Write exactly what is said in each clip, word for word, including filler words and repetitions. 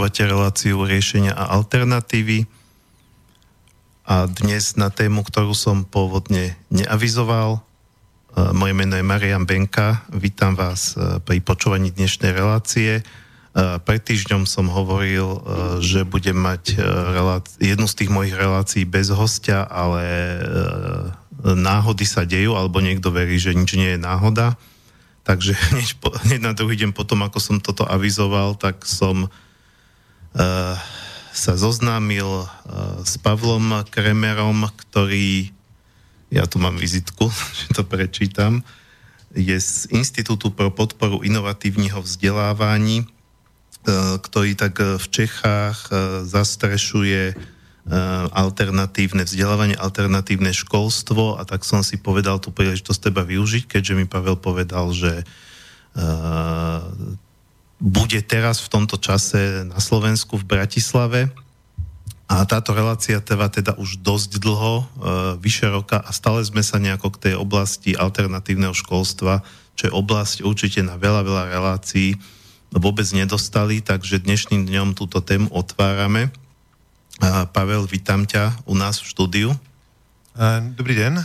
Počúvate reláciu Riešenia a alternatívy. A dnes na tému, ktorú som pôvodne neavizoval. Moje meno je Marian Benka. Vítam vás pri počúvaní dnešnej relácie. Pred týždňom som hovoril, že budem mať reláci- jednu z tých mojich relácií bez hostia, ale náhody sa dejú, alebo niekto verí, že nič nie je náhoda. Takže hneď, po, hneď na druhý deň potom, ako som toto avizoval, tak som uh, sa zoznámil uh, s Pavlom Kremerom, ktorý, ja tu mám vizitku, že to prečítam, je z Inštitútu pro podporu inovatívneho vzdelávaní, uh, ktorý tak v Čechách uh, zastrešuje alternatívne vzdelávanie, alternatívne školstvo, a tak som si povedal tú príležitosť teba využiť, keďže mi Pavel povedal, že uh, bude teraz v tomto čase na Slovensku v Bratislave, a táto relácia trvá teda už dosť dlho, uh, vyše roka, a stále sme sa nejako k tej oblasti alternatívneho školstva, čo je oblasť určite na veľa, veľa relácií, vôbec nedostali, takže dnešným dňom túto tému otvárame. Pavel, vítam ťa u nás v štúdiu. Dobrý den.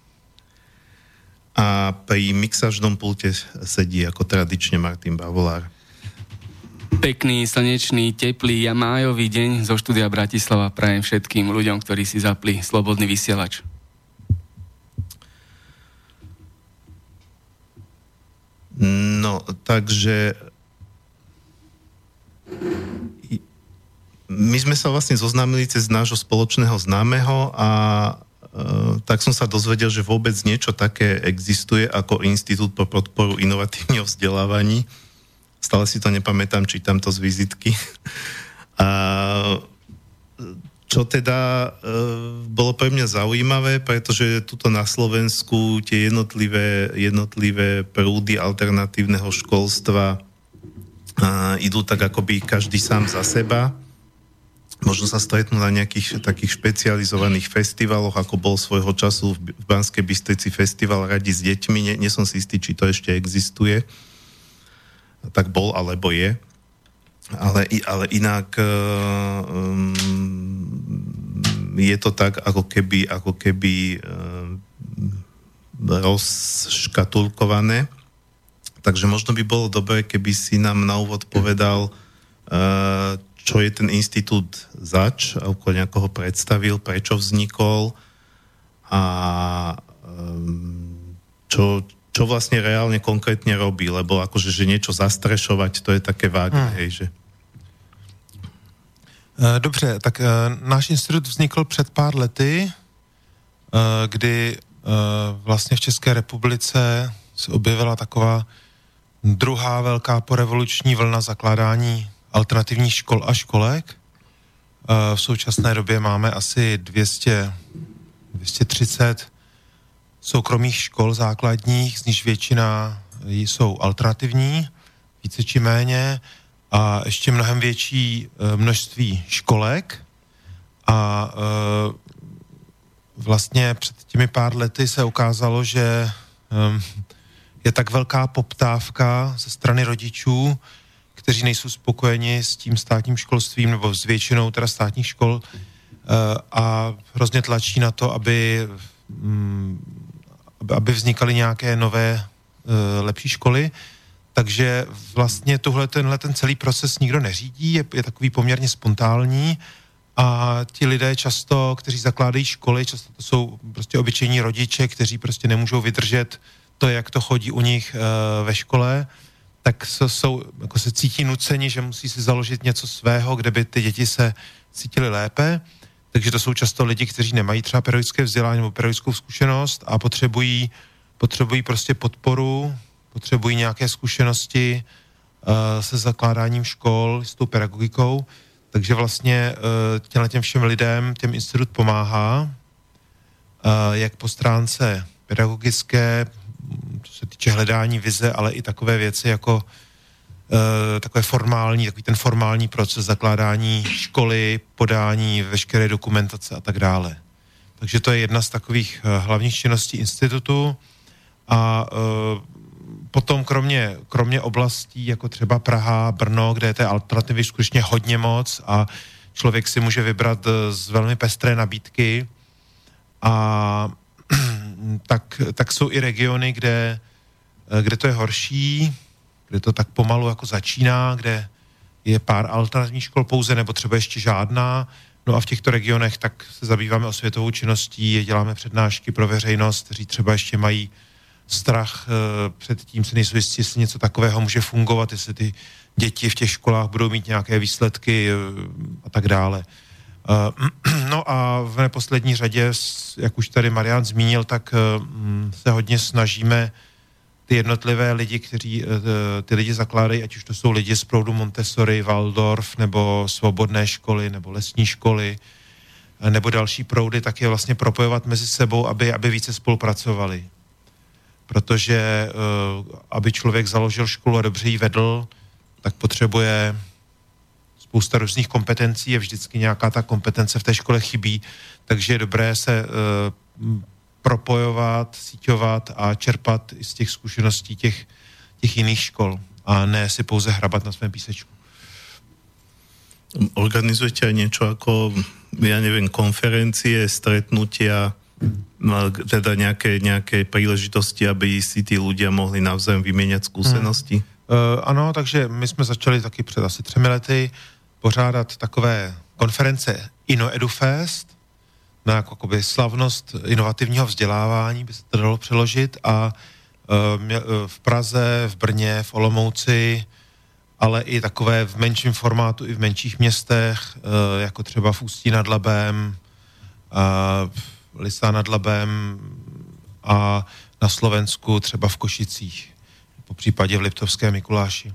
A pri mixážnom pulte sedí ako tradične Martin Bavolár. Pekný, slnečný, teplý a májový deň zo štúdia Bratislava prajem všetkým ľuďom, ktorí si zapli slobodný vysielač. No, takže my sme sa vlastne zoznámili cez nášho spoločného známeho a e, tak som sa dozvedel, že vôbec niečo také existuje ako Inštitút pro podporu inovatívneho vzdelávaní. Stále si to nepamätám, čítam to z vizitky. A čo teda e, bolo pre mňa zaujímavé, pretože tuto na Slovensku tie jednotlivé, jednotlivé prúdy alternatívneho školstva a, idú tak akoby každý sám za seba. Možno sa stretnú na nejakých takých špecializovaných festivaloch, ako bol svojho času v Banskej Bystrici festival Radi s deťmi. Nie, nie som si istý, či to ešte existuje. Tak bol, alebo je. Ale, ale inak um, je to tak, ako keby, ako keby um, rozškatulkované. Takže možno by bolo dobré, keby si nám na úvod povedal, uh, čo je ten inštitút zač, ako nejako ho predstavil, prečo vznikol a čo, čo vlastne reálne konkrétne robí, lebo akože, že niečo zastrešovať, to je také vágne, hmm. hej, že... Dobře, tak náš institut vznikl před pár lety, kdy vlastně v České republice se objevila taková druhá velká porevoluční vlna zakládání alternativních škol a školek. V současné době máme asi dvě stě, dvě stě třicet soukromých škol základních, z nich většina jsou alternativní, více či méně, a ještě mnohem větší množství školek. A vlastně před těmi pár lety se ukázalo, že je tak velká poptávka ze strany rodičů, kteří nejsou spokojeni s tím státním školstvím nebo s většinou teda státních škol a hrozně tlačí na to, aby, aby vznikaly nějaké nové lepší školy. Takže vlastně tohle, tenhle ten celý proces nikdo neřídí, je, je takový poměrně spontánní a ti lidé často, kteří zakládají školy, často to jsou prostě obyčejní rodiče, kteří prostě nemůžou vydržet to, jak to chodí u nich ve škole, tak jsou, jako se cítí nuceni, že musí si založit něco svého, kde by ty děti se cítily lépe. Takže to jsou často lidi, kteří nemají třeba pedagogické vzdělání nebo pedagogickou zkušenost a potřebují, potřebují prostě podporu, potřebují nějaké zkušenosti uh, se zakládáním škol, s tou pedagogikou. Takže vlastně uh, těm všem lidem těm institut pomáhá, uh, jak po stránce pedagogické, co se týče hledání vize, ale i takové věci jako uh, takové formální, takový ten formální proces zakládání školy, podání veškeré dokumentace a tak dále. Takže to je jedna z takových uh, hlavních činností institutu a uh, potom kromě, kromě oblastí, jako třeba Praha, Brno, kde je té alternativy skutečně hodně moc a člověk si může vybrat z velmi pestré nabídky, a tak, tak jsou i regiony, kde, kde to je horší, kde to tak pomalu jako začíná, kde je pár alternativních škol pouze, nebo třeba ještě žádná. No a v těchto regionech tak se zabýváme osvětovou činností, děláme přednášky pro veřejnost, kteří třeba ještě mají strach e, před tím, se nejsou jistí, jestli něco takového může fungovat, jestli ty děti v těch školách budou mít nějaké výsledky e, a tak dále. E, no a v neposlední řadě, jak už tady Marián zmínil, tak e, se hodně snažíme ty jednotlivé lidi, kteří e, ty lidi zakládají, ať už to jsou lidi z proudu Montessori, Waldorf, nebo svobodné školy, nebo lesní školy, e, nebo další proudy, tak je vlastně propojovat mezi sebou, aby, aby více spolupracovali. Protože uh, aby člověk založil školu a dobře ji vedl, tak potřebuje spousta různých kompetencí, je vždycky nějaká ta kompetence v té škole chybí, takže je dobré se uh, propojovat, síťovat a čerpat i z těch zkušeností těch, těch jiných škol a ne si pouze hrabat na svém písečku. Organizujete aj niečo ako, ja neviem, konferencie, stretnutia, teda nejaké, nejaké príležitosti, aby si tí ľudia mohli navzájem vymieňať skúsenosti? Hmm. Uh, ano, takže my jsme začali taky před asi třemi lety pořádat takové konference InnoEduFest, na jako, jakoby slavnost inovativního vzdělávání, by se to dalo přeložit, a uh, v Praze, v Brně, v Olomouci, ale i takové v menším formátu, i v menších městech, uh, jako třeba v Ústí nad Labem, uh, Lysá nad Labem a na Slovensku třeba v Košicích, po případě v Liptovské Mikuláši.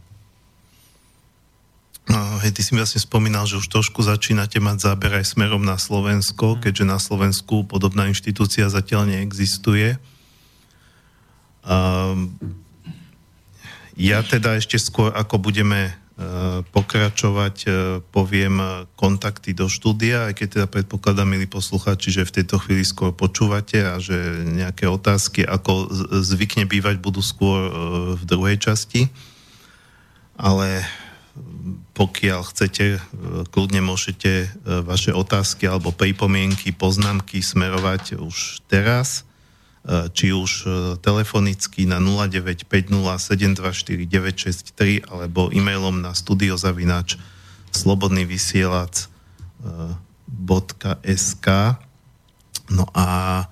No, hej, ty si mi vlastne spomínal, že už trošku začínate mať záber aj smerom na Slovensko, keďže na Slovensku podobná inštitúcia zatiaľ neexistuje. Um, ja teda ešte skôr, ako budeme pokračovať, poviem kontakty do štúdia, aj keď teda predpokladám, milí poslucháči, že v tejto chvíli skôr počúvate a že nejaké otázky, ako zvykne bývať, budú skôr v druhej časti. Ale pokiaľ chcete, kľudne môžete vaše otázky alebo pripomienky, poznámky smerovať už teraz, či už telefonicky na nula deväť päť nula sedem dva štyri deväť šesť tri alebo e-mailom na studiozavináč slobodnyvysielac bodka es ká. No a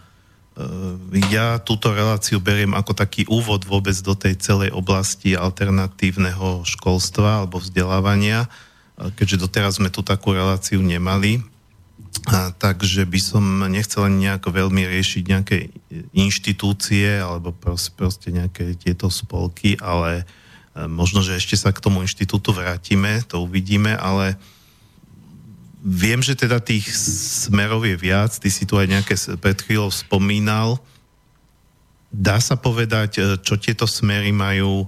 ja túto reláciu beriem ako taký úvod vôbec do tej celej oblasti alternatívneho školstva alebo vzdelávania, keďže doteraz sme tu takú reláciu nemali. A, takže by som nechcel ani nejako veľmi riešiť nejaké inštitúcie alebo proste, proste nejaké tieto spolky, ale možno, že ešte sa k tomu inštitútu vrátime, to uvidíme, ale viem, že teda tých smerov je viac, ty si tu aj nejaké pred chvíľou spomínal. Dá sa povedať, čo tieto smery majú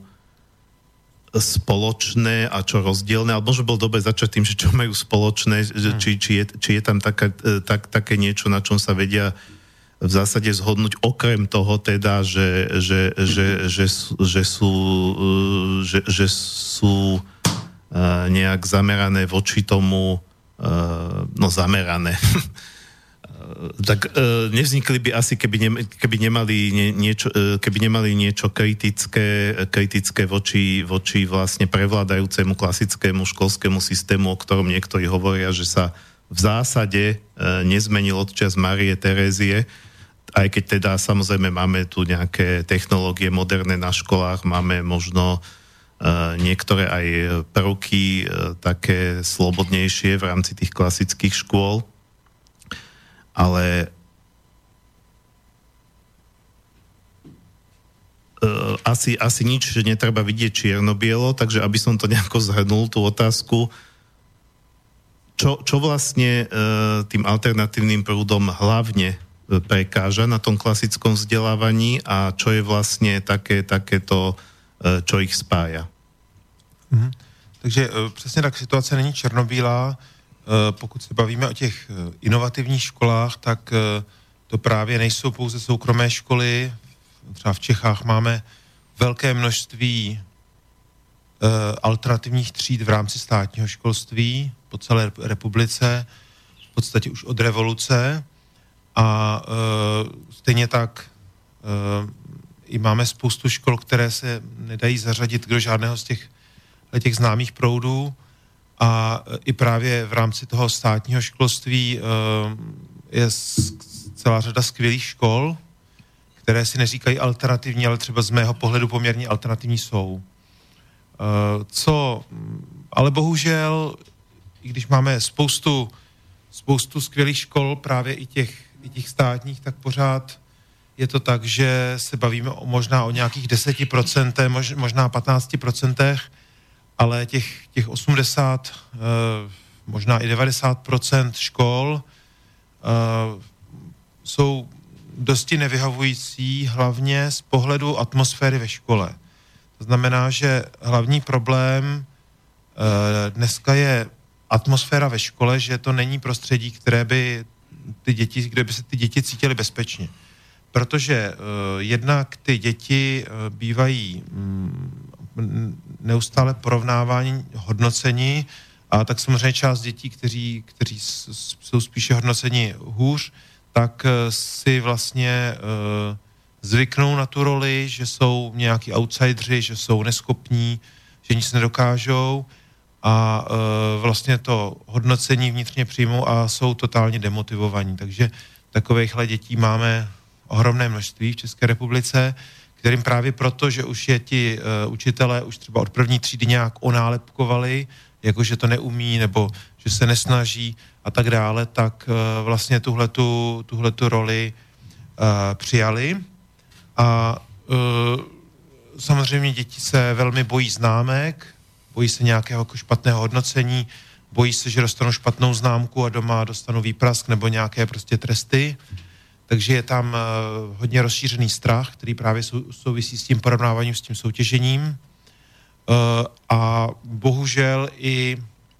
spoločné a čo rozdielne, ale možno bol dobre začať tým, že čo majú spoločné, hmm. či, či, je, či je tam taká, tak, také niečo, na čom sa vedia v zásade zhodnúť, okrem toho teda, že, že, že, že, že sú, že, že sú nejak zamerané voči tomu, no zamerané, tak e, nevznikli by asi, keby, ne, keby, nemali nie, niečo, e, keby nemali niečo kritické, kritické voči, voči vlastne prevládajúcemu klasickému školskému systému, o ktorom niektorí hovoria, že sa v zásade e, nezmenil od čas Márie Terézie, aj keď teda samozrejme máme tu nejaké technológie moderné na školách, máme možno e, niektoré aj prvky e, také slobodnejšie v rámci tých klasických škôl, ale uh, asi, asi nič netreba vidieť čierno-bielo, takže aby som to nejako zhrnul, tú otázku, čo, čo vlastne uh, tým alternatívnym prúdom hlavne prekáža na tom klasickom vzdelávaní a čo je vlastne také, takéto, uh, čo ich spája. Mhm. Takže uh, přesně tak situace není černobílá. Pokud se bavíme o těch inovativních školách, tak to právě nejsou pouze soukromé školy. Třeba v Čechách máme velké množství alternativních tříd v rámci státního školství po celé republice, v podstatě už od revoluce. A stejně tak i máme spoustu škol, které se nedají zařadit do žádného z těch, těch známých proudů. A i právě v rámci toho státního školství je celá řada skvělých škol, které si neříkají alternativní, ale třeba z mého pohledu poměrně alternativní jsou. Co, ale bohužel, i když máme spoustu, spoustu skvělých škol, právě i těch, i těch státních, tak pořád je to tak, že se bavíme o, možná o nějakých deseti procentech, mož, možná patnácti procentech, ale těch, těch osmdesát, možná i devadesát procent škol jsou dosti nevyhovující, hlavně z pohledu atmosféry ve škole. To znamená, že hlavní problém dneska je atmosféra ve škole, že to není prostředí, které by ty děti, kde by se ty děti cítily bezpečně. Protože jednak ty děti bývají neustále porovnávání, hodnocení, a tak samozřejmě část dětí, kteří, kteří jsou spíše hodnoceni hůř, tak si vlastně uh, zvyknou na tu roli, že jsou nějaký outsideri, že jsou neschopní, že nic nedokážou a uh, vlastně to hodnocení vnitřně přijmou a jsou totálně demotivovaní. Takže takovýchhle dětí máme ohromné množství v České republice, kterým právě proto, že už je ti uh, učitelé už třeba od první třídy nějak onálepkovali, jakože to neumí nebo že se nesnaží a tak dále, tak uh, vlastně tuhletu, tuhletu roli uh, přijali. A uh, samozřejmě děti se velmi bojí známek, bojí se nějakého jako špatného hodnocení, bojí se, že dostanou špatnou známku a doma dostanou výprask nebo nějaké prostě tresty. Takže je tam uh, hodně rozšířený strach, který právě sou, souvisí s tím porovnáváním, s tím soutěžením. Uh, a bohužel i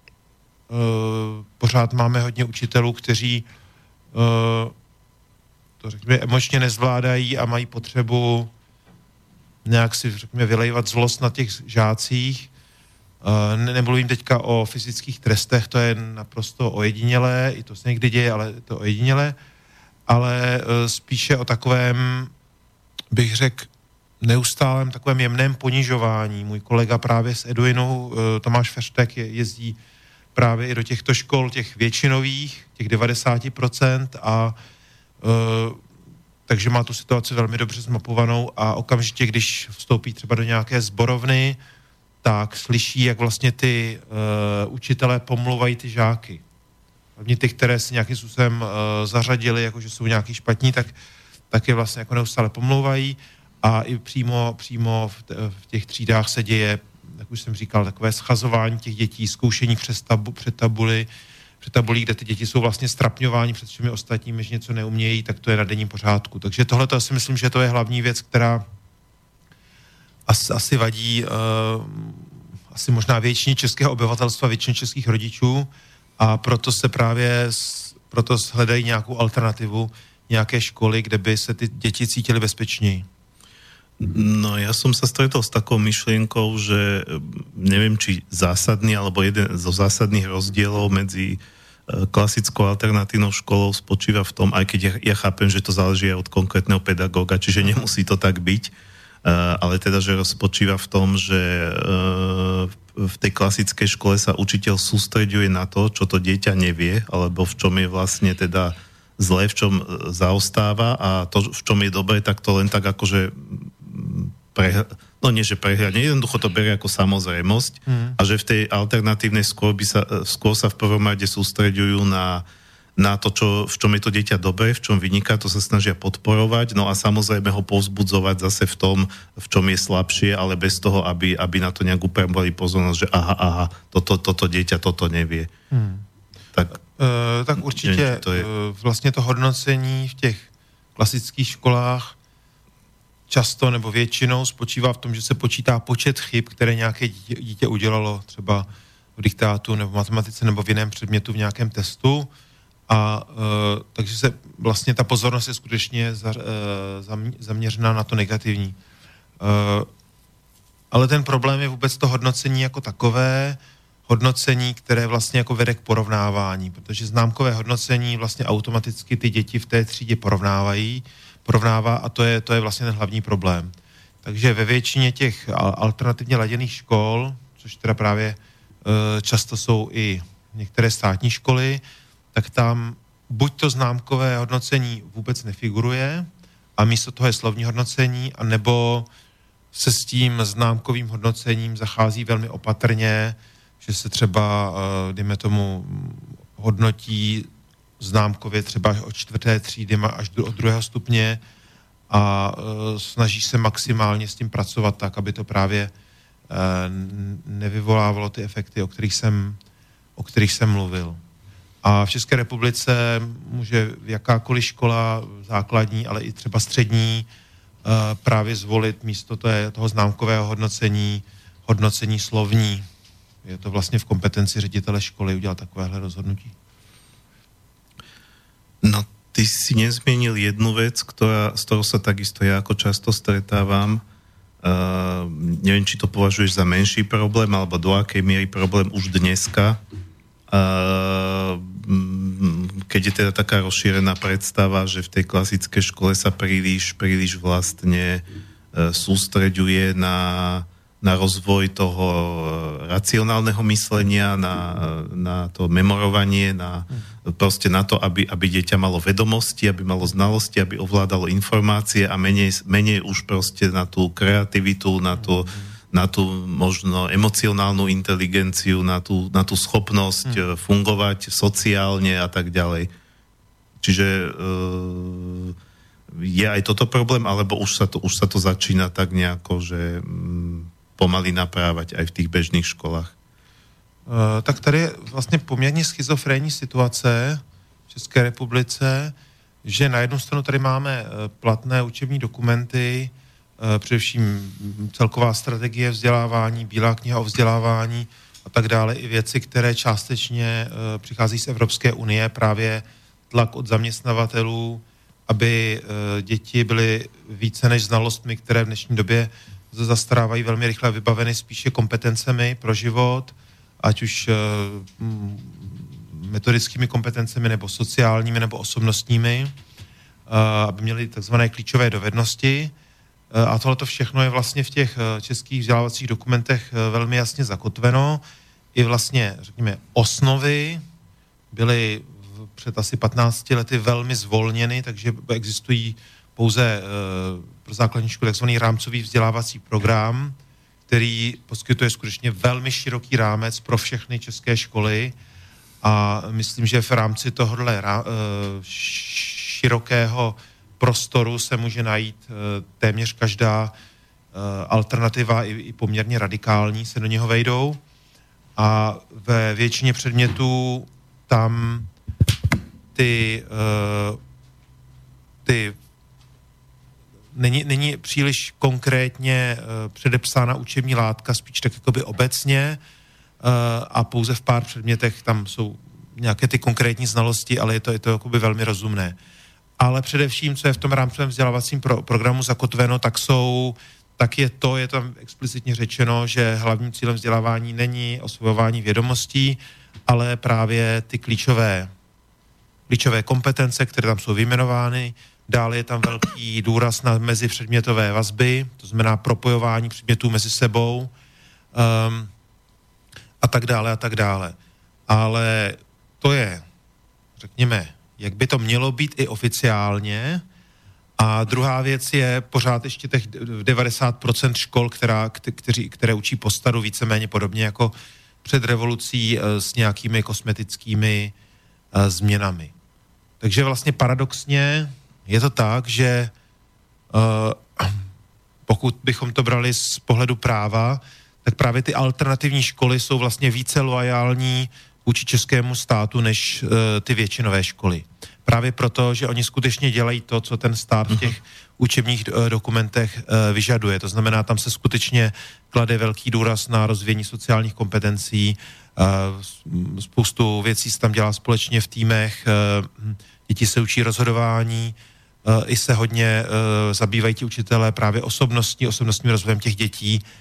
uh, pořád máme hodně učitelů, kteří uh, to řekněme emočně nezvládají a mají potřebu nějak si řekněme vylejvat zlost na těch žácích. Uh, ne, nemluvím teďka o fyzických trestech, to je naprosto ojedinělé, i to se někdy děje, ale je to ojedinělé, ale uh, spíše o takovém, bych řekl, neustálém takovém jemném ponižování. Můj kolega právě z Eduinu, Tomáš Feřtek, jezdí právě i do těchto škol, těch většinových, těch devadesát procent a uh, takže má tu situaci velmi dobře zmapovanou a okamžitě, když vstoupí třeba do nějaké sborovny, tak slyší, jak vlastně ty uh, učitelé pomlouvají ty žáky. Hlavně ty, které si nějakým způsobem uh, zařadili, jakože jsou nějaký špatní, tak, tak je vlastně jako neustále pomlouvají. A i přímo, přímo v, v těch třídách se děje, jak už jsem říkal, takové schazování těch dětí, zkoušení přes tabu, před tabuli, před tabulí, kde ty děti jsou vlastně strapňováni před všemi ostatními, že něco neumějí, tak to je na denním pořádku. Takže tohle to si myslím, že to je hlavní věc, která asi, asi vadí uh, asi možná většině českého obyvatelstva, většině českých rodičů a proto se právě proto hledají nějakou alternativu, nějaké školy, kde by se ty děti cítily bezpečněji. No ja som sa stretol s takou myšlienkou, že neviem, či zásadný, alebo jeden zo zásadných rozdielov medzi klasickou alternatívnou školou spočíva v tom, aj keď ja, ja chápem, že to záleží aj od konkrétneho pedagóga, čiže nemusí to tak byť, ale teda, že spočíva v tom, že v tej klasickej škole sa učiteľ sústreďuje na to, čo to dieťa nevie, alebo v čom je vlastne teda zlé, v čom zaostáva a to, v čom je dobré, tak to len tak akože Pre, no nie, že prehľadne, jednoducho to berie ako samozrejmosť mm. a že v tej alternatívnej skôr, by sa, skôr sa v prvom rade sústreďujú na, na to, čo, v čom je to dieťa dobré, v čom vyniká, to sa snažia podporovať, no a samozrejme ho povzbudzovať zase v tom, v čom je slabšie, ale bez toho, aby, aby na to nejak upriamili pozornosť, že aha, aha, toto, toto dieťa toto nevie. Mm. Tak, e, tak určitě neviem, to je... vlastně to hodnocení v těch klasických školách často nebo většinou spočívá v tom, že se počítá počet chyb, které nějaké dítě, dítě udělalo třeba v diktátu nebo v matematice nebo v jiném předmětu v nějakém testu a e, takže se vlastně ta pozornost je skutečně za, e, zaměřená na to negativní. E, ale ten problém je vůbec to hodnocení jako takové, hodnocení, které vlastně jako vede k porovnávání, protože známkové hodnocení vlastně automaticky ty děti v té třídě porovnávají, porovnává a to je, to je vlastně ten hlavní problém. Takže ve většině těch alternativně laděných škol, což teda právě e, často jsou i některé státní školy, tak tam buď to známkové hodnocení vůbec nefiguruje a místo toho je slovní hodnocení, anebo se s tím známkovým hodnocením zachází velmi opatrně, že se třeba, dejme tomu, hodnotí známkově třeba od čtvrté třídy až do druhého stupně a snaží se maximálně s tím pracovat tak, aby to právě nevyvolávalo ty efekty, o kterých jsem, o kterých jsem mluvil. A v České republice může jakákoliv škola základní, ale i třeba střední právě zvolit místo toho známkového hodnocení hodnocení slovní. Je to vlastně v kompetenci ředitele školy udělat takovéhle rozhodnutí. No, ty si nezmienil jednu vec, ktorá, s ktorou sa takisto ja ako často stretávam. Uh, neviem, či to považuješ za menší problém, alebo do akej miery problém už dneska. Uh, keď je teda taká rozšírená predstava, že v tej klasickej škole sa príliš, príliš vlastne uh, sústreďuje na na rozvoj toho racionálneho myslenia, na, na to memorovanie, na, proste na to, aby, aby dieťa malo vedomosti, aby malo znalosti, aby ovládalo informácie a menej, menej už proste na tú kreativitu, na tú, na tú možno emocionálnu inteligenciu, na tú, na tú schopnosť hmm. fungovať sociálne a tak ďalej. Čiže e, je aj toto problém, alebo už sa to, už sa to začína tak nejako, že mm, pomaly naprávať aj v těch běžných školách? Uh, tak tady je vlastně poměrně schizofrenní situace v České republice, že na jednu stranu tady máme platné učební dokumenty, uh, především celková strategie vzdělávání, bílá kniha o vzdělávání a tak dále, i věci, které částečně uh, přichází z Evropské unie, právě tlak od zaměstnavatelů, aby uh, děti byly více než znalostmi, které v dnešní době zastarávají velmi rychle vybaveny spíše kompetencemi pro život, ať už uh, metodickými kompetencemi, nebo sociálními, nebo osobnostními, uh, aby měli takzvané klíčové dovednosti. Uh, a tohle všechno je vlastně v těch uh, českých vzdělávacích dokumentech uh, velmi jasně zakotveno. I vlastně, řekněme, osnovy byly v, před asi patnácti lety velmi zvolněny, takže existují pouze uh, pro základní školy takzvaný rámcový vzdělávací program, který poskytuje skutečně velmi široký rámec pro všechny české školy a myslím, že v rámci tohohle uh, širokého prostoru se může najít uh, téměř každá uh, alternativa, i, i poměrně radikální, se do něho vejdou a ve většině předmětů tam ty, uh, ty Není, není příliš konkrétně uh, předepsána učební látka, spíš tak jakoby obecně uh, a pouze v pár předmětech tam jsou nějaké ty konkrétní znalosti, ale je to, je to jakoby velmi rozumné. Ale především, co je v tom rámcovém vzdělávacím pro, programu zakotveno, tak jsou, tak je to, je tam explicitně řečeno, že hlavním cílem vzdělávání není osvojování vědomostí, ale právě ty klíčové, klíčové kompetence, které tam jsou vyjmenovány. Dále je tam velký důraz na mezipředmětové vazby, to znamená propojování předmětů mezi sebou um, a tak dále a tak dále. Ale to je, řekněme, jak by to mělo být i oficiálně. A druhá věc je pořád ještě těch devadesát procent škol, která, kteří, které učí po staru víceméně podobně jako před revolucí s nějakými kosmetickými uh, změnami. Takže vlastně paradoxně je to tak, že uh, pokud bychom to brali z pohledu práva, tak právě ty alternativní školy jsou vlastně více loajální vůči českému státu než uh, ty většinové školy. Právě proto, že oni skutečně dělají to, co ten stát v těch učebních uh, dokumentech uh, vyžaduje. To znamená, tam se skutečně klade velký důraz na rozvíjení sociálních kompetencí, uh, spoustu věcí se tam dělá společně v týmech, uh, děti se učí rozhodování, uh, i se hodně uh, zabývají ti učitelé právě osobnostní, osobnostním rozvojem těch dětí.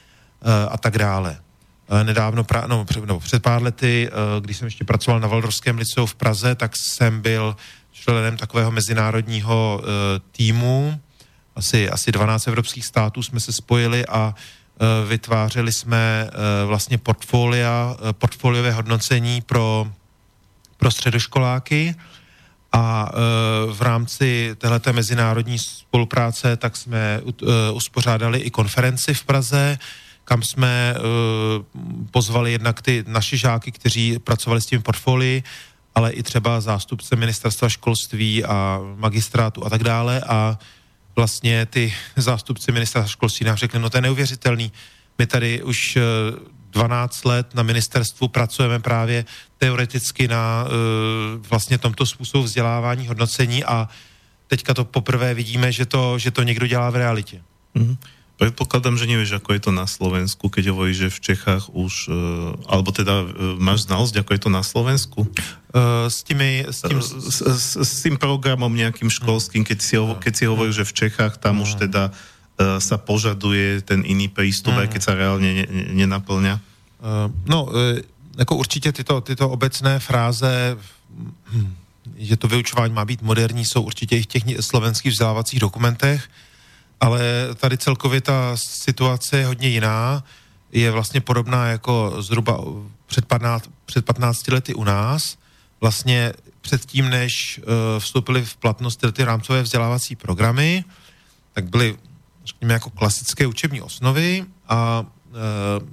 a tak dále. Nedávno, pra, no, před, no, před pár lety, když jsem ještě pracoval na Waldorfském liceu v Praze, tak jsem byl členem takového mezinárodního týmu, asi, asi dvanáct evropských států jsme se spojili a vytvářeli jsme vlastně portfolia, portfoliové hodnocení pro, pro středoškoláky a v rámci téhleté mezinárodní spolupráce tak jsme uspořádali i konferenci v Praze, kam jsme pozvali jednak ty naši žáky, kteří pracovali s tím portfolii, ale i třeba zástupce ministerstva školství a magistrátu a tak dále a vlastně ty zástupci ministerstva školství nám řekli, no to je neuvěřitelný, my tady už dvanáct let na ministerstvu pracujeme právě teoreticky na vlastně tomto způsobu vzdělávání, hodnocení a teďka to poprvé vidíme, že to, že to někdo dělá v realitě. Mm-hmm. Predpokladám, že nevieš, ako je to na Slovensku, keď hovoríš, že v Čechách už, alebo teda máš znalosť, ako je to na Slovensku? Uh, s, tými, s, tým... S, s, s tým programom nejakým školským, keď si, keď si hovoríš, že v Čechách tam už teda uh, sa požaduje ten iný prístup, mm. aj keď sa reálne ne, ne, nenaplňa? Uh, no, uh, jako určitě tyto, tyto obecné fráze, hm, že to vyučování má být moderní, jsou určitě i v těch slovenských vzdělávacích dokumentech, ale tady celkově ta situace je hodně jiná, je vlastně podobná jako zhruba před, patnáct, před patnácti lety u nás. Vlastně předtím, než uh, vstoupily v platnost ty rámcové vzdělávací programy, tak byly, řekněme, jako klasické učební osnovy a uh,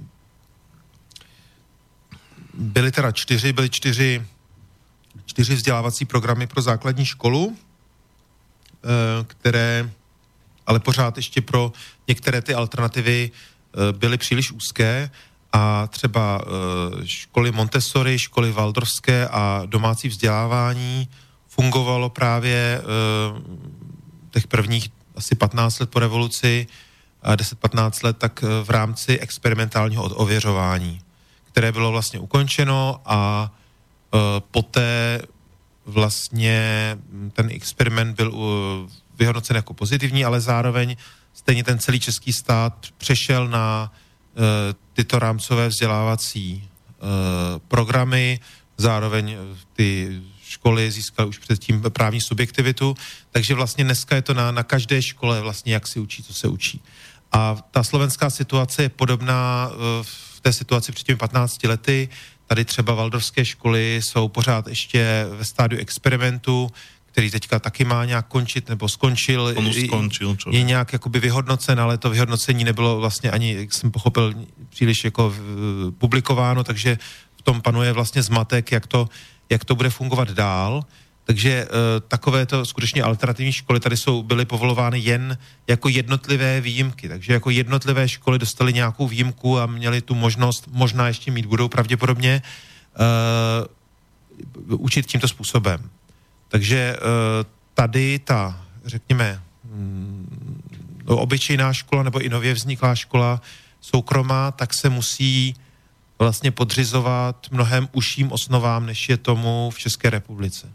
byly teda čtyři, byly čtyři, čtyři vzdělávací programy pro základní školu, uh, které ale pořád ještě pro některé ty alternativy byly příliš úzké a třeba školy Montessori, školy Waldorfské a domácí vzdělávání fungovalo právě těch prvních asi patnáct let po revoluci, deset patnáct let, tak v rámci experimentálního ověřování, které bylo vlastně ukončeno a poté vlastně ten experiment byl vyhodnocen jako pozitivní, ale zároveň stejně ten celý český stát přešel na uh, tyto rámcové vzdělávací uh, programy, zároveň ty školy získaly už předtím právní subjektivitu, takže vlastně dneska je to na, na každé škole vlastně, jak si učí, co se učí. A ta slovenská situace je podobná uh, v té situaci před těmi patnácti lety. Tady třeba waldorfské školy jsou pořád ještě ve stádiu experimentu, který teďka taky má nějak končit, nebo skončil. On už skončil, čo? Je nějak jakoby vyhodnocen, ale to vyhodnocení nebylo vlastně ani, jak jsem pochopil, příliš jako publikováno, takže v tom panuje vlastně zmatek, jak to, jak to bude fungovat dál. Takže e, takovéto skutečně alternativní školy tady jsou, byly povolovány jen jako jednotlivé výjimky. Takže jako jednotlivé školy dostaly nějakou výjimku a měly tu možnost, možná ještě mít budou pravděpodobně, e, učit tímto způsobem. Takže tady ta, řekněme, obyčejná škola nebo i nově vzniklá škola soukromá, tak se musí vlastně podřizovat mnohem užším osnovám, než je tomu v České republice.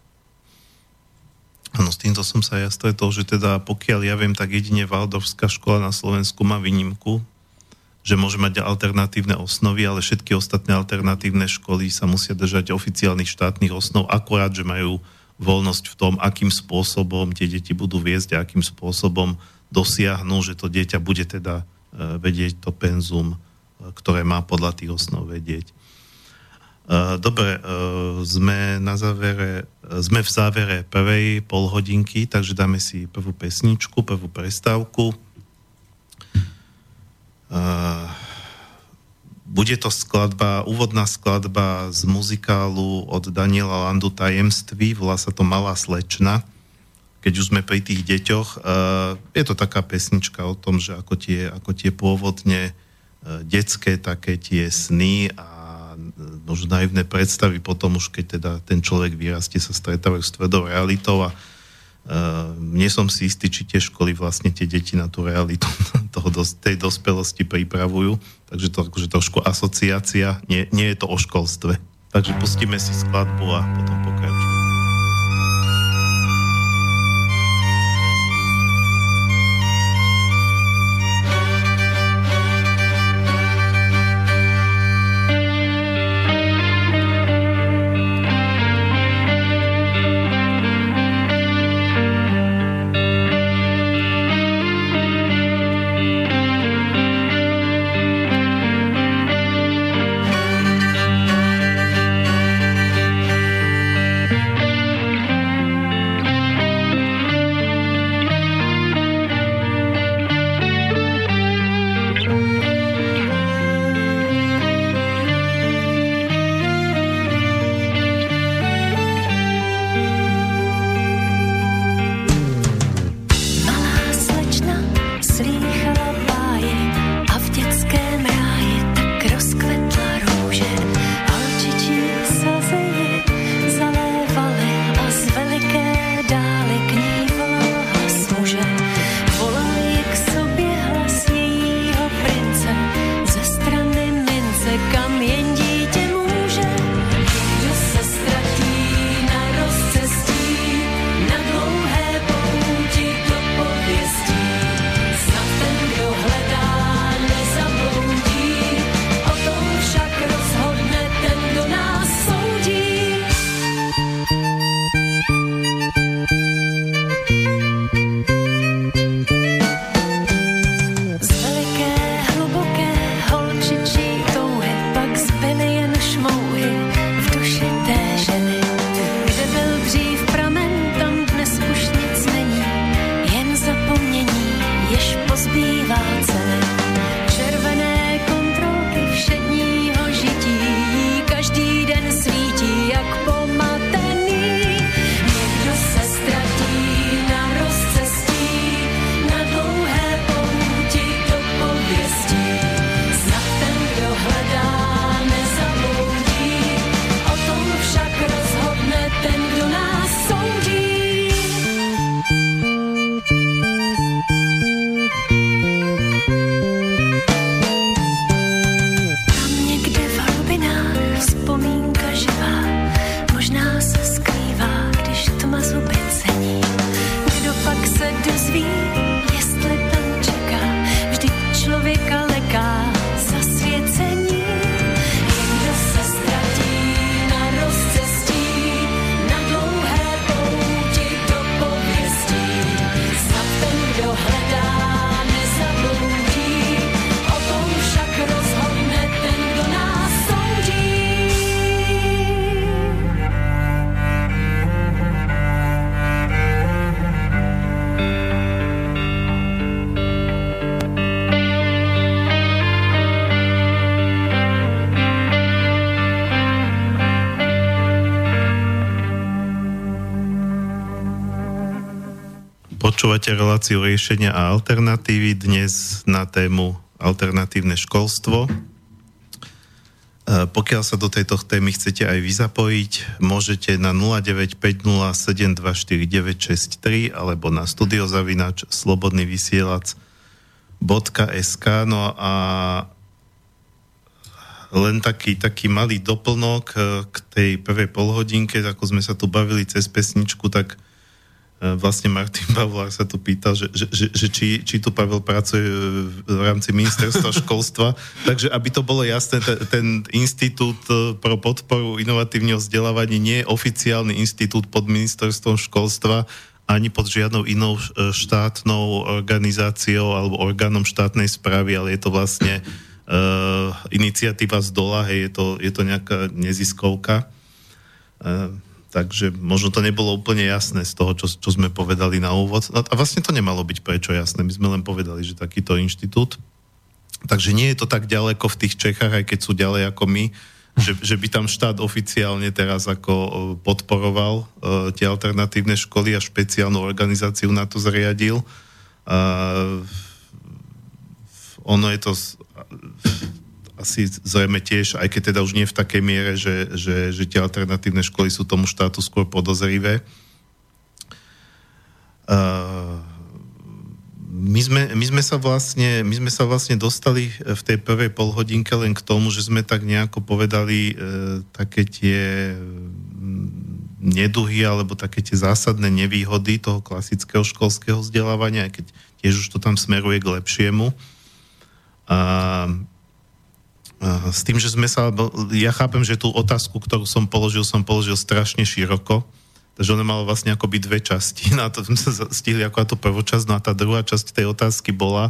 Áno, s týmto som sa ja stretol, že teda pokiaľ ja viem, tak jedine Waldorfská škola na Slovensku má výnimku, že môže mať alternatívne osnovy, ale všetky ostatné alternatívne školy sa musia držať oficiálnych štátnych osnov, akorát, že majú voľnosť v tom, akým spôsobom tie deti budú viesť a akým spôsobom dosiahnu, že to dieťa bude teda vedieť to penzum, ktoré má podľa tých osnov vedieť. Dobre, sme na závere, sme v závere prvej polhodinky, takže dáme si prvú pesničku, prvú prestávku. Bude to skladba, úvodná skladba z muzikálu od Daniela Landu Tajemství, volá sa to Malá slečna, keď už sme pri tých deťoch. Je to taká pesnička o tom, že ako tie, ako tie pôvodne detské také tie sny a možno naivné predstavy potom už, keď teda ten človek vyrastie, sa stretávajú s tvrdou realitou a Uh, nie som si istý, či tie školy vlastne tie deti na tú realitu toho, tej dospelosti pripravujú. Takže to akože trošku asociácia. Nie, nie je to o školstve. Takže pustíme si skladbu a potom pokračujeme. Počúvate reláciu riešenia a alternatívy dnes na tému alternatívne školstvo. Pokiaľ sa do tejto témy chcete aj vy zapojiť, môžete na nula deväť päť nula sedem dva štyri deväť šesť tri alebo na studiozavináč slobodný vysielač bodka es ká. No a len taký, taký malý doplnok k tej prvej polhodinke, ako sme sa tu bavili cez pesničku, tak vlastne Martin Pavlár sa tu pýtal, že, že, že, že či, či tu Pavel pracuje v rámci ministerstva školstva. Takže aby to bolo jasné, ten, ten inštitút pro podporu inovatívneho vzdelávania nie je oficiálny inštitút pod ministerstvom školstva ani pod žiadnou inou štátnou organizáciou alebo orgánom štátnej správy, ale je to vlastne uh, iniciatíva z dola, hej, je to, je to nejaká neziskovka. Uh, Takže možno to nebolo úplne jasné z toho, čo, čo sme povedali na úvod. A vlastne to nemalo byť prečo jasné. My sme len povedali, že takýto inštitút. Takže nie je to tak ďaleko v tých Čechách, aj keď sú ďalej ako my, že, že by tam štát oficiálne teraz ako podporoval uh, tie alternatívne školy a špeciálnu organizáciu na to zriadil. Uh, ono je to... Uh, asi zrejme tiež, aj keď teda už nie v takej miere, že, že, že tie alternatívne školy sú tomu štátu skôr podozrivé. Uh, my, sme, my, sme sa vlastne, my sme sa vlastne dostali v tej prvej polhodinke len k tomu, že sme tak nejako povedali uh, také tie neduhy alebo také tie zásadné nevýhody toho klasického školského vzdelávania, aj keď tiež už to tam smeruje k lepšiemu. A uh, s tým, že sme sa, ja chápem, že tú otázku, ktorú som položil, som položil strašne široko, takže ona mala vlastne akoby dve časti, na to sme sa stihli ako tú prvú časť, no a tá druhá časť tej otázky bola,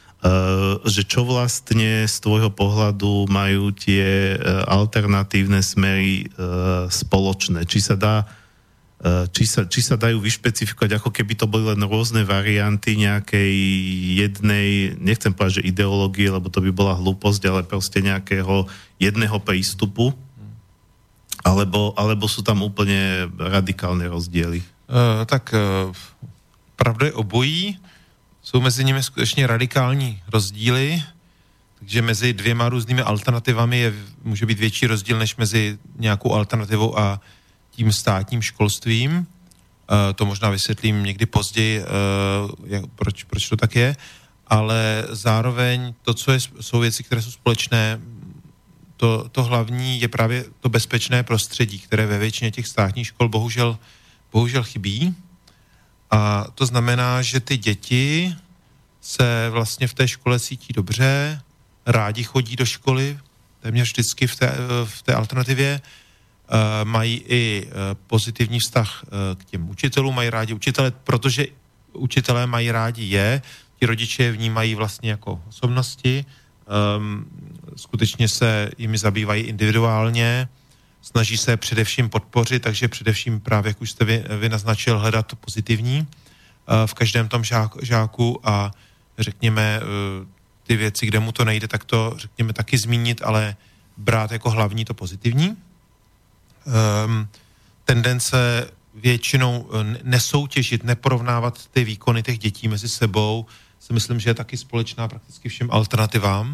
že čo vlastne z tvojho pohľadu majú tie alternatívne smery spoločné, či sa dá Či sa, či sa dajú vyšpecifikovať, ako keby to boli len rôzne varianty nejakej jednej, nechcem povedať, že ideológie, lebo to by bola hlúposť, ale proste nejakého jedného prístupu, alebo, alebo sú tam úplne radikálne rozdiely? Uh, tak uh, pravda je obojí. Jsou mezi nimi skutečně radikální rozdíly, takže mezi dvěma různými alternativami je, může být větší rozdíl než mezi nějakou alternativou a tím státním školstvím. E, to možná vysvětlím někdy později, e, jak, proč, proč to tak je, ale zároveň to, co je, jsou věci, které jsou společné, to, to hlavní je právě to bezpečné prostředí, které ve většině těch státních škol bohužel, bohužel chybí. A to znamená, že ty děti se vlastně v té škole cítí dobře, rádi chodí do školy, téměř vždycky v té, v té alternativě, Uh, mají i uh, pozitivní vztah uh, k těm učitelům, mají rádi učitele, protože učitelé mají rádi je, ti rodiče je vnímají vlastně jako osobnosti, um, skutečně se jimi zabývají individuálně, snaží se především podpořit, takže především právě, jak už jste vy, vy naznačil, hledat to pozitivní uh, v každém tom žák, žáku a řekněme uh, ty věci, kde mu to nejde, tak to řekněme taky zmínit, ale brát jako hlavní to pozitivní. Um, tendence většinou nesoutěžit, neporovnávat ty výkony těch dětí mezi sebou, si myslím, že je taky společná prakticky všem alternativám.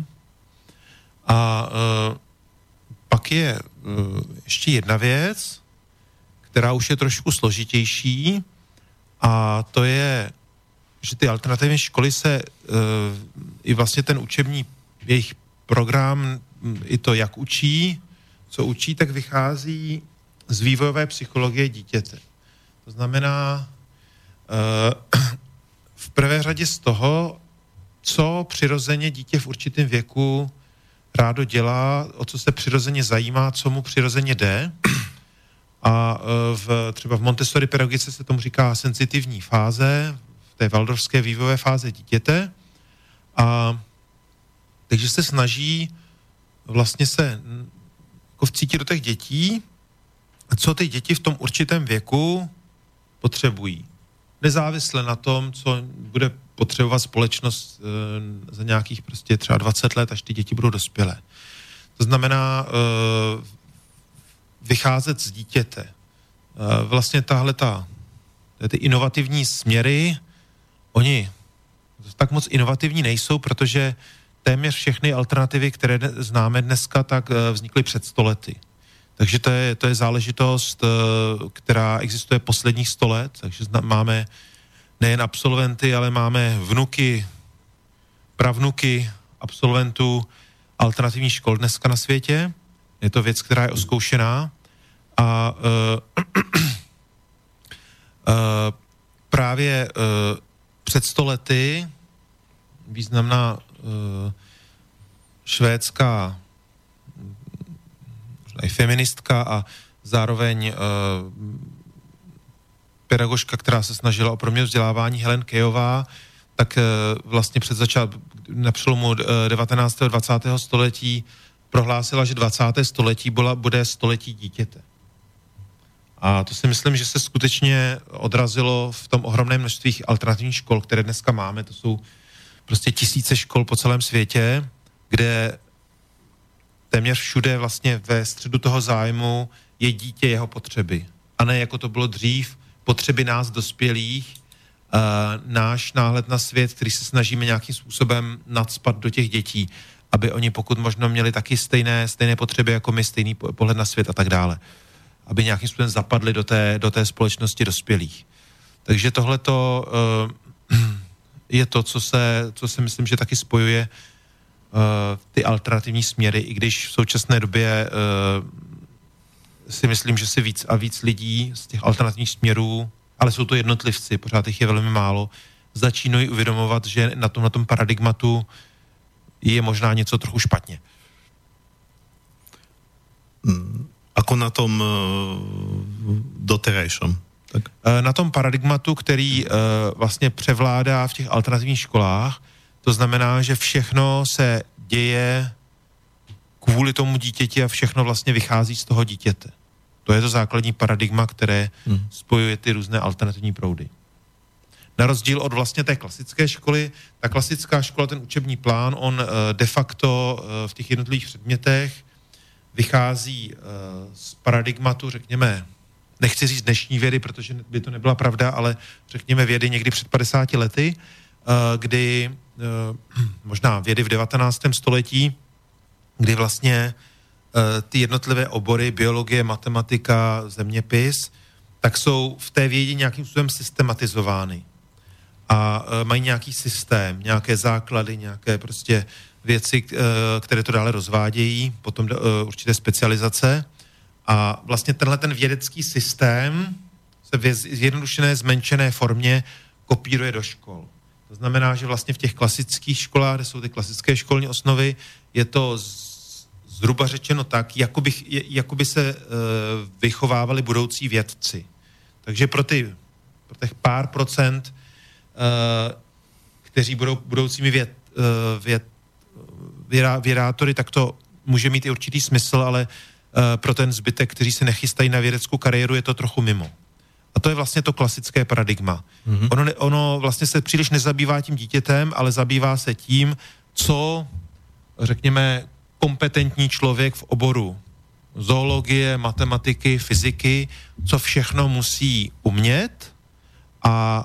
A uh, pak je uh, ještě jedna věc, která už je trošku složitější, a to je, že ty alternativní školy se uh, i vlastně ten učební jejich program, i to, jak učí, co učí, tak vychází z vývojové psychologie dítěte. To znamená uh, v prvé řadě z toho, co přirozeně dítě v určitém věku rádo dělá, o co se přirozeně zajímá, co mu přirozeně jde. A uh, v, třeba v Montessori pedagogice se tomu říká senzitivní fáze, v té waldorfské vývojové fáze dítěte. A takže se snaží vlastně se jako vcítit do těch dětí, co ty děti v tom určitém věku potřebují. Nezávisle na tom, co bude potřebovat společnost e, za nějakých prostě třeba dvacet let, až ty děti budou dospělé. To znamená e, vycházet z dítěte. E, vlastně tahle ta, ty inovativní směry oni tak moc inovativní nejsou, protože téměř všechny alternativy, které známe dneska, tak vznikly před sto lety. Takže to je, to je záležitost, která existuje posledních sto let, takže máme nejen absolventy, ale máme vnuky, pravnuky absolventů alternativních škol dneska na světě. Je to věc, která je oskoušená a uh, uh, právě uh, před sto lety významná uh, švédská i feministka a zároveň uh, pedagožka, která se snažila o proměnu vzdělávání, Helen Keyová, tak uh, vlastně před začát, na přelomu uh, devatenáctého a dvacátého století prohlásila, že dvacáté století byla, bude století dítěte. A to si myslím, že se skutečně odrazilo v tom ohromném množství alternativních škol, které dneska máme. To jsou prostě tisíce škol po celém světě, kde téměř všude vlastně ve středu toho zájmu je dítě, jeho potřeby. A ne jako to bylo dřív, potřeby nás dospělých, uh, náš náhled na svět, který se snažíme nějakým způsobem nacpat do těch dětí, aby oni pokud možno měli taky stejné, stejné potřeby jako my, stejný pohled na svět a tak dále. Aby nějakým způsobem zapadli do té, do té společnosti dospělých. Takže tohleto uh, je to, co se, co se myslím, že taky spojuje uh, ty alternativní směry, i když v současné době uh, si myslím, že si víc a víc lidí z těch alternativních směrů, ale jsou to jednotlivci, pořád jich je velmi málo, začínají uvědomovat, že na tom, na tom paradigmatu je možná něco trochu špatně. Ako na tom uh, doterajšom? Tak. Na tom paradigmatu, který uh, vlastně převládá v těch alternativních školách, to znamená, že všechno se děje kvůli tomu dítěti a všechno vlastně vychází z toho dítěte. To je to základní paradigma, které hmm. spojuje ty různé alternativní proudy. Na rozdíl od vlastně té klasické školy, ta klasická škola, ten učební plán, on uh, de facto uh, v těch jednotlivých předmětech vychází uh, z paradigmatu, řekněme, nechci říct dnešní vědy, protože by to nebyla pravda, ale řekněme vědy někdy před padesáti lety, uh, kdy uh, možná vědy v devatenáctém století, kdy vlastně uh, ty jednotlivé obory, biologie, matematika, zeměpis, tak jsou v té vědě nějakým způsobem systematizovány. A uh, mají nějaký systém, nějaké základy, nějaké prostě věci, uh, které to dále rozvádějí, potom uh, určité specializace. A vlastně tenhle ten vědecký systém se v zjednodušené, zmenšené formě kopíruje do škol. To znamená, že vlastně v těch klasických školách, kde jsou ty klasické školní osnovy, je to z, zhruba řečeno tak, jako by, jako by se uh, vychovávali budoucí vědci. Takže pro, ty, pro těch pár procent, uh, kteří budou budoucími věd, uh, věd, vědá, vědátory, tak to může mít i určitý smysl, ale pro ten zbytek, kteří se nechystají na vědeckou kariéru, je to trochu mimo. A to je vlastně to klasické paradigma. Mm-hmm. Ono, ono vlastně se příliš nezabývá tím dítětem, ale zabývá se tím, co, řekněme, kompetentní člověk v oboru zoologie, matematiky, fyziky, co všechno musí umět a,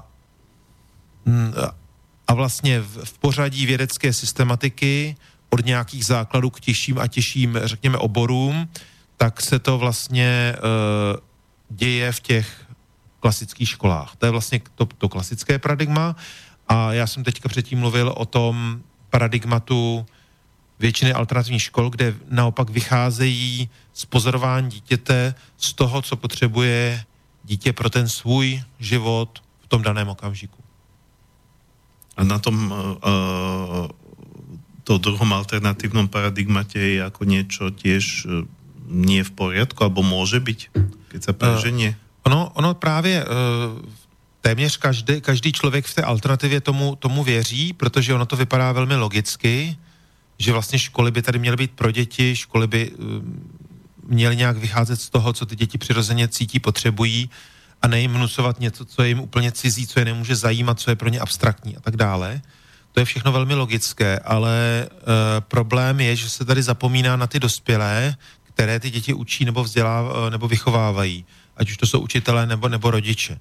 a vlastně v, v pořadí vědecké systematiky od nějakých základů k těžším a těžším, řekněme, oborům, tak se to vlastně uh, děje v těch klasických školách. To je vlastně to, to klasické paradigma a já jsem teďka předtím mluvil o tom paradigmatu většiny alternativních škol, kde naopak vycházejí z pozorování dítěte, z toho, co potřebuje dítě pro ten svůj život v tom daném okamžiku. A na tom uh, to druhom alternatívnom paradigmate je ako niečo tiež uh, nie v poriadku, alebo môže byť, keď sa preženie? Uh, ono, ono právě uh, téměř každý, každý člověk v té alternativě tomu, tomu věří, protože ono to vypadá velmi logicky, že vlastně školy by tady měly být pro děti, školy by uh, měly nějak vycházet z toho, co ty děti přirozeně cítí, potřebují a ne jim vnucovat něco, co je jim úplně cizí, co je nemůže zajímat, co je pro ně abstraktní a tak dále. To je všechno velmi logické, ale uh, problém je, že se tady zapomíná na ty dospělé, které ty děti učí nebo vzdělávají, nebo vychovávají, ať už to jsou učitelé nebo, nebo rodiče.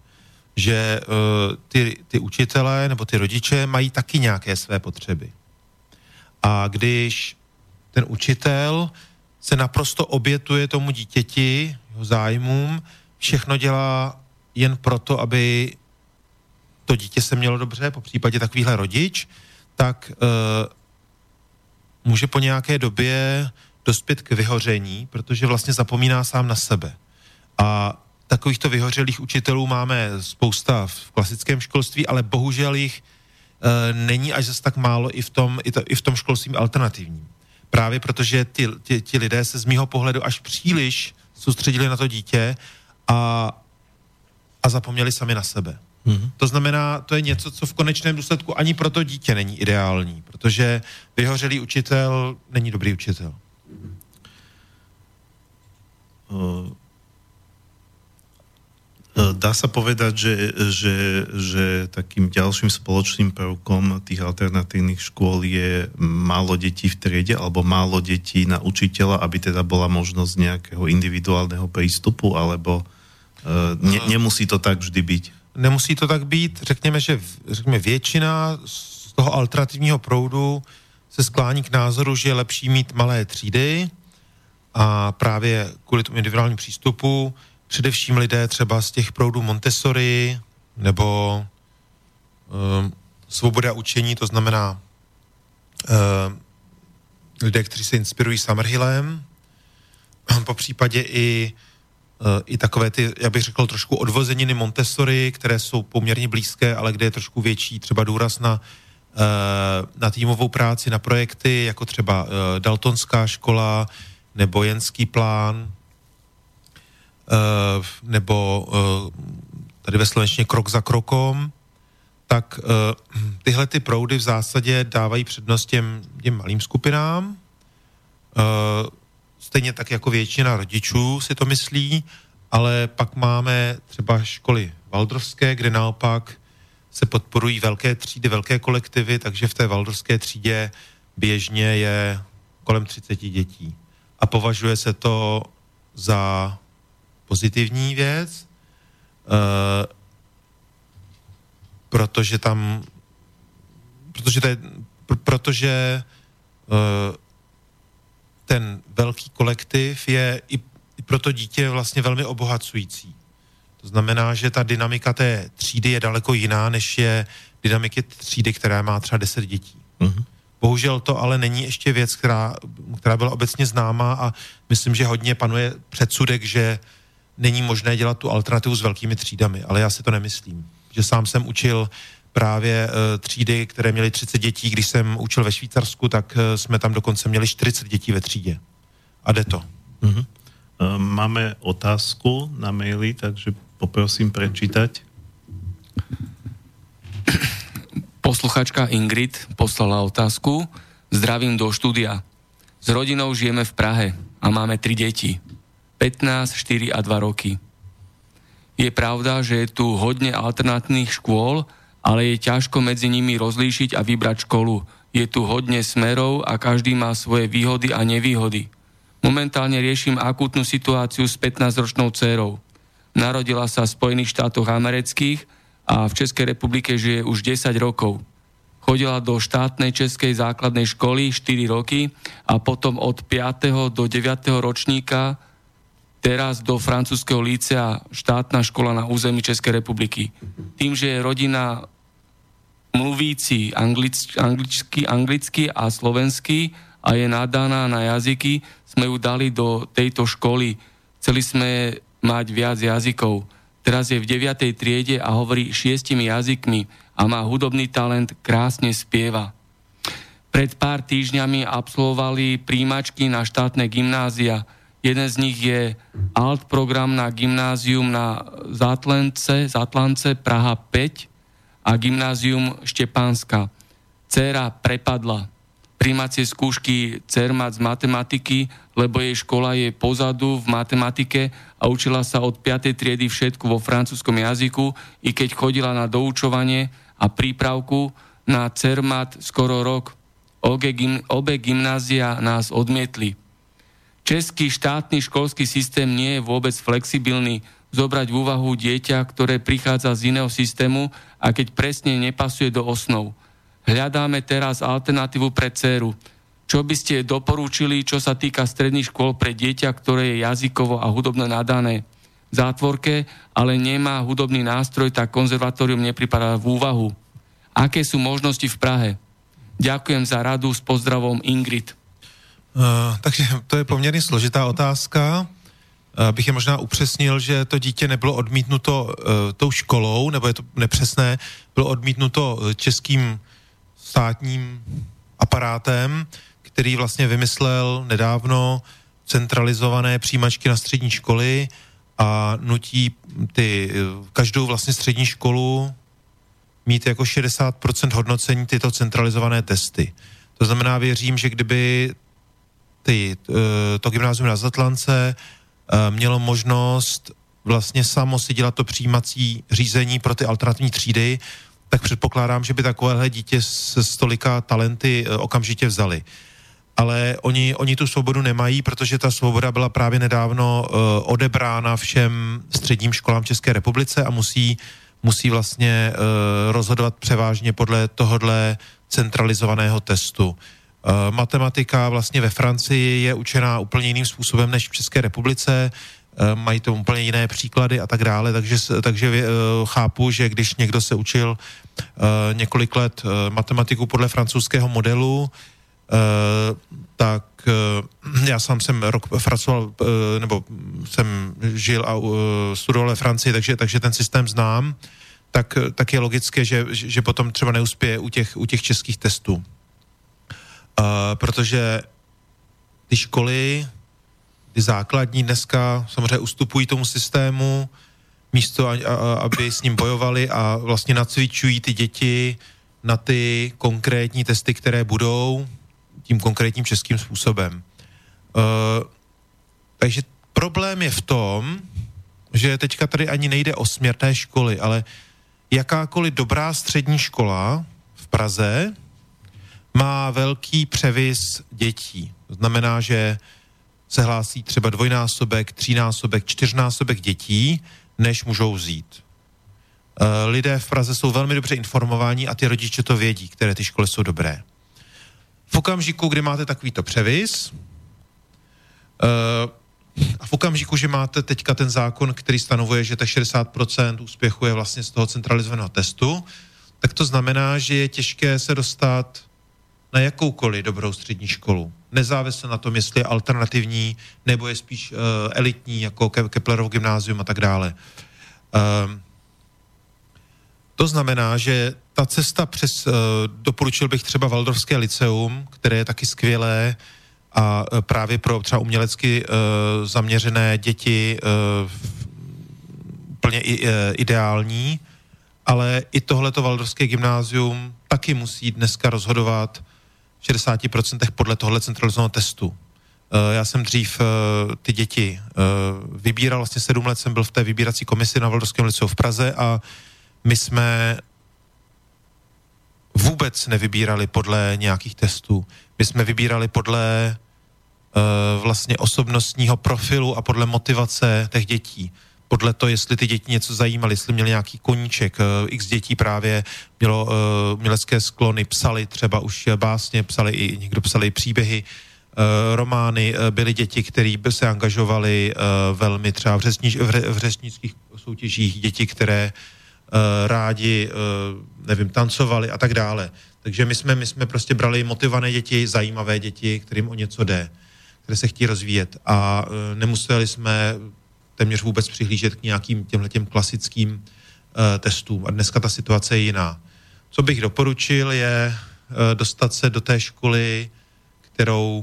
že uh, ty, ty učitelé nebo ty rodiče mají taky nějaké své potřeby. A když ten učitel se naprosto obětuje tomu dítěti, jeho zájmům, všechno dělá jen proto, aby to dítě se mělo dobře, po případě takovýhle rodič, tak uh, může po nějaké době dospět k vyhoření, protože vlastně zapomíná sám na sebe. A takovýchto vyhořelých učitelů máme spousta v klasickém školství, ale bohužel jich e, není až zase tak málo i v tom, i, to, i v tom školství alternativním. Právě protože ty, ty, ti lidé se z mýho pohledu až příliš soustředili na to dítě a, a zapomněli sami na sebe. Mm-hmm. To znamená, to je něco, co v konečném důsledku ani pro to dítě není ideální, protože vyhořelý učitel není dobrý učitel. Uh... Dá sa povedať, že, že, že takým ďalším spoločným prvkom tých alternatívnych škôl je málo detí v triede alebo málo detí na učiteľa, aby teda bola možnosť nejakého individuálneho prístupu, alebo ne, nemusí to tak vždy byť? Nemusí to tak být. Řekněme, že řekněme, většina z toho alternativního proudu se sklání k názoru, že je lepší mít malé třídy a právě kvůli tomu individuálnímu přístupu především lidé třeba z těch proudů Montessori nebo um, svoboda učení, to znamená um, lidé, kteří se inspirují Summerhillem, po případě i, uh, i takové ty, já bych řekl, trošku odvozeniny Montessori, které jsou poměrně blízké, ale kde je trošku větší třeba důraz na, uh, na týmovou práci, na projekty, jako třeba uh, Daltonská škola nebo Jenský plán, Uh, nebo uh, tady ve slovenštině krok za krokom, tak uh, tyhle ty proudy v zásadě dávají přednost těm, těm malým skupinám. Uh, stejně tak jako většina rodičů si to myslí, ale pak máme třeba školy waldorfské, kde naopak se podporují velké třídy, velké kolektivy, takže v té waldorfské třídě běžně je kolem třicet dětí. A považuje se to za pozitivní věc, uh, protože tam, protože, to je, pr- protože uh, ten velký kolektiv je i, i pro to dítě vlastně velmi obohacující. To znamená, že ta dynamika té třídy je daleko jiná, než je dynamiky třídy, která má třeba deset dětí. Uh-huh. Bohužel to ale není ještě věc, která, která byla obecně známá a myslím, že hodně panuje předsudek, že není možné dělat tu alternativu s velkými třídami, ale já si to nemyslím. Že sám jsem učil právě uh, třídy, které měly třicet dětí, když jsem učil ve Švýcarsku, tak uh, jsme tam dokonce měli čtyřicet dětí ve třídě. A jde to. Uh-huh. Uh, máme otázku na maili, takže poprosím prečítať. Posluchačka Ingrid poslala otázku. Zdravím do štúdia. S rodinou žijeme v Prahe a máme tri deti. pätnásť, štyri a dva roky. Je pravda, že je tu hodne alternátnych škôl, ale je ťažko medzi nimi rozlíšiť a vybrať školu. Je tu hodne smerov a každý má svoje výhody a nevýhody. Momentálne riešim akútnu situáciu s pätnásťročnou dcérou. Narodila sa v Spojených štátoch amerických a v Českej republike žije už desať rokov. Chodila do štátnej českej základnej školy štyri roky a potom od piateho do deviateho ročníka teraz do francúzskeho lícea, štátna škola na území Českej republiky. Tým, že je rodina mluvíci anglicky, anglicky, anglicky a slovensky a je nadaná na jazyky, sme ju dali do tejto školy. Chceli sme mať viac jazykov. Teraz je v deviatej triede a hovorí šiestimi jazykmi a má hudobný talent, krásne spieva. Pred pár týždňami absolvovali príjmačky na štátne gymnázia. Jeden z nich je alt program na gymnázium na Zátlance, Zátlance Praha päť a gymnázium Štepánska. Dcéra prepadla prijímacie skúšky Cermat z matematiky, lebo jej škola je pozadu v matematike a učila sa od piatej triedy všetko vo francúzskom jazyku, i keď chodila na doučovanie a prípravku na Cermat skoro rok. Obe, gym, obe gymnázia nás odmietli. Český štátny školský systém nie je vôbec flexibilný. zobrať v úvahu dieťa, ktoré prichádza z iného systému a keď presne nepasuje do osnov. Hľadáme teraz alternatívu pre dcéru. Čo by ste doporúčili, čo sa týka stredných škôl pre dieťa, ktoré je jazykovo a hudobne nadané v zátvorke, ale nemá hudobný nástroj, tak konzervatórium nepripadá v úvahu. Aké sú možnosti v Prahe? Ďakujem za radu, s pozdravom Ingrid. Uh, takže to je poměrně složitá otázka. Uh, bych je možná upřesnil, že to dítě nebylo odmítnuto uh, tou školou, nebo je to nepřesné, bylo odmítnuto českým státním aparátem, který vlastně vymyslel nedávno centralizované přijímačky na střední školy a nutí ty, každou vlastně střední školu mít jako šedesát procent hodnocení tyto centralizované testy. To znamená, věřím, že kdyby ty, to gymnázium na Zatlance mělo možnost vlastně samo si dělat to přijímací řízení pro ty alternativní třídy, tak předpokládám, že by takovéhle dítě se stolika talenty okamžitě vzali. Ale oni, oni tu svobodu nemají, protože ta svoboda byla právě nedávno uh, odebrána všem středním školám v České republice a musí, musí vlastně uh, rozhodovat převážně podle tohodle centralizovaného testu. Uh, matematika vlastně ve Francii je učená úplně jiným způsobem než v České republice, uh, mají to úplně jiné příklady a tak dále, takže, takže uh, chápu, že když někdo se učil uh, několik let uh, matematiku podle francouzského modelu, Uh, tak uh, já sám jsem rok pracoval, uh, nebo jsem žil a uh, studoval ve Francii, takže, takže ten systém znám, tak, tak je logické, že, že potom třeba neuspěje u těch, u těch českých testů. Uh, protože ty školy, ty základní dneska samozřejmě ustupují tomu systému, místo, a, a, aby s ním bojovali a vlastně nacvičují ty děti na ty konkrétní testy, které budou tím konkrétním českým způsobem. Uh, takže problém je v tom, že teďka tady ani nejde o směrné školy, ale jakákoliv dobrá střední škola v Praze má velký převis dětí. To znamená, že se hlásí třeba dvojnásobek, třínásobek, čtyřnásobek dětí, než můžou vzít. Uh, lidé v Praze jsou velmi dobře informováni a ty rodiče to vědí, které ty školy jsou dobré. V okamžiku, kdy máte takovýto převis uh, a v okamžiku, že máte teďka ten zákon, který stanovuje, že tak šedesát procent úspěchu je vlastně z toho centralizovaného testu, tak to znamená, že je těžké se dostat na jakoukoliv dobrou střední školu. Nezávisle na tom, jestli je alternativní, nebo je spíš uh, elitní, jako Ke- Keplerovo gymnázium a tak dále. Uh, to znamená, že ta cesta přes, uh, doporučil bych třeba Waldorfské lyceum, které je taky skvělé a uh, právě pro třeba umělecky uh, zaměřené děti uh, úplně i, uh, ideální, ale i tohleto Waldorfské gymnázium taky musí dneska rozhodovat v šedesáti procentech podle tohle centralizovaného testu. Uh, já jsem dřív uh, ty děti uh, vybíral, vlastně sedm let jsem byl v té vybírací komisi na Waldorfském lyceu v Praze a my jsme vůbec nevybírali podle nějakých testů. My jsme vybírali podle uh, vlastně osobnostního profilu a podle motivace těch dětí. Podle toho, jestli ty děti něco zajímaly, jestli měli nějaký koníček. Uh, x dětí právě mělo uh, umělecké sklony, psali třeba už básně, psali i, někdo psali i příběhy, uh, romány. Uh, byly děti, které by se angažovaly uh, velmi třeba v, řečnič, v, v řečnických soutěžích, děti, které Uh, rádi, uh, nevím, tancovali a tak dále. Takže my jsme, my jsme prostě brali motivované děti, zajímavé děti, kterým o něco jde, které se chtějí rozvíjet a uh, nemuseli jsme téměř vůbec přihlížet k nějakým těmhletěm klasickým uh, testům. A dneska ta situace je jiná. Co bych doporučil je uh, dostat se do té školy, kterou,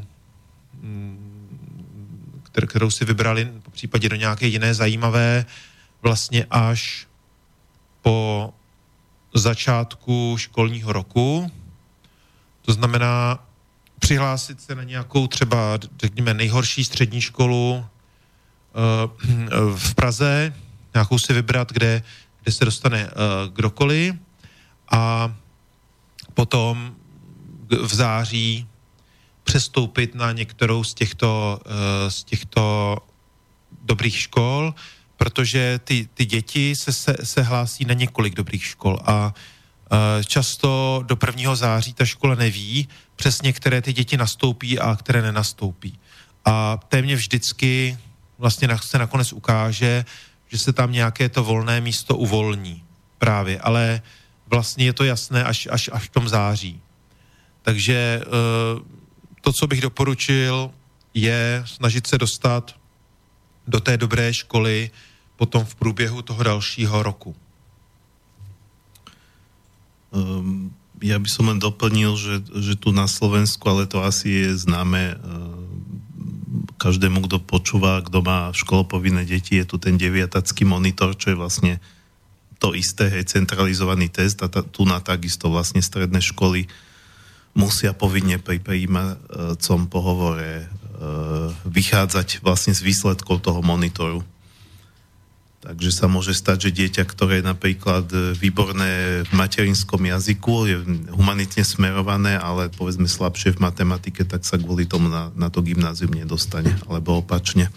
um, kter, kterou si vybrali, po případě do nějaké jiné zajímavé, vlastně až po začátku školního roku. To znamená přihlásit se na nějakou třeba, řekněme, nejhorší střední školu v Praze, nějakou si vybrat, kde, kde se dostane kdokoliv a potom v září přestoupit na některou z těchto, z těchto dobrých škol. protože ty, ty děti se, se, se hlásí na několik dobrých škol a často do prvního září ta škola neví přesně, které ty děti nastoupí a které nenastoupí. A téměř vždycky vlastně se nakonec ukáže, že se tam nějaké to volné místo uvolní právě, ale vlastně je to jasné až, až, až v tom září. Takže to, co bych doporučil, je snažit se dostat do té dobré školy potom v průběhu toho dalšího roku. Um, ja by som len doplnil, že, že tu na Slovensku, ale to asi je známe každému, kto počúva, kto má školopovinné deti, je tu ten deviatacký monitor, čo je vlastne to isté, hej, centralizovaný test a ta, tu na takisto vlastne stredné školy musia povinne pri prijímacom pohovore vychádzať vlastne z výsledkov toho monitoru. Takže sa môže stať, že dieťa, ktoré je napríklad výborné v materinskom jazyku, je humanitne smerované, ale povedzme slabšie v matematike, tak sa kvôli tomu na, na to gymnázium nedostane, alebo opačne.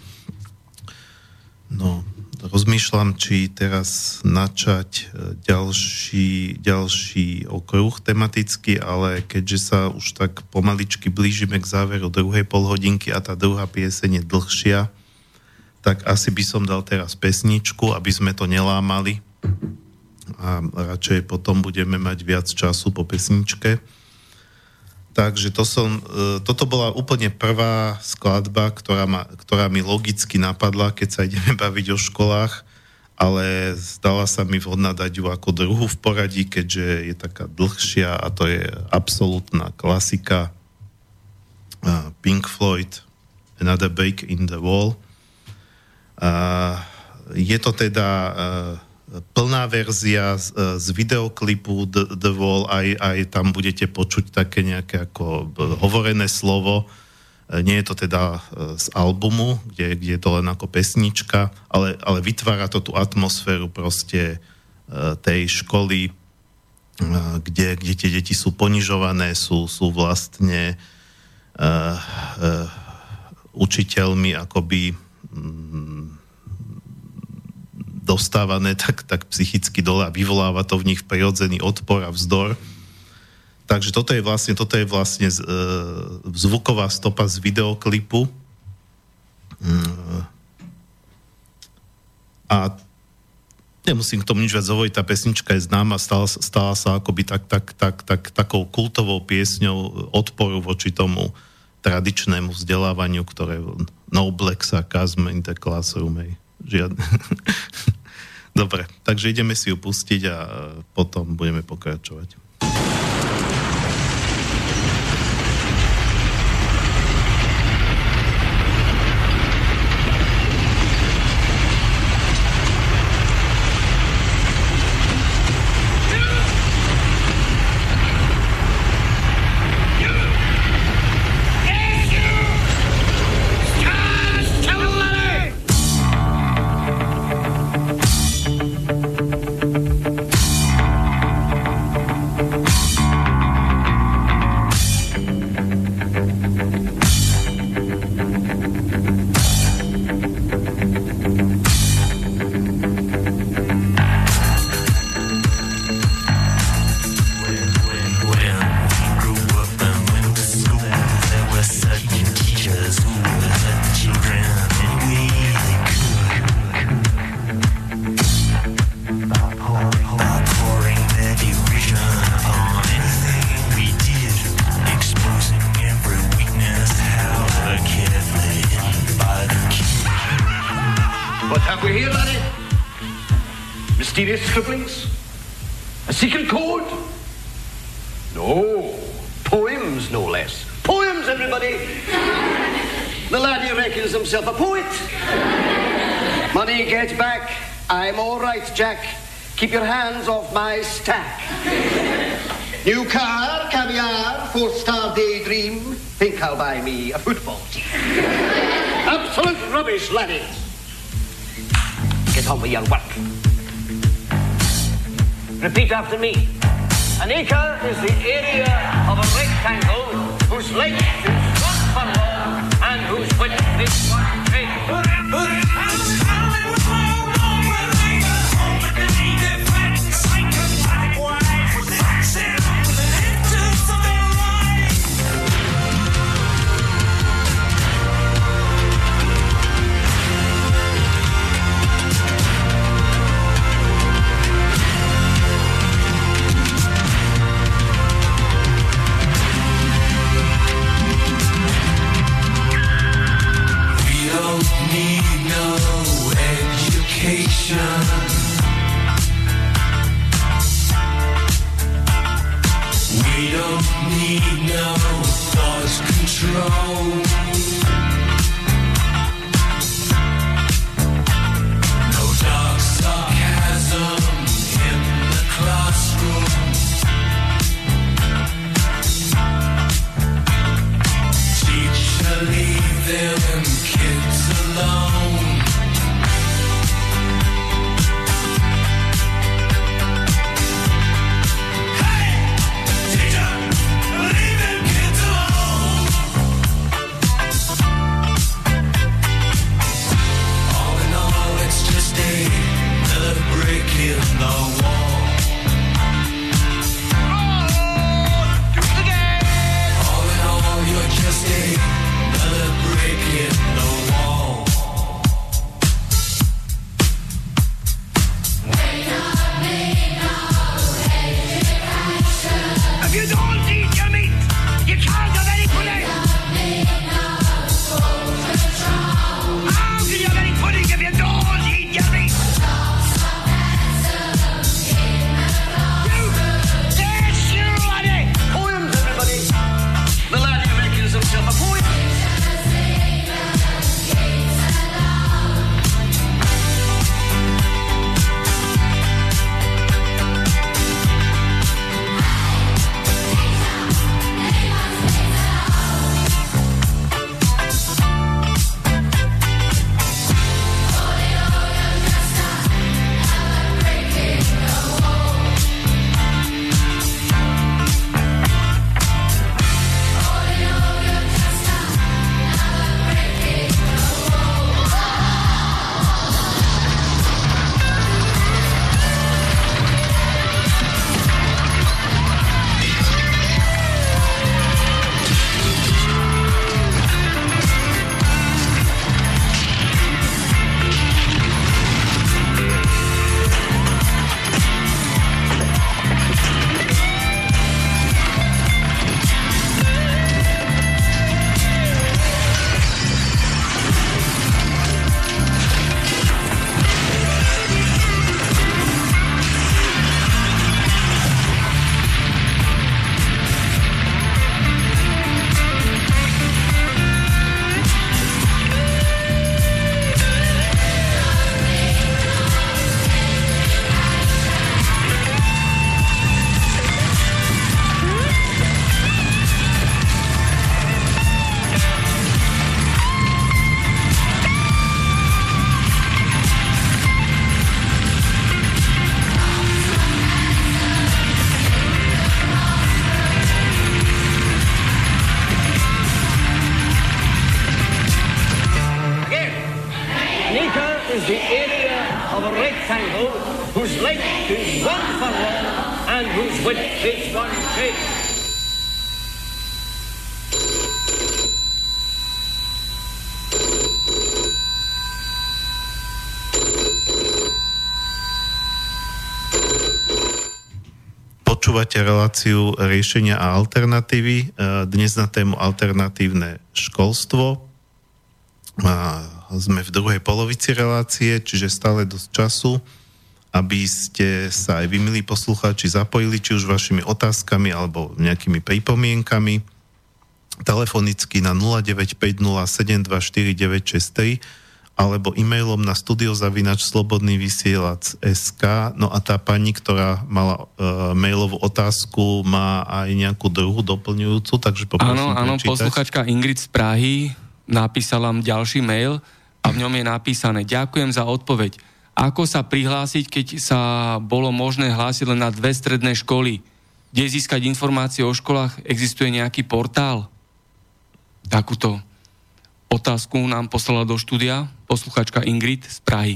No, rozmýšľam, či teraz načať ďalší, ďalší okruh tematicky, ale keďže sa už tak pomaličky blížime k záveru druhej polhodinky a tá druhá pieseň je dlhšia, tak asi by som dal teraz pesničku, aby sme to nelámali a radšej potom budeme mať viac času po pesničke. Takže to som, toto bola úplne prvá skladba, ktorá, ma, ktorá mi logicky napadla, keď sa ideme baviť o školách, ale zdala sa mi vhodná dať ju ako druhú v poradí, keďže je taká dlhšia a to je absolútna klasika Pink Floyd, Another Break in the Wall. Uh, je to teda uh, plná verzia z, uh, z videoklipu The, The Wall, aj, aj tam budete počuť také nejaké ako hovorené slovo. Uh, nie je to teda uh, z albumu, kde, kde je to len ako pesnička, ale, ale vytvára to tú atmosféru proste uh, tej školy, uh, kde, kde tie deti sú ponižované, sú, sú vlastne uh, uh, učiteľmi akoby dostávané tak, tak psychicky dole a vyvoláva to v nich prirodzený odpor a vzdor. Takže toto je vlastne, toto je vlastne z, e, zvuková stopa z videoklipu. A nemusím k tomu nič viac hovoriť, tá pesnička je známa, stala, stala sa akoby tak, tak, tak, tak, takou kultovou piesňou odporu voči tomu tradičnému vzdelávaniu, ktoré no black sarcasm in the classroom, hej. Žiadne. Dobre, takže ideme si ju pustiť a potom budeme pokračovať. Scribblings? A secret code? No. Poems, no less. Poems, everybody! The laddie reckons himself a poet. Money, get back. I'm all right, Jack. Keep your hands off my stack. New car, caviar, four-star daydream. Think I'll buy me a football team. Absolute rubbish, laddie. Get on with your work. Repeat after me. An acre is the area of a rectangle whose length is one furlong and whose width is one cubit. We don't need no thought control. No dark sarcasm in the classroom. Teacher, leave them kids alone. In the wall. Oh, do it again. All in all, you're just another brick in the wall. If you don't eat your meat, you can't have any pudding. How can you have any pudding if you don't eat your meat? Počúvate reláciu riešenia a alternatívy. Dnes na tému alternatívne školstvo. Sme v druhej polovici relácie, čiže stále dosť času, aby ste sa aj vy, milí poslucháči, zapojili, či už vašimi otázkami alebo nejakými pripomienkami. Telefonicky na nula deväť päť nula sedem dva štyri deväť šesť tri alebo e-mailom na studiozavinač slobodný vysielač bodka es ká. No a tá pani, ktorá mala e, mailovú otázku, má aj nejakú druhú doplňujúcu, takže poprosím Áno, áno, prečítať. posluchačka Ingrid z Prahy napísala vám ďalší mail a v ňom je napísané: ďakujem za odpoveď. Ako sa prihlásiť, keď sa bolo možné hlásiť len na dve stredné školy? Kde získať informácie o školách? Existuje nejaký portál? Takúto otázku nám poslala do štúdia posluchačka Ingrid z Prahy.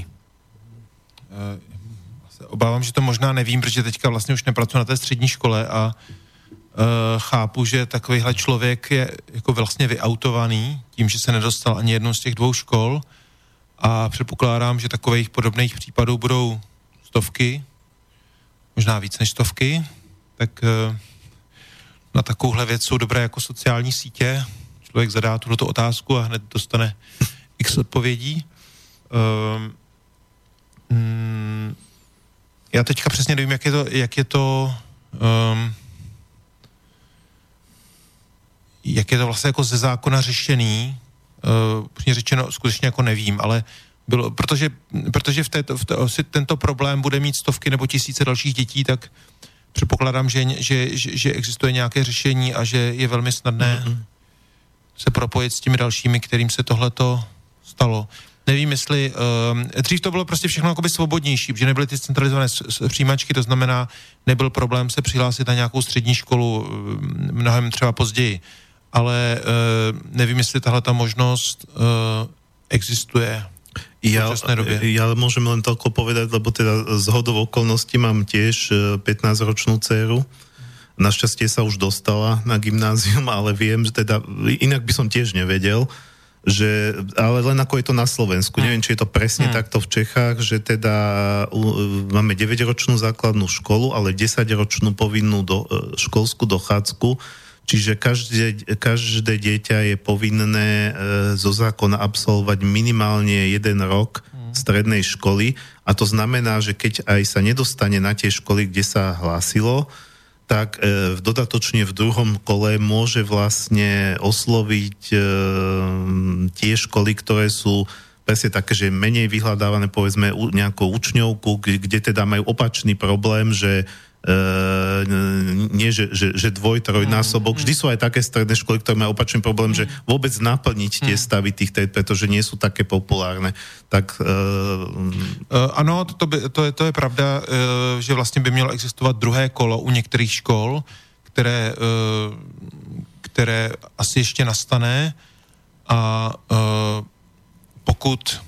Obávám, že to možná nevím, protože teďka vlastně už nepracuji na té střední škole a uh, chápu, že takovýhle člověk je jako vlastně vyautovaný tím, že se nedostal ani jednou z těch dvou škol a předpokládám, že takových podobných případů budou stovky, možná víc než stovky, tak uh, na takovouhle věc jsou dobré jako sociální sítě. Člověk zadá tuto otázku a hned dostane x odpovědí. Um, Mm, já teďka přesně nevím, jak je to, jak je to, um, jak je to vlastně jako ze zákona řešený, uh, řečeno skutečně jako nevím, ale bylo, protože, protože v této, v této, tento problém bude mít stovky nebo tisíce dalších dětí, tak předpokládám, že, že, že, že existuje nějaké řešení a že je velmi snadné mm-hmm. se propojit s těmi dalšími, kterým se tohleto stalo. Nevím, jestli... Um, dřív to bylo prostě všechno jakoby svobodnější, protože nebyly ty centralizované přijímačky, to znamená, nebyl problém se přihlásit na nějakou střední školu mnohem třeba později. Ale uh, nevím, jestli tahle ta možnost uh, existuje v ja, súčasnej době. Ja môžem len toľko povedať, lebo teda z hodou okolností mám tiež pätnásťročnú dceru. Našťastie sa už dostala na gymnázium, ale viem, že teda, inak by som tiež nevedel, že, ale len ako je to na Slovensku. Hmm. Neviem, či je to presne hmm. takto v Čechách, že teda uh, máme deväťročnú základnú školu, ale desaťročnú povinnú do, uh, školskú dochádzku. Čiže každé, každé dieťa je povinné e, zo zákona absolvovať minimálne jeden rok mm. strednej školy a to znamená, že keď aj sa nedostane na tie školy, kde sa hlásilo, tak e, dodatočne v druhom kole môže vlastne osloviť e, tie školy, ktoré sú presne také, že menej vyhľadávané, povedzme nejakou učňovku, kde, kde teda majú opačný problém, že Uh, nie, že, že, že dvoj, trojnásobok. Vždy sú aj také stredné školy, ktoré majú opačný problém, že vôbec naplniť tie stavy tých, pretože nie sú také populárne. Tak... Uh... Uh, ano, to, by, to, je, to je pravda, uh, že vlastně by mělo existovat druhé kolo u některých škol, které, uh, které asi ještě nastane a uh, pokud...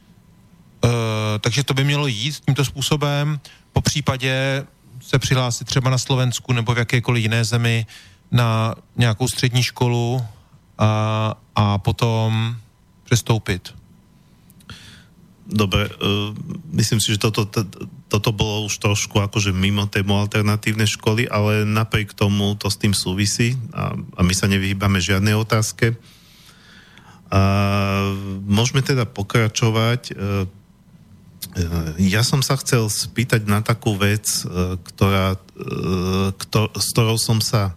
Uh, takže to by mělo jít tímto způsobem. Po případě se přihlásit třeba na Slovensku nebo v jakékoliv jiné zemi na nějakou střední školu a, a potom přestoupit. Dobre, uh, myslím si, že toto, to, toto bolo už trošku akože mimo tému alternatívnej školy, ale napriek tomu to s tým súvisí a, a my sa nevyhýbame žiadnej otázke. A môžeme teda pokračovať. Uh, Ja som sa chcel spýtať na takú vec, ktorá, ktor, s ktorou som sa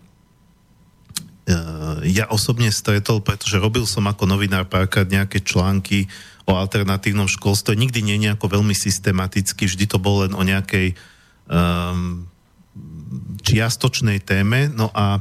ja osobne stretol, pretože robil som ako novinár párkrát nejaké články o alternatívnom školstve. Nikdy nie nejako veľmi systematicky, vždy to bolo len o nejakej um, čiastočnej téme. No a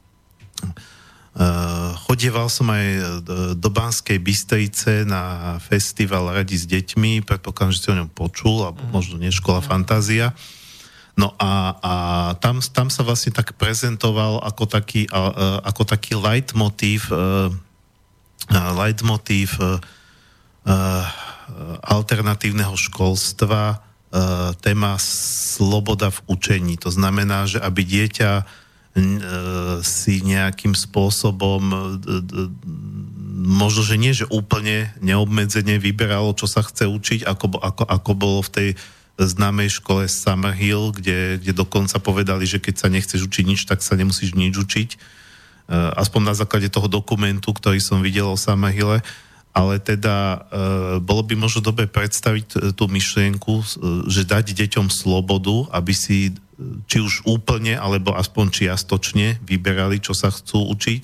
Uh, chodieval som aj do Banskej Bystrice na festival Radi s deťmi, predpokladám, že si o ňom počul, alebo možno nie, Škola Fantázia. No a, a tam, tam sa vlastne tak prezentoval ako taký, uh, ako taký leitmotív uh, leitmotív uh, alternatívneho školstva uh, téma sloboda v učení. To znamená, že aby dieťa si nejakým spôsobom možno, že nie, že úplne neobmedzene vyberalo, čo sa chce učiť, ako, ako, ako bolo v tej známej škole Summerhill, kde, kde dokonca povedali, že keď sa nechceš učiť nič, tak sa nemusíš nič učiť. Aspoň na základe toho dokumentu, ktorý som videl o Summerhille. Ale teda bolo by možno dobre predstaviť tú myšlienku, že dať deťom slobodu, aby si či už úplne, alebo aspoň čiastočne vyberali, čo sa chcú učiť,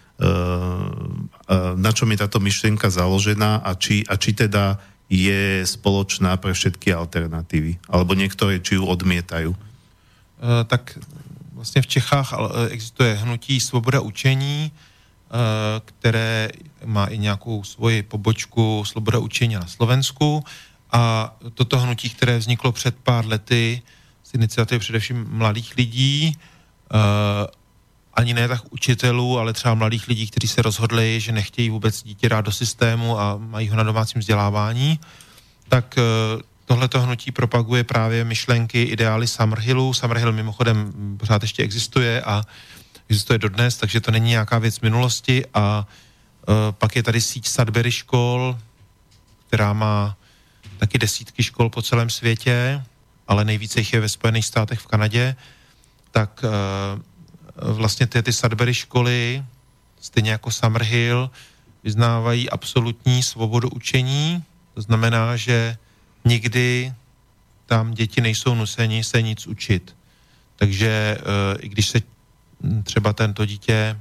na čom je táto myšlienka založená a či, a či teda je spoločná pre všetky alternatívy, alebo niektoré či ju odmietajú. Tak vlastně v Čechách existuje hnutí Svoboda učení, které má i nějakou svoji pobočku Sloboda učení na Slovensku a toto hnutí, které vzniklo před pár lety z iniciativy především mladých lidí, ani ne tak učitelů, ale třeba mladých lidí, kteří se rozhodli, že nechtějí vůbec dítě dát do systému a mají ho na domácím vzdělávání, tak tohleto hnutí propaguje právě myšlenky, ideály Summerhillu. Summerhill mimochodem pořád ještě existuje a existuje dodnes, takže to není nějaká věc minulosti a uh, pak je tady síť Sudbury škol, která má taky desítky škol po celém světě, ale nejvíce jich je ve Spojených státech, v Kanadě, tak uh, vlastně ty, ty Sudbury školy, stejně jako Summerhill, vyznávají absolutní svobodu učení, to znamená, že nikdy tam děti nejsou nuceni se nic učit. Takže i když se třeba tento dítě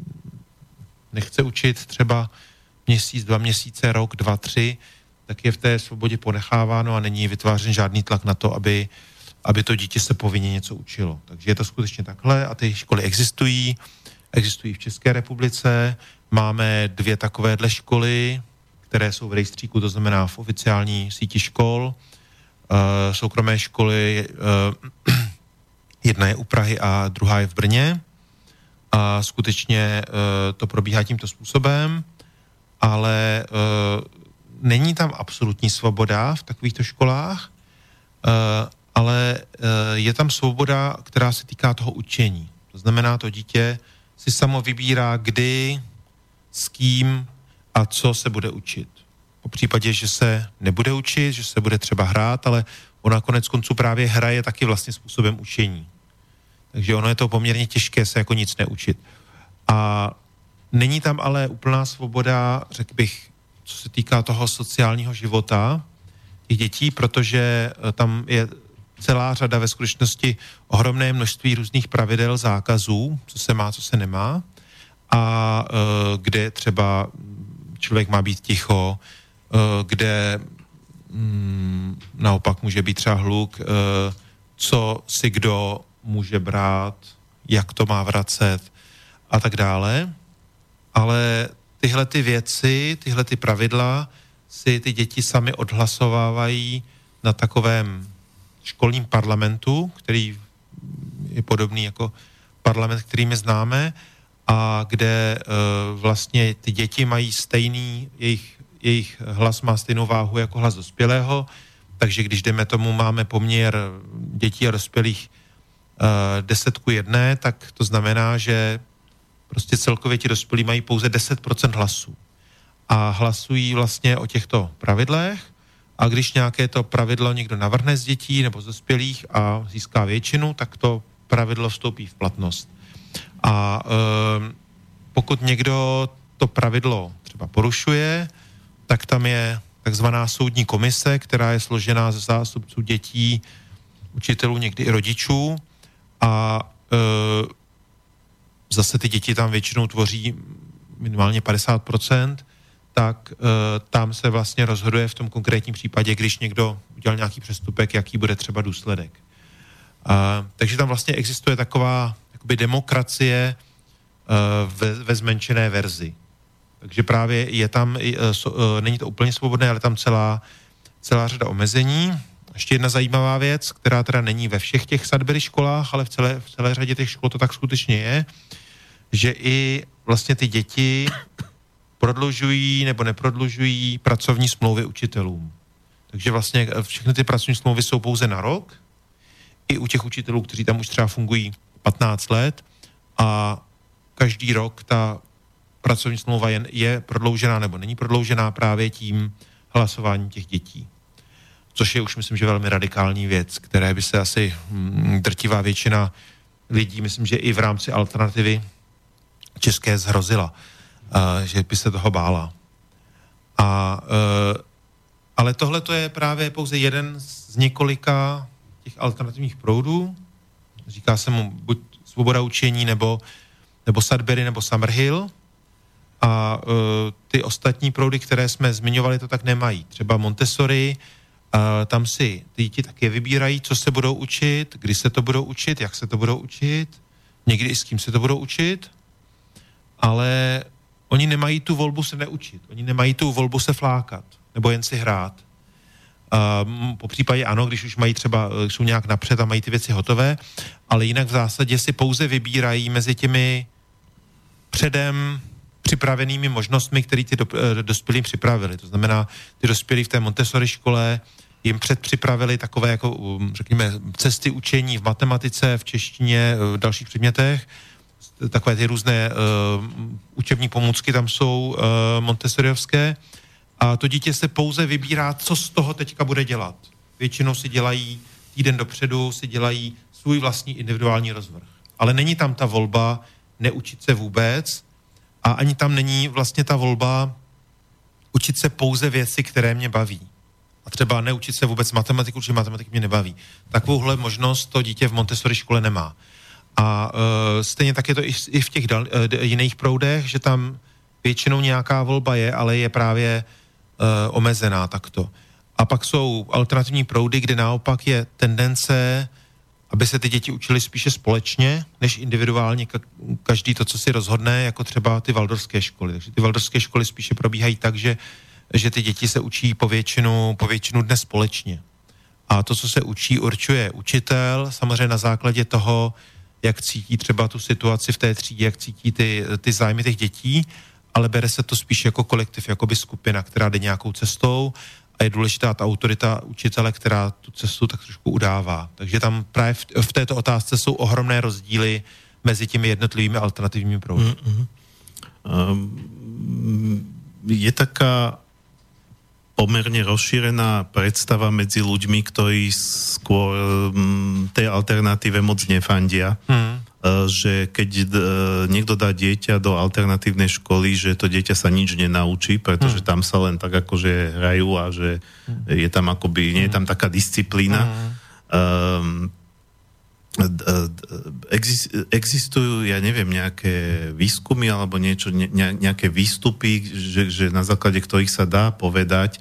nechce učit třeba měsíc, dva měsíce, rok, dva, tři, tak je v té svobodě ponecháváno a není vytvářen žádný tlak na to, aby, aby to dítě se povinně něco učilo. Takže je to skutečně takhle a ty školy existují, existují v České republice. Máme dvě takovéhle školy, které jsou v rejstříku, to znamená v oficiální síti škol. Uh, soukromé školy, uh, jedna je u Prahy a druhá je v Brně. A skutečně uh, to probíhá tímto způsobem, ale uh, není tam absolutní svoboda v takovýchto školách, uh, ale uh, je tam svoboda, která se týká toho učení. To znamená, to dítě si samo vybírá, kdy, s kým a co se bude učit. Po případě, že se nebude učit, že se bude třeba hrát, ale ona konec konců právě hraje taky vlastně způsobem učení. Takže ono je to poměrně těžké se jako nic neučit. A není tam ale úplná svoboda, řekl bych, co se týká toho sociálního života těch dětí, protože tam je celá řada ve skutečnosti ohromné množství různých pravidel, zákazů, co se má, co se nemá, a e, kde třeba člověk má být ticho, e, kde mm, naopak může být třeba hluk, e, co si kdo může brát, jak to má vracet a tak dále. Ale tyhle ty věci, tyhle ty pravidla si ty děti sami odhlasovávají na takovém školním parlamentu, který je podobný jako parlament, který my známe, a kde e, vlastně ty děti mají stejný, jejich, jejich hlas má stejnou váhu jako hlas dospělého, takže když jdeme tomu, máme poměr dětí a dospělých e, deset ku jedné, tak to znamená, že prostě celkově ti dospělí mají pouze deset procent hlasů. A hlasují vlastně o těchto pravidlech, a když nějaké to pravidlo někdo navrhne z dětí nebo z dospělých a získá většinu, tak to pravidlo vstoupí v platnost. A e, pokud někdo to pravidlo třeba porušuje, tak tam je takzvaná soudní komise, která je složená ze zástupců dětí, učitelů, někdy i rodičů, a e, zase ty děti tam většinou tvoří minimálně padesát procent, tak e, tam se vlastně rozhoduje v tom konkrétním případě, když někdo udělal nějaký přestupek, jaký bude třeba důsledek. A, takže tam vlastně existuje taková jakoby demokracie e, ve, ve zmenšené verzi. Takže právě je tam, e, so, e, není to úplně svobodné, ale tam celá, celá řada omezení. Ještě jedna zajímavá věc, která teda není ve všech těch Sudbury školách, ale v celé, v celé řadě těch škol to tak skutečně je, že i vlastně ty děti prodlužují nebo neprodlužují pracovní smlouvy učitelům. Takže vlastně všechny ty pracovní smlouvy jsou pouze na rok, i u těch učitelů, kteří tam už třeba fungují patnáct let, a každý rok ta pracovní smlouva je, je prodloužená nebo není prodloužená právě tím hlasováním těch dětí. Což je už, myslím, že velmi radikální věc, které by se asi hm, drtivá většina lidí, myslím, že i v rámci alternativy české zhrozila. Uh, že by se toho bála. A, uh, ale tohle to je právě pouze jeden z několika těch alternativních proudů. Říká se mu buď svoboda učení, nebo, nebo Sudbury, nebo Summerhill. A uh, ty ostatní proudy, které jsme zmiňovali, to tak nemají. Třeba Montessori, uh, tam si ty děti také vybírají, co se budou učit, kdy se to budou učit, jak se to budou učit, někdy i s kým se to budou učit, ale oni nemají tu volbu se neučit. Oni nemají tu volbu se flákat. Nebo jen si hrát. Um, po případě ano, když už mají třeba, jsou nějak napřed a mají ty věci hotové, ale jinak v zásadě si pouze vybírají mezi těmi předem připravenými možnostmi, které ty do, dospělí připravili. To znamená, ty dospělí v té Montessori škole jim předpřipravili takové, jako, řekněme, cesty učení v matematice, v češtině, v dalších předmětech. Takové ty různé uh, učební pomůcky tam jsou uh, montessoriovské, a to dítě se pouze vybírá, co z toho teďka bude dělat. Většinou si dělají týden dopředu, si dělají svůj vlastní individuální rozvrh. Ale není tam ta volba neučit se vůbec, a ani tam není vlastně ta volba učit se pouze věci, které mě baví. a třeba neučit se vůbec matematiku, protože matematika mě nebaví. Takovouhle možnost to dítě v Montessori škole nemá. A uh, stejně tak je to i, i v těch dal, uh, jiných proudech, že tam většinou nějaká volba je, ale je právě uh, omezená takto. A pak jsou alternativní proudy, kde naopak je tendence, aby se ty děti učili spíše společně, než individuálně ka- každý to, co si rozhodne, jako třeba ty waldorfské školy. Takže ty waldorfské školy spíše probíhají tak, že, že ty děti se učí po většinu, po většinu dne společně. A to, co se učí, určuje učitel, samozřejmě na základě toho, jak cítí třeba tu situaci v té třídě, jak cítí ty, ty zájmy těch dětí, ale bere se to spíš jako kolektiv, jako by skupina, která jde nějakou cestou a je důležitá ta autorita učitele, která tu cestu tak trošku udává. Takže tam právě v, v této otázce jsou ohromné rozdíly mezi těmi jednotlivými alternativními proudy. Mm-hmm. Um, je taká pomerne rozšírená predstava medzi ľuďmi, ktorí skôr um, tej alternatíve moc nefandia. Mm. Že keď niekto dá dieťa do alternatívnej školy, že to dieťa sa nič nenaučí, pretože mm. tam sa len tak akože hrajú a že mm. je tam akoby, nie je tam taká disciplína. Mm. Um, existujú, ja neviem, nejaké výskumy alebo niečo, ne, nejaké výstupy, že, že na základe ktorých sa dá povedať,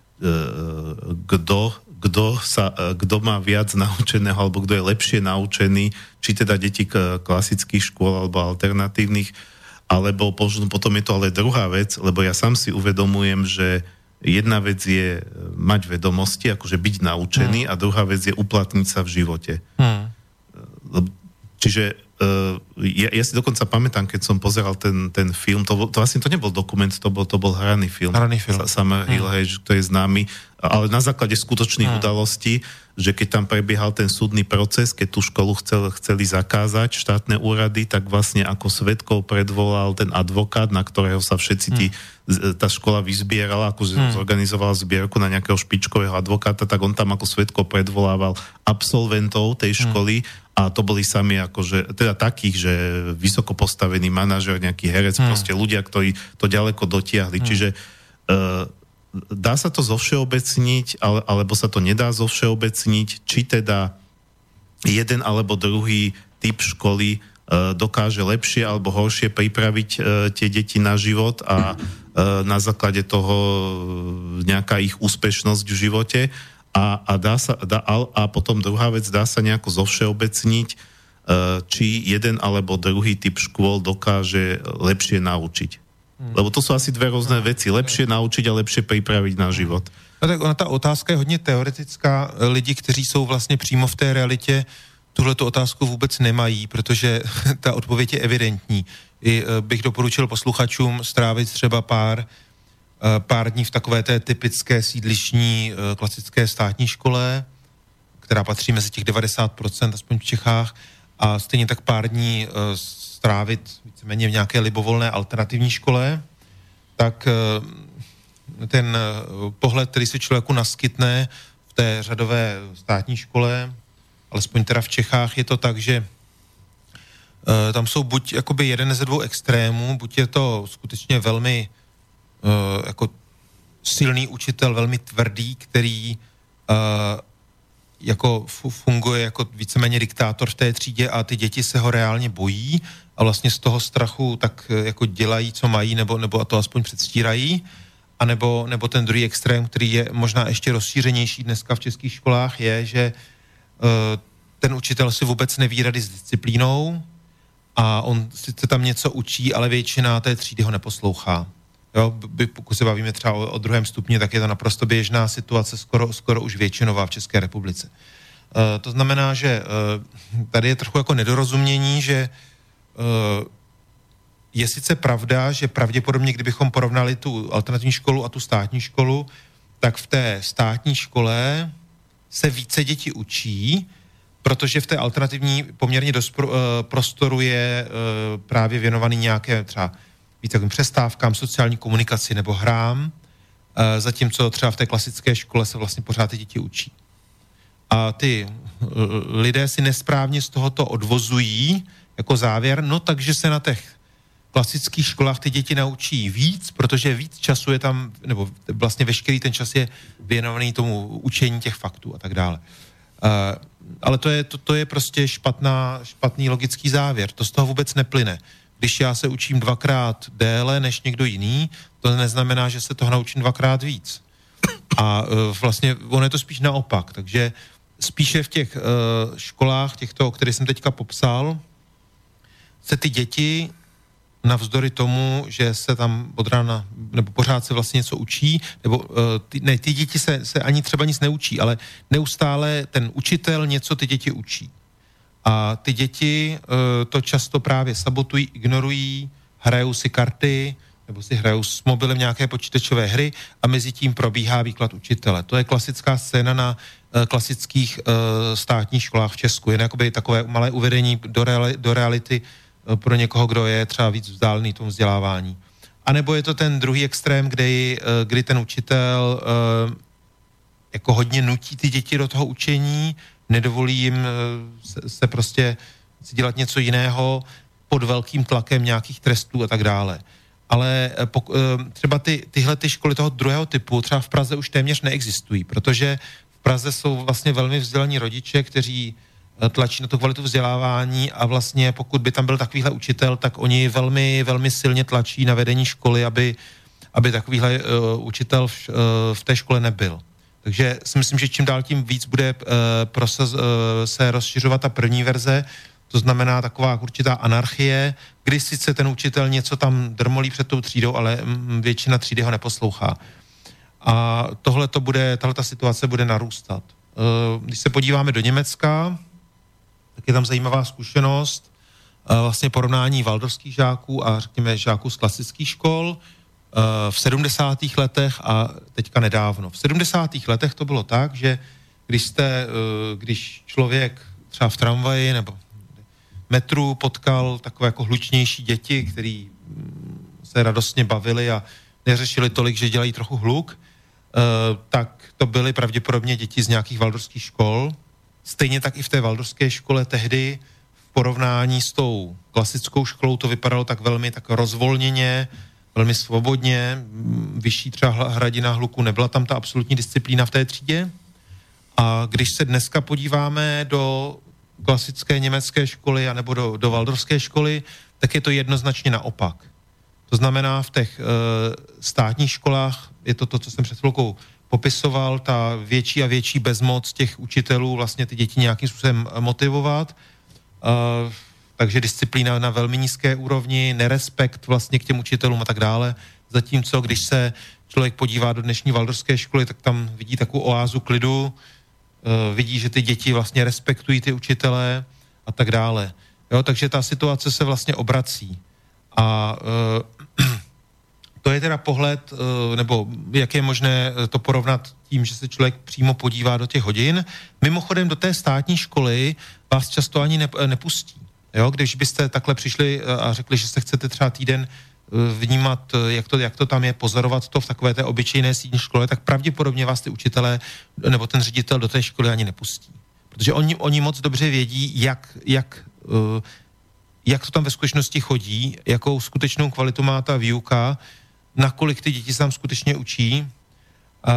kto kto sa, kto má viac naučeného, alebo kto je lepšie naučený, či teda deti klasických škôl alebo alternatívnych, alebo potom je to ale druhá vec, lebo ja sám si uvedomujem, že jedna vec je mať vedomosti, akože byť naučený, hmm. a druhá vec je uplatniť sa v živote. Hmm. Čiže uh, ja, ja si dokonca pamätám, keď som pozeral ten, ten film, to, bol, to vlastne to nebol dokument, to bol, to bol hraný film. Hraný film. Summer Hill, hej, to je známy, ale na základe skutočných hmm. udalostí, že keď tam prebiehal ten súdny proces, keď tú školu chcel, chceli zakázať štátne úrady, tak vlastne ako svedkov predvolal ten advokát, na ktorého sa všetci tí, hmm. tá škola vyzbierala, ako hmm. zorganizovala zbierku na nejakého špičkového advokáta, tak on tam ako svedkov predvolával absolventov tej školy, hmm. a to boli sami akože, teda takých, že vysoko postavený manažer, nejaký herec, hmm. proste ľudia, ktorí to ďaleko dotiahli. Hmm. Čiže uh, dá sa to zovšeobecniť, ale, alebo sa to nedá zovšeobecniť, či teda jeden alebo druhý typ školy uh, dokáže lepšie alebo horšie pripraviť uh, tie deti na život a uh, na základe toho nejaká ich úspešnosť v živote. A, a, dá sa, dá, a potom druhá vec, dá sa nejako zovšeobecniť, uh, či jeden alebo druhý typ škôl dokáže lepšie naučiť. Hmm. Lebo to sú asi dve rôzne veci. Lepšie naučiť a lepšie pripraviť na život. No tak ona, ta otázka je hodně teoretická. Lidi, kteří jsou vlastně přímo v té realitě, tuhletu otázku vůbec nemají, protože ta odpověď je evidentní. I bych doporučil posluchačům strávit třeba pár pár dní v takové té typické sídlišní klasické státní škole, která patří mezi těch devadesát procent, aspoň v Čechách, a stejně tak pár dní strávit víceméně v nějaké libovolné alternativní škole, tak ten pohled, který se člověku naskytne v té řadové státní škole, alespoň teda v Čechách, je to tak, že tam jsou buď jakoby jeden ze dvou extrémů, buď je to skutečně velmi Uh, jako silný učitel, velmi tvrdý, který uh, jako funguje jako víceméně diktátor v té třídě a ty děti se ho reálně bojí a vlastně z toho strachu tak jako dělají, co mají, nebo, nebo to aspoň předstírají, a nebo, nebo ten druhý extrém, který je možná ještě rozšířenější dneska v českých školách, je, že uh, ten učitel si vůbec neví rady s disciplínou a on sice tam něco učí, ale většina té třídy ho neposlouchá. Jo, pokud se bavíme třeba o, o druhém stupni, tak je to naprosto běžná situace, skoro, skoro už většinová v České republice. E, to znamená, že e, tady je trochu jako nedorozumění, že e, je sice pravda, že pravděpodobně, kdybychom porovnali tu alternativní školu a tu státní školu, tak v té státní škole se více děti učí, protože v té alternativní poměrně dost pro, e, prostoru je e, právě věnovaný nějaké třeba víc takovým přestávkám, sociální komunikaci nebo hrám, zatímco třeba v té klasické škole se vlastně pořád ty děti učí. A ty lidé si nesprávně z tohoto odvozují jako závěr, no takže se na těch klasických školách ty děti naučí víc, protože víc času je tam, nebo vlastně veškerý ten čas je věnovaný tomu učení těch faktů a tak dále. Uh, ale to je, to, to je prostě špatná, špatný logický závěr. To z toho vůbec neplyne. Když já se učím dvakrát déle než někdo jiný, to neznamená, že se toho naučím dvakrát víc. A uh, vlastně ono je to spíš naopak. Takže spíše v těch uh, školách, těchto, které jsem teďka popsal, se ty děti navzdory tomu, že se tam od rána, nebo pořád se vlastně něco učí, nebo uh, ty, ne, ty děti se, se ani třeba nic neučí, ale neustále ten učitel něco ty děti učí. A ty děti uh, to často právě sabotují, ignorují, hrajou si karty, nebo si hrajou s mobilem nějaké počítačové hry a mezi tím probíhá výklad učitele. To je klasická scéna na uh, klasických uh, státních školách v Česku. Jen jakoby takové malé uvedení do, reali- do reality pro někoho, kdo je třeba víc vzdálený tomu vzdělávání. A nebo je to ten druhý extrém, kdy, kdy ten učitel jako hodně nutí ty děti do toho učení, nedovolí jim se, se prostě si dělat něco jiného pod velkým tlakem nějakých trestů a tak dále. Ale třeba ty, tyhle ty školy toho druhého typu třeba v Praze už téměř neexistují, protože v Praze jsou vlastně velmi vzdělaní rodiče, kteří tlačí na tu kvalitu vzdělávání a vlastně pokud by tam byl takovýhle učitel, tak oni velmi, velmi silně tlačí na vedení školy, aby, aby takovýhle uh, učitel v, uh, v té škole nebyl. Takže si myslím, že čím dál tím víc bude uh, prosaz, uh, se rozšiřovat ta první verze, to znamená taková určitá anarchie, kdy sice ten učitel něco tam drmolí před tou třídou, ale mm, většina třídy ho neposlouchá. A tohle to bude, tahleta situace bude narůstat. Uh, když se podíváme do Německa, tak je tam zajímavá zkušenost, vlastně porovnání waldorfských žáků a řekněme žáků z klasických škol v sedmdesátých letech a teďka nedávno. V sedmdesátých letech to bylo tak, že když jste, když člověk třeba v tramvaji nebo metru potkal takové jako hlučnější děti, který se radostně bavili a neřešili tolik, že dělají trochu hluk, tak to byly pravděpodobně děti z nějakých waldorfských škol. Stejně tak i v té waldorfské škole tehdy v porovnání s tou klasickou školou to vypadalo tak velmi tak rozvolněně, velmi svobodně, vyšší třeba hladina hluku, nebyla tam ta absolutní disciplína v té třídě. A když se dneska podíváme do klasické německé školy anebo do, do waldorfské školy, tak je to jednoznačně naopak. To znamená, v těch e, státních školách je to to, co jsem před chvilkou popisoval, ta větší a větší bezmoc těch učitelů vlastně ty děti nějakým způsobem motivovat. Uh, takže disciplína na velmi nízké úrovni, nerespekt vlastně k těm učitelům a tak dále. Zatímco, když se člověk podívá do dnešní waldorfské školy, tak tam vidí takovou oázu klidu, uh, vidí, že ty děti vlastně respektují ty učitelé a tak dále. Jo, takže ta situace se vlastně obrací. A uh, to je teda pohled, nebo jak je možné to porovnat tím, že se člověk přímo podívá do těch hodin. Mimochodem do té státní školy vás často ani nepustí. Jo? Když byste takhle přišli a řekli, že se chcete třeba týden vnímat, jak to, jak to tam je, pozorovat to v takové té obyčejné státní škole, tak pravděpodobně vás ty učitelé nebo ten ředitel do té školy ani nepustí. Protože oni, oni moc dobře vědí, jak, jak, jak to tam ve skutečnosti chodí, jakou skutečnou kvalitu má ta výuka, nakolik ty děti se tam skutečně učí, uh,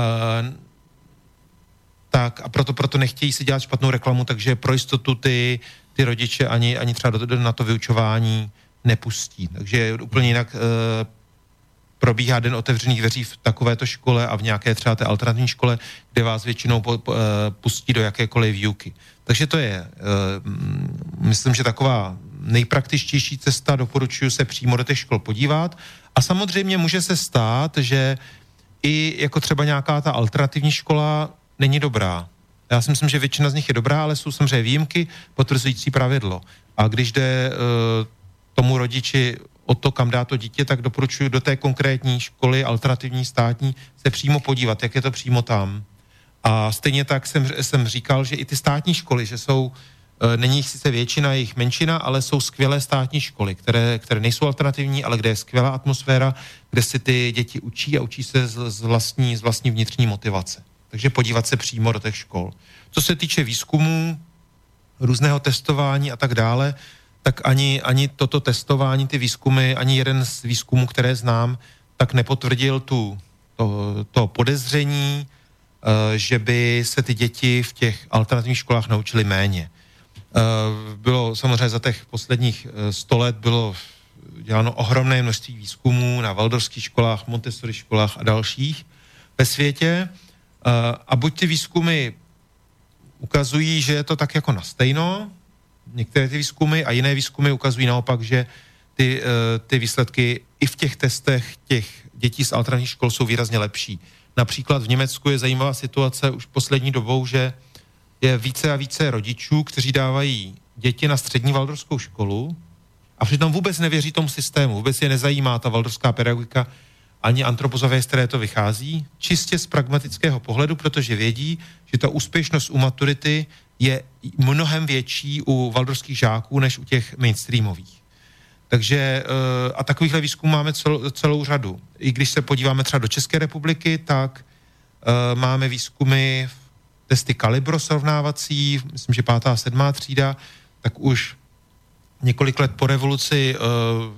tak a proto, proto nechtějí si dělat špatnou reklamu, takže pro jistotu ty, ty rodiče ani, ani třeba do, do, na to vyučování nepustí. Takže úplně jinak uh, probíhá den otevřených dveří v takovéto škole a v nějaké třeba té alternativní škole, kde vás většinou po, po, uh, pustí do jakékoliv výuky. Takže to je, uh, myslím, že taková nejpraktičtější cesta, doporučuji se přímo do těch škol podívat. A samozřejmě může se stát, že i jako třeba nějaká ta alternativní škola není dobrá. Já si myslím, že většina z nich je dobrá, ale jsou samozřejmě výjimky potvrzující pravidlo. A když jde uh, tomu rodiči o to, kam dá to dítě, tak doporučuji do té konkrétní školy, alternativní státní, se přímo podívat, jak je to přímo tam. A stejně tak jsem, jsem říkal, že i ty státní školy, že jsou není jich sice většina, je jich menšina, ale jsou skvělé státní školy, které, které nejsou alternativní, ale kde je skvělá atmosféra, kde si ty děti učí a učí se z, z, vlastní, z vlastní vnitřní motivace. Takže podívat se přímo do těch škol. Co se týče výzkumů, různého testování a tak dále, tak ani, ani toto testování, ty výzkumy, ani jeden z výzkumů, které znám, tak nepotvrdil tu, to, to podezření, že by se ty děti v těch alternativních školách naučily méně. Bylo samozřejmě za těch posledních sto let bylo děláno ohromné množství výzkumů na waldorfských školách, Montessori školách a dalších ve světě. A buď ty výzkumy ukazují, že je to tak jako na stejno, některé ty výzkumy, a jiné výzkumy ukazují naopak, že ty, ty výsledky i v těch testech těch dětí z alternativních škol jsou výrazně lepší. Například v Německu je zajímavá situace už poslední dobou, že je více a více rodičů, kteří dávají děti na střední waldorfskou školu a přitom vůbec nevěří tomu systému, vůbec je nezajímá ta waldorfská pedagogika ani antropozové, z které to vychází, čistě z pragmatického pohledu, protože vědí, že ta úspěšnost u maturity je mnohem větší u waldorfských žáků než u těch mainstreamových. Takže a takovýchhle výzkumů máme celou, celou řadu. I když se podíváme třeba do České republiky, tak uh, máme výzkumy, testy kalibro srovnávací, myslím, že pátá a sedmá třída, tak už několik let po revoluci uh,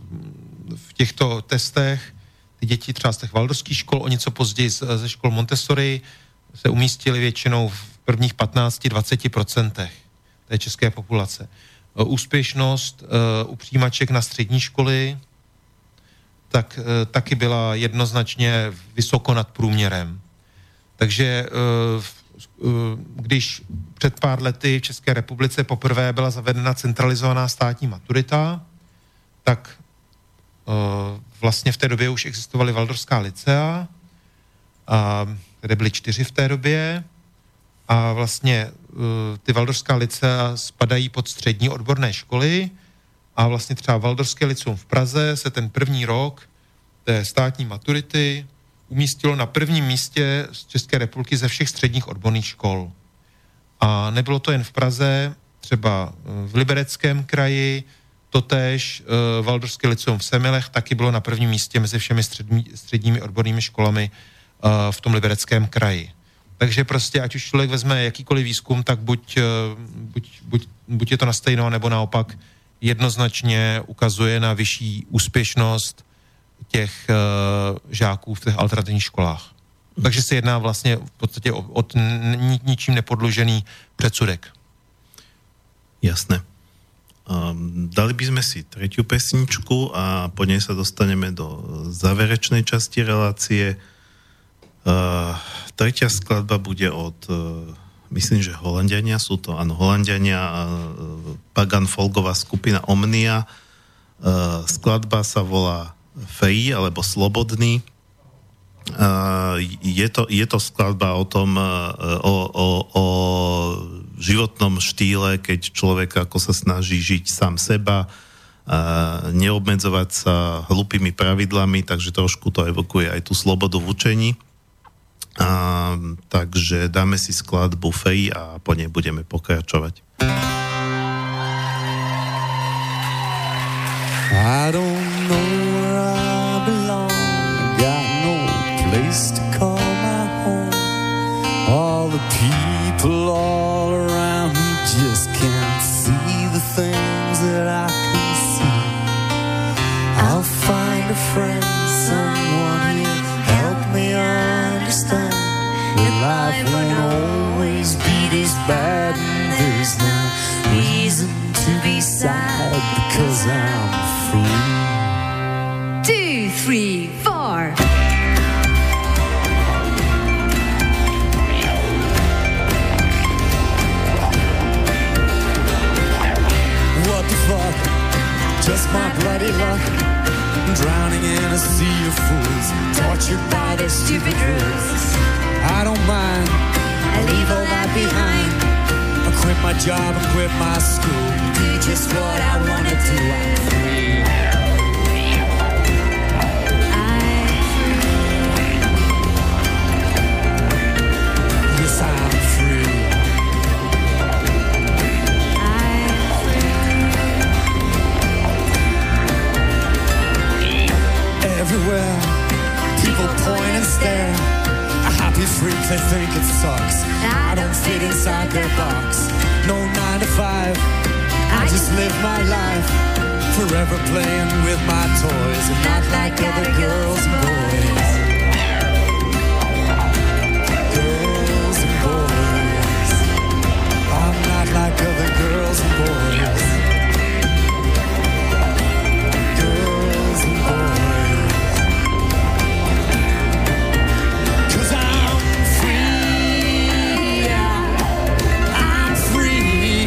v těchto testech ty děti třeba z těch waldorfských škol, o něco později ze škol Montessori se umístily většinou v prvních patnáct až dvacet procentech té české populace. Úspěšnost uh, u přijímaček na střední školy tak uh, taky byla jednoznačně vysoko nad průměrem. Takže uh, uh, když před pár lety v České republice poprvé byla zavedena centralizovaná státní maturita, tak uh, vlastně v té době už existovaly waldorfská lycea, a, které byly čtyři v té době, a vlastně uh, ty waldorfská lycea spadají pod střední odborné školy a vlastně třeba Waldorfské lyceum v Praze se ten první rok té státní maturity umístilo na prvním místě z České republiky ze všech středních odborných škol. A nebylo to jen v Praze, třeba v Libereckém kraji, totéž uh, Waldorfské lyceum v Semilech taky bylo na prvním místě mezi všemi střední, středními odbornými školami uh, v tom Libereckém kraji. Takže prostě, ať už člověk vezme jakýkoliv výzkum, tak buď, buď, buď, buď je to na stejno, nebo naopak jednoznačně ukazuje na vyšší úspěšnost těch uh, žáků v těch alternativních školách. Takže se jedná vlastně v podstatě o, o ni, ničím nepodložený predsudek. Jasné. Um, dali by sme si tretiu pesničku a po nej sa dostaneme do záverečnej časti relácie. Uh, tretia skladba bude od, uh, myslím, že Holanďania sú to, áno, Holanďania, uh, pagan folková skupina Omnia. Uh, skladba sa volá Free, alebo Slobodný. Uh, je, to, je to skladba o tom, uh, o, o, o životnom štýle, keď človek ako sa snaží žiť sám seba, uh, neobmedzovať sa hlupými pravidlami, takže trošku to evokuje aj tú slobodu v učení. A, takže dáme si skladbu Free a po nej budeme pokračovať. I don't know where I belong, got no place to call my home. All the people all around me just can't see the things that I can see. I'll find a friend, someone here, help me understand that life won't always be this bad, and there's no reason to be sad because I'm free. Two, three, four. What the fuck? Just my bloody luck. Drowning in a sea of fools, tortured by their stupid rules. I don't mind, I leave all that behind. I quit my job and quit my school, Do just what I wanna do. I'm free. yes I'm free. Everywhere, people point and stare. A happy freak, they think it sucks. I don't fit inside their box. No nine to five. I just live my life, forever playing with my toys and not like other girls and boys. Girls and boys. I'm not like other girls and boys. Girls and boys. 'Cause I'm free, yeah. I'm free.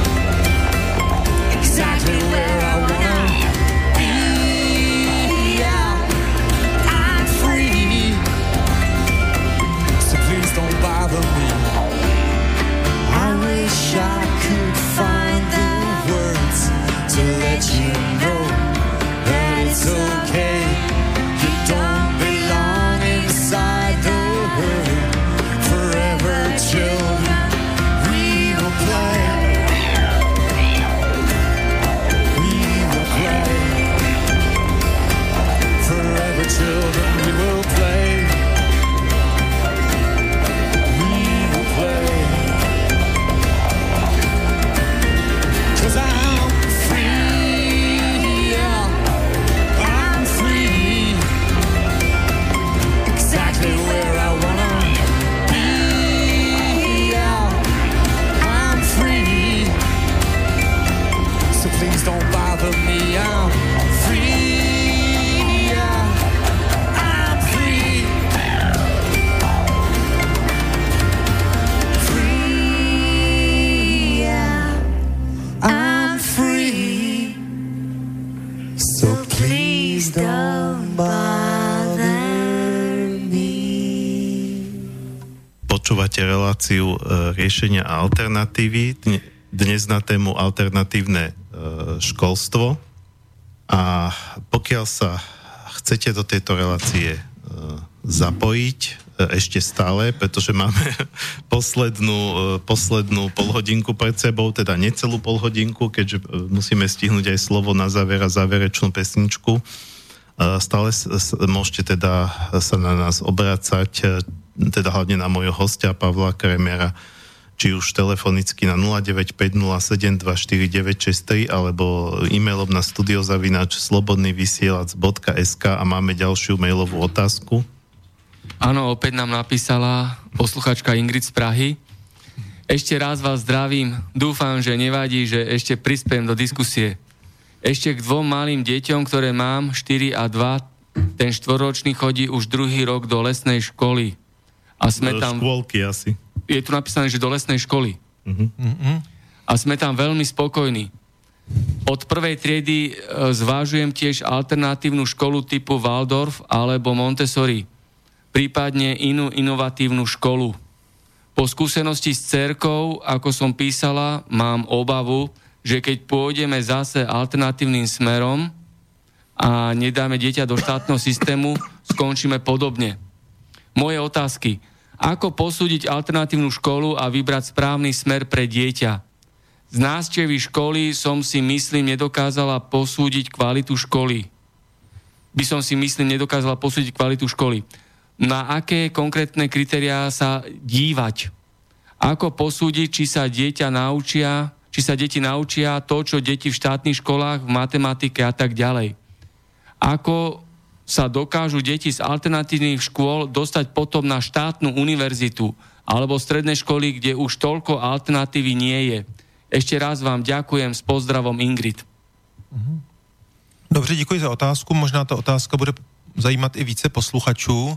Exactly where I wanna be, yeah. I'm free. So please don't bother me. I wish I could find the words to let you know that it's okay. You don't belong inside the herd. Forever children, we will play. We will play. Forever children, we will play. We will play. 'Cause I'm free, yeah. I'm free. Exactly where I wanna be, yeah. I'm free. So please don't bother me. I'm free, yeah. I'm free. Free, yeah. I'm free. So please don't bother me. Počúvate reláciu e, riešenia a alternatívy. Dne- Dnes na tému alternatívne e, školstvo. A pokiaľ sa chcete do tejto relácie e, zapojiť e, ešte stále, pretože máme poslednú, e, poslednú polhodinku pred sebou, teda necelú polhodinku, keďže e, musíme stihnúť aj slovo na záver a záverečnú pesničku. E, stále s, s, môžete teda sa na nás obracať, e, teda hlavne na môjho hostia Pavla Kremera, či už telefonicky na nula deväť päť nula sedem dva štyri deväť šesť tri alebo e-mailom na studiozavináč slobodnyvysielac bodka es ká a máme ďalšiu mailovú otázku. Áno, opäť nám napísala posluchačka Ingrid z Prahy. Ešte raz vás zdravím. Dúfam, že nevadí, že ešte prispiem do diskusie. Ešte k dvom malým deťom, ktoré mám, štyri a dva, ten štvoročný chodí už druhý rok do lesnej školy. A sme tam... Škôlky asi. Je tu napísané, že do lesnej školy. Uh-huh. Uh-huh. A sme tam veľmi spokojní. Od prvej triedy e, zvážujem tiež alternatívnu školu typu Waldorf alebo Montessori, prípadne inú inovatívnu školu. Po skúsenosti s dcérkou, ako som písala, mám obavu, že keď pôjdeme zase alternatívnym smerom a nedáme dieťa do štátneho systému, skončíme podobne. Moje otázky. Ako posúdiť alternatívnu školu a vybrať správny smer pre dieťa? Z návštevy školy som si, myslím, nedokázala posúdiť kvalitu školy. By som si, myslím, nedokázala posúdiť kvalitu školy. Na aké konkrétne kritériá sa dívať? Ako posúdiť, či sa dieťa naučia, či sa deti naučia to, čo deti v štátnych školách, v matematike a tak ďalej? Ako sa dokážu deti z alternatívnych škôl dostať potom na štátnu univerzitu alebo stredné školy, kde už toľko alternatívy nie je. Ešte raz vám ďakujem, s pozdravom Ingrid. Dobře, děkuji za otázku. Možná ta otázka bude zajímat i více posluchačů.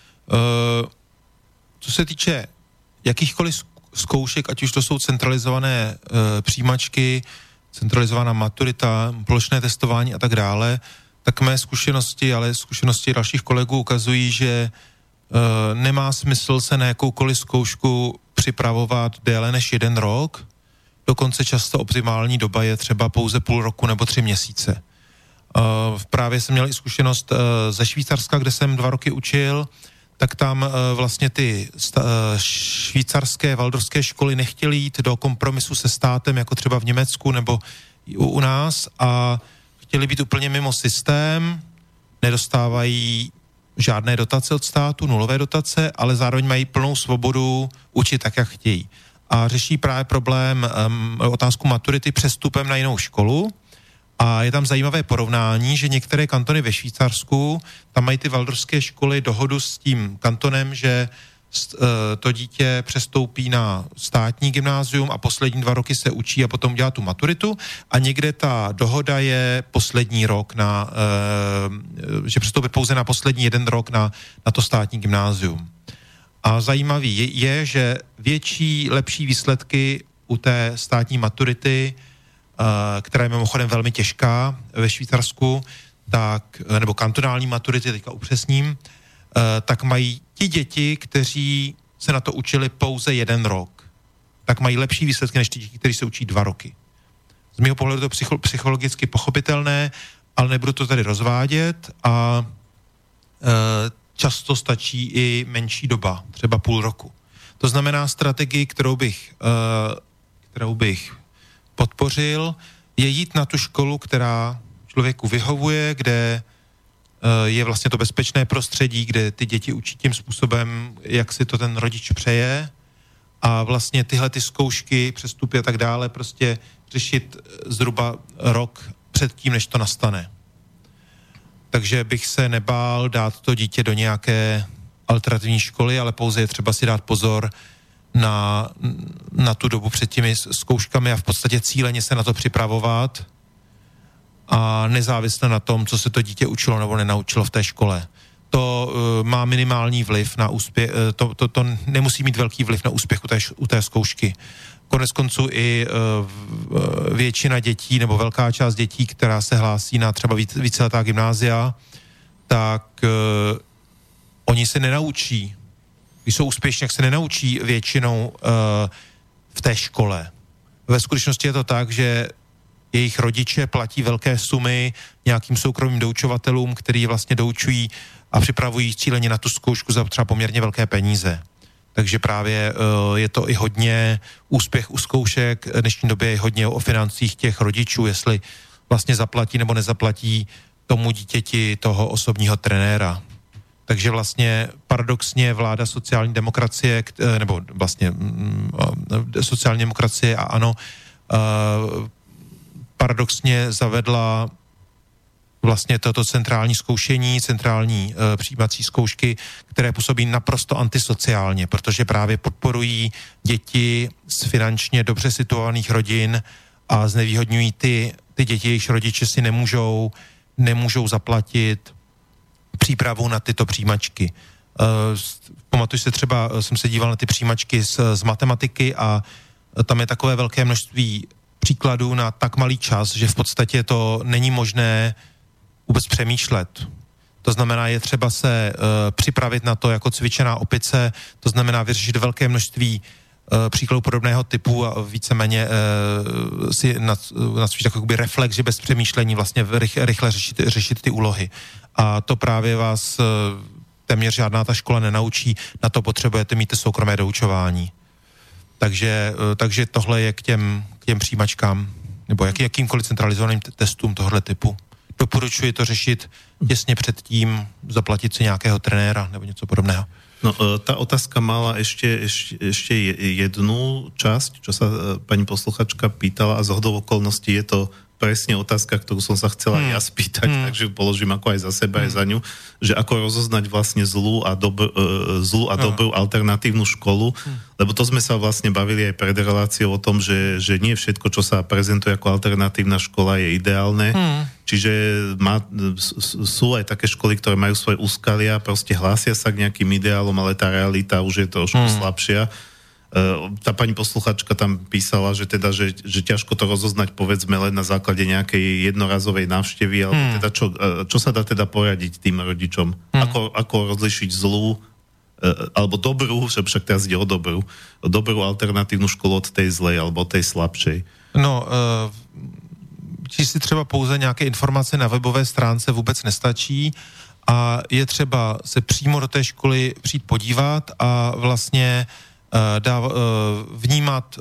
Co se týče jakýchkoliv zkoušek, ať už to jsou centralizované přijímačky, centralizovaná maturita, plošné testování a tak dále, tak mé zkušenosti, ale zkušenosti dalších kolegů ukazují, že e, nemá smysl se na jakoukoliv zkoušku připravovat déle než jeden rok. Dokonce často optimální doba je třeba pouze půl roku nebo tři měsíce. E, právě jsem měl i zkušenost e, ze Švýcarska, kde jsem dva roky učil, tak tam e, vlastně ty sta, e, švýcarské waldorfské školy nechtěly jít do kompromisu se státem, jako třeba v Německu nebo u, u nás, a chtěli být úplně mimo systém, nedostávají žádné dotace od státu, nulové dotace, ale zároveň mají plnou svobodu učit tak, jak chtějí. a řeší právě problém, um, otázku maturity přestupem na jinou školu. A je tam zajímavé porovnání, že některé kantony ve Švýcarsku, tam mají ty waldorfské školy dohodu s tím kantonem, že to dítě přestoupí na státní gymnázium a poslední dva roky se učí a potom dělá tu maturitu, a někde ta dohoda je poslední rok na, že přestoupí pouze na poslední jeden rok na, na to státní gymnázium. A zajímavý je, je, že větší, lepší výsledky u té státní maturity, která je mimochodem velmi těžká ve Švýcarsku, tak, nebo kantonální maturity, teďka upřesním, tak mají ti děti, kteří se na to učili pouze jeden rok, tak mají lepší výsledky než ti děti, kteří se učí dva roky. Z mého pohledu to psycho- psychologicky pochopitelné, ale nebudu to tady rozvádět, a e, často stačí i menší doba, třeba půl roku. To znamená, strategii, kterou bych, e, kterou bych podpořil, je jít na tu školu, která člověku vyhovuje, kde je vlastně to bezpečné prostředí, kde ty děti učí tím způsobem, jak si to ten rodič přeje, a vlastně tyhle ty zkoušky, přestupy a tak dále prostě řešit zhruba rok před tím, než to nastane. Takže bych se nebál dát to dítě do nějaké alternativní školy, ale pouze je třeba si dát pozor na, na tu dobu před těmi zkouškami a v podstatě cíleně se na to připravovat, a nezávisle na tom, co se to dítě učilo nebo nenaučilo v té škole. To uh, má minimální vliv na úspěch, uh, to, to, to nemusí mít velký vliv na úspěch u té, u té zkoušky. Konec konců i uh, většina dětí nebo velká část dětí, která se hlásí na třeba víc, víceletá gymnázia, tak uh, oni se nenaučí, když jsou úspěšní, jak se nenaučí většinou uh, v té škole. Ve skutečnosti je to tak, že jejich rodiče platí velké sumy nějakým soukromým doučovatelům, který vlastně doučují a připravují cíleně na tu zkoušku za třeba poměrně velké peníze. Takže právě uh, je to i hodně úspěch u zkoušek. V dnešní době je hodně o financích těch rodičů, jestli vlastně zaplatí nebo nezaplatí tomu dítěti toho osobního trenéra. Takže vlastně paradoxně vláda sociální demokracie, nebo vlastně uh, sociální demokracie a ANO uh, paradoxně zavedla vlastně toto centrální zkoušení, centrální e, přijímací zkoušky, které působí naprosto antisociálně, protože právě podporují děti z finančně dobře situovaných rodin a znevýhodňují ty, ty děti, jejichž rodiče si nemůžou, nemůžou zaplatit přípravu na tyto přijímačky. E, pamatuju se třeba, jsem se díval na ty přijímačky z, z matematiky a tam je takové velké množství příkladů na tak malý čas, že v podstatě to není možné vůbec přemýšlet. To znamená, je třeba se uh, připravit na to jako cvičená opice, to znamená vyřešit velké množství uh, příkladů podobného typu a víceméně uh, si nacvičit takový reflex, že bez přemýšlení vlastně rychle, rychle řešit, řešit ty úlohy. A to právě vás uh, téměř žádná ta škola nenaučí, na to potřebujete mít soukromé doučování. Takže, takže tohle je k těm, k těm přijímačkám, nebo jak, jakýmkoliv centralizovaným t- testům tohle typu. Doporučuji to řešit těsně předtím, zaplatit si nějakého trenéra nebo něco podobného. No, tá otázka mala ešte, ešte, ešte jednu časť, čo sa pani posluchačka pýtala, a z hodou okolností je to presne otázka, ktorú som sa chcela hmm. ja spýtať, hmm. takže položím ako aj za seba, hmm. aj za ňu, že ako rozoznať vlastne zlú a, dobr, zlú a dobrú hmm. alternatívnu školu, hmm. lebo to sme sa vlastne bavili aj pred reláciou o tom, že, že nie všetko, čo sa prezentuje ako alternatívna škola, je ideálne. Hmm. Čiže má, sú aj také školy, ktoré majú svoje úskalia, proste hlásia sa k nejakým ideálom, ale tá realita už je trošku hmm. slabšia. Tá pani posluchačka tam písala, že teda, že, že ťažko to rozoznať, povedzme, len na základe nejakej jednorazovej návštevy, alebo hmm. teda čo, čo sa dá teda poradiť tým rodičom? Hmm. Ako, ako rozlišiť zlú alebo dobrú, že však teraz ide o dobrú, dobrú alternatívnu školu od tej zlej, alebo od tej slabšej? No, uh, číst si třeba pouze nějaké informace na webové stránce vůbec nestačí a je třeba se přímo do té školy přijít podívat a vlastně Dá, vnímat,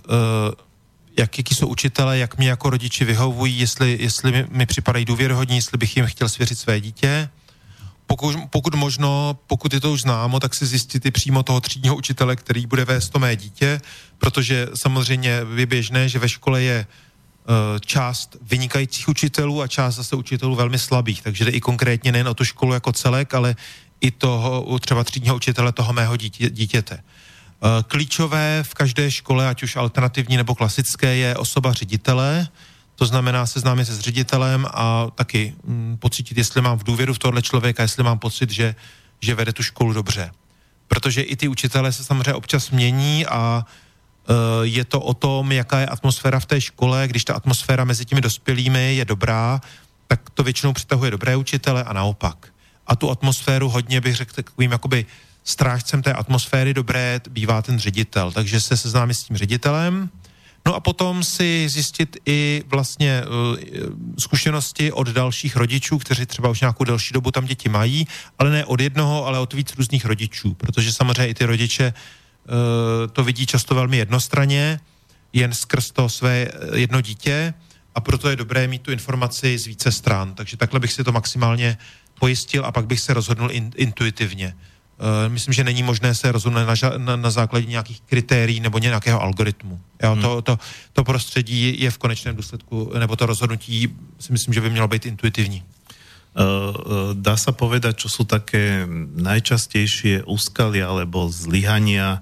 jak, jaký jsou učitelé, jak mě jako rodiči vyhovují, jestli, jestli mi, mi připadají důvěryhodní, jestli bych jim chtěl svěřit své dítě. pokud, pokud možno, pokud je to už známo, tak si zjistit i přímo toho třídního učitele, který bude vést to mé dítě, protože samozřejmě je běžné, že ve škole je část vynikajících učitelů a část zase učitelů velmi slabých, takže jde i konkrétně nejen o tu školu jako celek, ale i toho třeba třídního učitele toho mého dítě, dítěte. Klíčové v každé škole, ať už alternativní nebo klasické, je osoba ředitele, to znamená seznámit se s ředitelem a taky hm, pocítit, jestli mám v důvěru v tohle člověka, jestli mám pocit, že, že vede tu školu dobře. Protože i ty učitelé se samozřejmě občas mění a je to o tom, jaká je atmosféra v té škole. Když ta atmosféra mezi těmi dospělými je dobrá, tak to většinou přitahuje dobré učitele a naopak. A tu atmosféru hodně bych řekl takovým jakoby strážcem té atmosféry dobré bývá ten ředitel. Takže se seznámí s tím ředitelem. No a potom si zjistit i vlastně uh, zkušenosti od dalších rodičů, kteří třeba už nějakou delší dobu tam děti mají, ale ne od jednoho, ale od víc různých rodičů. Protože samozřejmě i ty rodiče to vidí často velmi jednostranně, jen skrz to své jedno dítě a proto je dobré mít tu informaci z více stran. Takže takhle bych si to maximálně pojistil a pak bych se rozhodnul in, intuitivně. Myslím, že není možné se rozhodnout na, na, na základě nějakých kritérií nebo nějakého algoritmu. Jo, hmm. to, to, to prostředí je v konečném důsledku, nebo to rozhodnutí si myslím, že by mělo být intuitivní. Dá sa povedať, čo sú také najčastejšie úskalia alebo zlyhania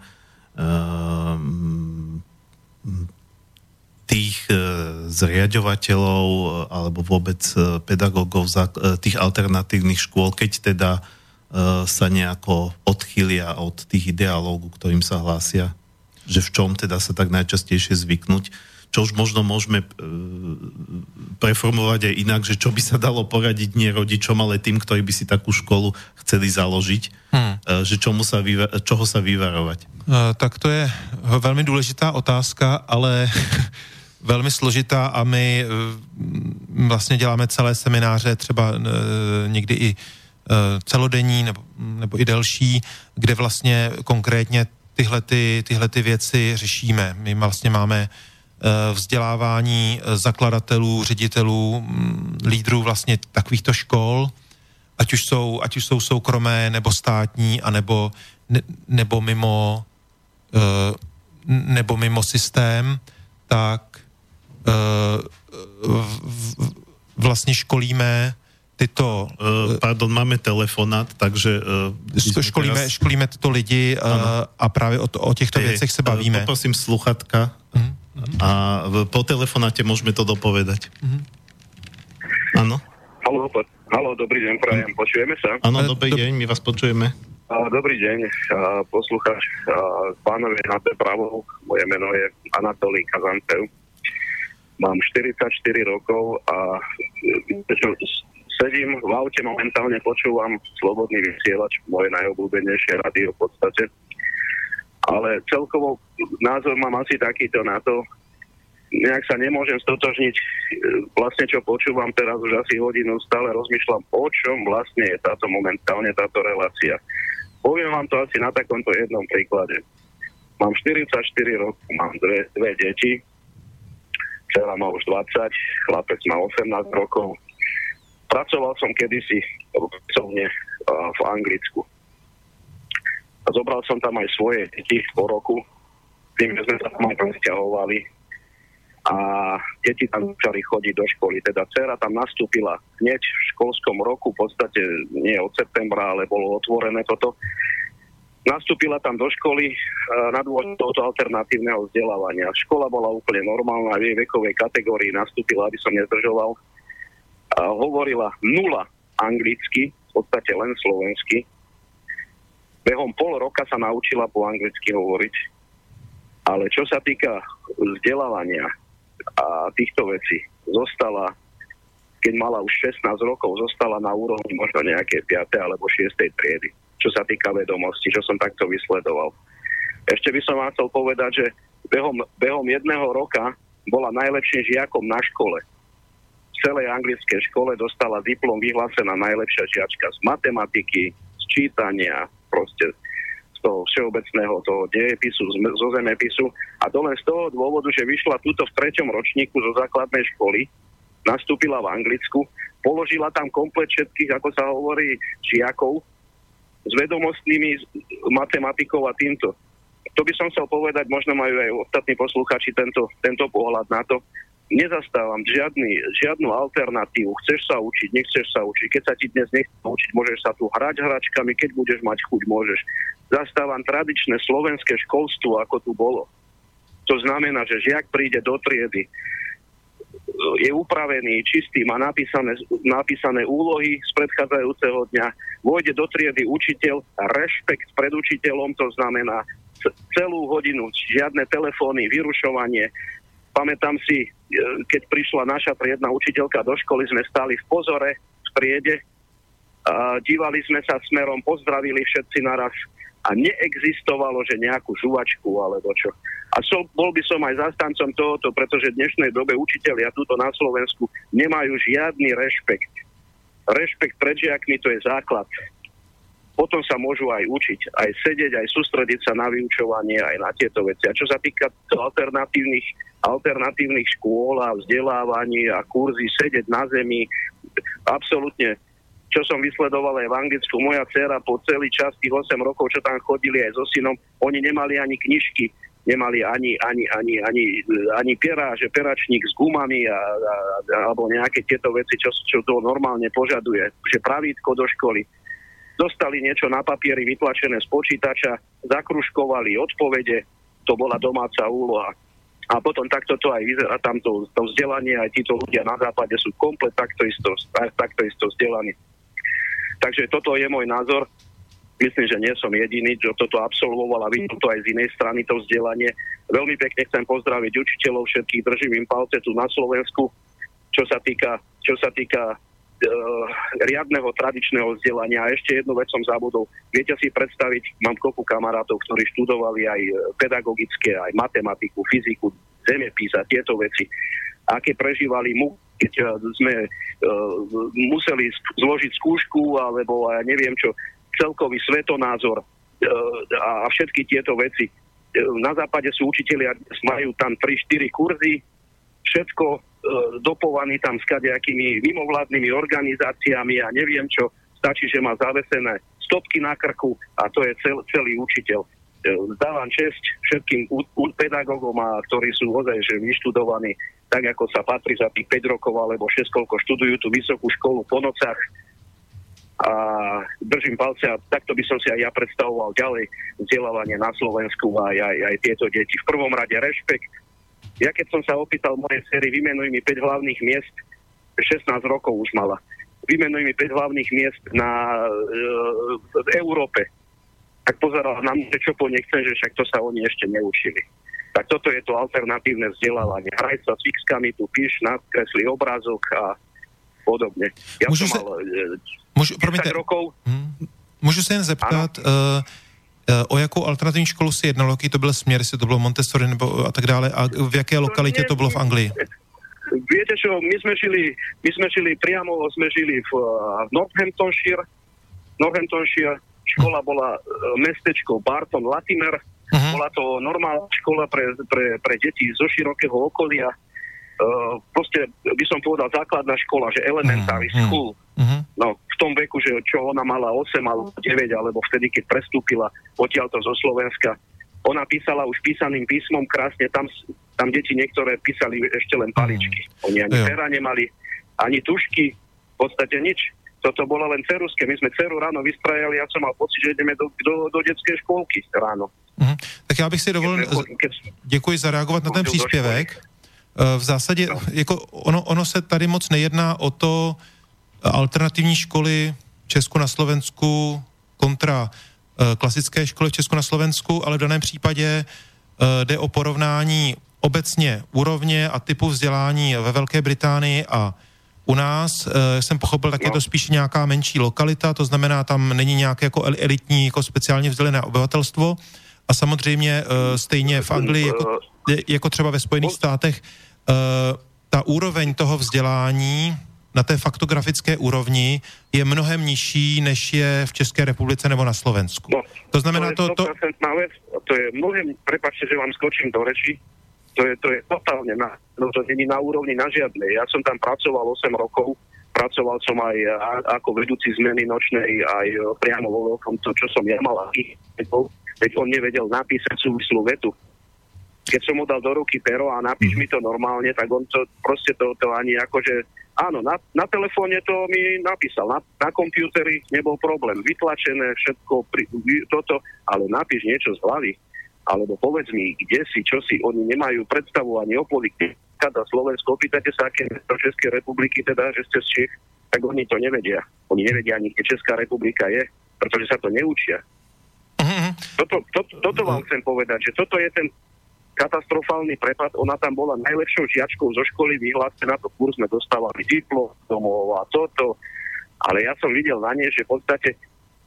tých zriaďovateľov alebo vôbec pedagógov tých alternatívnych škôl, keď teda sa nejako odchýlia od tých ideálov, ku ktorým sa hlásia? Že v čom teda sa tak najčastejšie zvyknúť? Čo už možno môžeme preformovať aj inak, že čo by sa dalo poradiť nie rodičom, ale tým, ktorí by si takú školu chceli založiť, hmm. že čomu sa vyva- čoho sa vyvarovať? Tak to je velmi důležitá otázka, ale velmi složitá a my vlastně děláme celé semináře, třeba někdy i celodenní nebo, nebo i delší, kde vlastně konkrétně tyhle, ty, tyhle ty věci řešíme. My vlastně máme vzdělávání zakladatelů, ředitelů, lídrů vlastně takovýchto škol, ať už jsou, ať už jsou soukromé nebo státní, anebo ne, nebo mimo nebo mimo systém, tak vlastně školíme tyto... Pardon, máme telefonát, takže... Školíme, teraz... školíme tyto lidi ano. A právě o, to, o těchto hey, věcech se bavíme. Poprosím sluchatka. Mm-hmm. A po telefonáte môžeme to dopovedať. Áno? Mm-hmm. Haló, haló, dobrý deň, prajem, počujeme sa? Áno, dobrý deň, my vás počujeme. Dobrý deň, poslucháč, pánovi na té pravou, moje meno je Anatolij Kazantev. Mám štyridsaťštyri rokov a sedím v aute, momentálne počúvam Slobodný vysielač, moje najobľúbenejšie rádio v podstate. Ale celkovo názor mám asi takýto na to, nejak sa nemôžem stotožniť, vlastne čo počúvam teraz už asi hodinu, stále rozmýšľam, o čom vlastne je táto momentálne táto relácia. Poviem vám to asi na takomto jednom príklade. Mám štyridsaťštyri rokov, mám dve, dve deti, dcera má už dvadsať, chlapec má osemnásť rokov. Pracoval som kedysi v Anglicku. A zobral som tam aj svoje deti po roku, tým sme sa tam aj presťahovali a deti tam začali chodiť do školy. Teda dcera tam nastúpila hneď v školskom roku, v podstate nie od septembra, ale bolo otvorené toto. Nastúpila tam do školy na dôvod tohto alternatívneho vzdelávania. Škola bola úplne normálna, v jej vekovej kategórii nastúpila, aby som nezdržoval. A hovorila nula anglicky, v podstate len slovensky. Behom pol roka sa naučila po anglicky hovoriť. Ale čo sa týka vzdelávania a týchto vecí, zostala, keď mala už šestnásť rokov, zostala na úrovni možno nejaké piatej alebo šiestej triedy. Čo sa týka vedomostí, čo som takto vysledoval. Ešte by som vám chcel povedať, že behom, behom jedného roka bola najlepším žiakom na škole. V celej anglickej škole dostala diplom vyhlásená najlepšia žiačka z matematiky, z čítania, proste z toho všeobecného toho dejepisu, zo zemepisu. A to len z toho dôvodu, že vyšla túto v treťom ročníku zo základnej školy, nastúpila v Anglicku, položila tam komplet všetkých, ako sa hovorí, žiakov s vedomostnými matematikou a týmto. To by som chcel povedať, možno majú aj ostatní posluchači tento, tento pohľad na to. Nezastávam žiadny, žiadnu alternatívu. Chceš sa učiť, nechceš sa učiť. Keď sa ti dnes nechce učiť, môžeš sa tu hrať hračkami, keď budeš mať chuť, môžeš. Zastávam tradičné slovenské školstvo, ako tu bolo. To znamená, že žiak príde do triedy, je upravený, čistý, má napísané, napísané úlohy z predchádzajúceho dňa, vôjde do triedy učiteľ, rešpekt pred učiteľom, to znamená celú hodinu, žiadne telefóny, vyrušovanie. Pamätám si, keď prišla naša triedna učiteľka do školy, sme stáli v pozore, v triede, a dívali sme sa smerom, pozdravili všetci naraz a neexistovalo, že nejakú žuvačku alebo čo. A so, bol by som aj zastancom tohoto, pretože v dnešnej dobe učitelia tuto na Slovensku nemajú žiadny rešpekt. Rešpekt pred žiakmi, to je základ. Potom sa môžu aj učiť, aj sedieť, aj sústrediť sa na vyučovanie, aj na tieto veci. A čo sa týka alternatívnych, alternatívnych škôl a vzdelávaní a kurzy, sedieť na zemi, absolútne, čo som vysledoval aj v Anglicku, moja dcéra po celý čas, tých osem rokov, čo tam chodili aj so synom, oni nemali ani knižky, nemali ani, ani, ani, ani, ani pera, že peračník s gumami a, a, alebo nejaké tieto veci, čo, čo to normálne požaduje, že pravítko do školy. Dostali niečo na papieri vytlačené z počítača, zakružkovali odpovede, to bola domáca úloha. A potom takto to aj vyzerá, tamto to vzdelanie, aj títo ľudia na západe sú komplet takto isto, takto isto vzdelaní. Takže toto je môj názor. Myslím, že nie som jediný, že toto absolvoval a vidím to aj z inej strany, to vzdelanie. Veľmi pekne chcem pozdraviť učiteľov všetkých, držím im palce tu na Slovensku, čo sa týka, čo sa týka riadneho tradičného vzdelania. A ešte jednu vec som zabudol. Viete si predstaviť, mám kopu kamarátov, ktorí študovali aj pedagogické, aj matematiku, fyziku, zemepis a tieto veci. Aké prežívali mu, keď sme uh, museli zložiť skúšku, alebo ja neviem čo, celkový svetonázor uh, a všetky tieto veci. Uh, na západe sú učitelia, majú tam tri štyri kurzy, všetko dopovaný tam s kadejakými mimovládnymi organizáciami a neviem čo, stačí, že má zavesené stopky na krku a to je cel, celý učiteľ. Zdávam česť všetkým u, u pedagógom, a ktorí sú ozaj že vyštudovaní tak, ako sa patrí za tých päť rokov alebo šesť, koľko študujú tú vysokú školu po nocách. A držím palce a takto by som si aj ja predstavoval ďalej vzdelávanie na Slovensku a aj, aj, aj tieto deti. V prvom rade rešpekt. Ja keď som sa opýtal mojej sérii, vymenuj mi päť hlavných miest, šestnásť rokov už mala, vymenuj mi päť hlavných miest na, e, v Európe, tak pozerala na mňa, čo po nechcem, že však to sa oni ešte neučili. Tak toto je to alternatívne vzdelávanie. Hraj sa s fixkami, tu píš, nakreslí obrázok a podobne. Ja Môžu som sa... mal e, Môžu, desať promiňte, rokov. hm, můžu se jen zeptat... Uh, o jakou alternativní školu si jednalo, jaký to byl směr, jestli to bylo Montessori nebo a tak dále, a v jaké lokalitě to bylo v Anglii? Viete čo, my sme žili, my sme žili priamo, sme žili v uh, Northamptonshire, Northamptonshire, škola bola uh, mestečko Barton Latimer, uh-huh. Bola to normálna škola pre, pre, pre deti zo širokého okolia, uh, proste by som povedal základná škola, že elementary uh-huh. school. Uh-huh. No, v tom veku, že čo ona mala osem alebo deväť, alebo vtedy, keď prestúpila odtiaľto zo Slovenska, ona písala už písaným písmom krásne, tam, tam deti niektoré písali ešte len paličky. Oni ani Jo. pera nemali, ani tušky, v podstate nič. Toto bolo len ceruské. My sme dceru ráno vystrajali, ja som mal pocit, že ideme do, do, do detskej školky ráno. Uh-huh. Tak já bych si dovolil, děkuji za reagovat na ten příspěvek. V zásadě, jako ono, ono se tady moc nejedná o to, alternativní školy v Česku na Slovensku kontra e, klasické školy v Česku na Slovensku, ale v daném případě e, jde o porovnání obecně úrovně a typu vzdělání ve Velké Británii a u nás. E, jsem pochopil, tak je to spíš nějaká menší lokalita, to znamená, tam není nějaké jako elitní, jako speciálně vzdělené obyvatelstvo a samozřejmě e, stejně v Anglii, jako, jako třeba ve Spojených státech, e, ta úroveň toho vzdělání na té faktografické úrovni je mnohem nižší, než je v České republice nebo na Slovensku. No, to znamená to... Je to, to... vec, to je mnohem, prepáčte, že vám skočím do reči, to je, to je totálne na, no to není na úrovni na žiadnej. Ja som tam pracoval osem rokov, pracoval som aj a, ako vedúci zmeny nočnej, aj priamo vo veľkom to, čo som ja mal, veď on nevedel napísať súvislú vetu. Keď som mu dal do ruky pero a napíš mi to normálne, tak on to proste to, to ani akože, áno, na, na telefóne to mi napísal, na, na kompúteri nebol problém, vytlačené všetko, pri, toto, ale napíš niečo z hlavy, alebo povedz mi, kde si, čo si, oni nemajú predstavu ani o politike. Kada Slovensko, opýtate sa, aké mesto Českej republiky, teda, že ste z Čech, tak oni to nevedia. Oni nevedia ani, kde Česká republika je, pretože sa to neučia. Uh-huh. Toto, to, toto vám chcem povedať, že toto je ten katastrofálny prepad. Ona tam bola najlepšou žiačkou zo školy, vyhlásená, na to kurz sme dostávali diplom domov a toto. Ale ja som videl na nej, že v podstate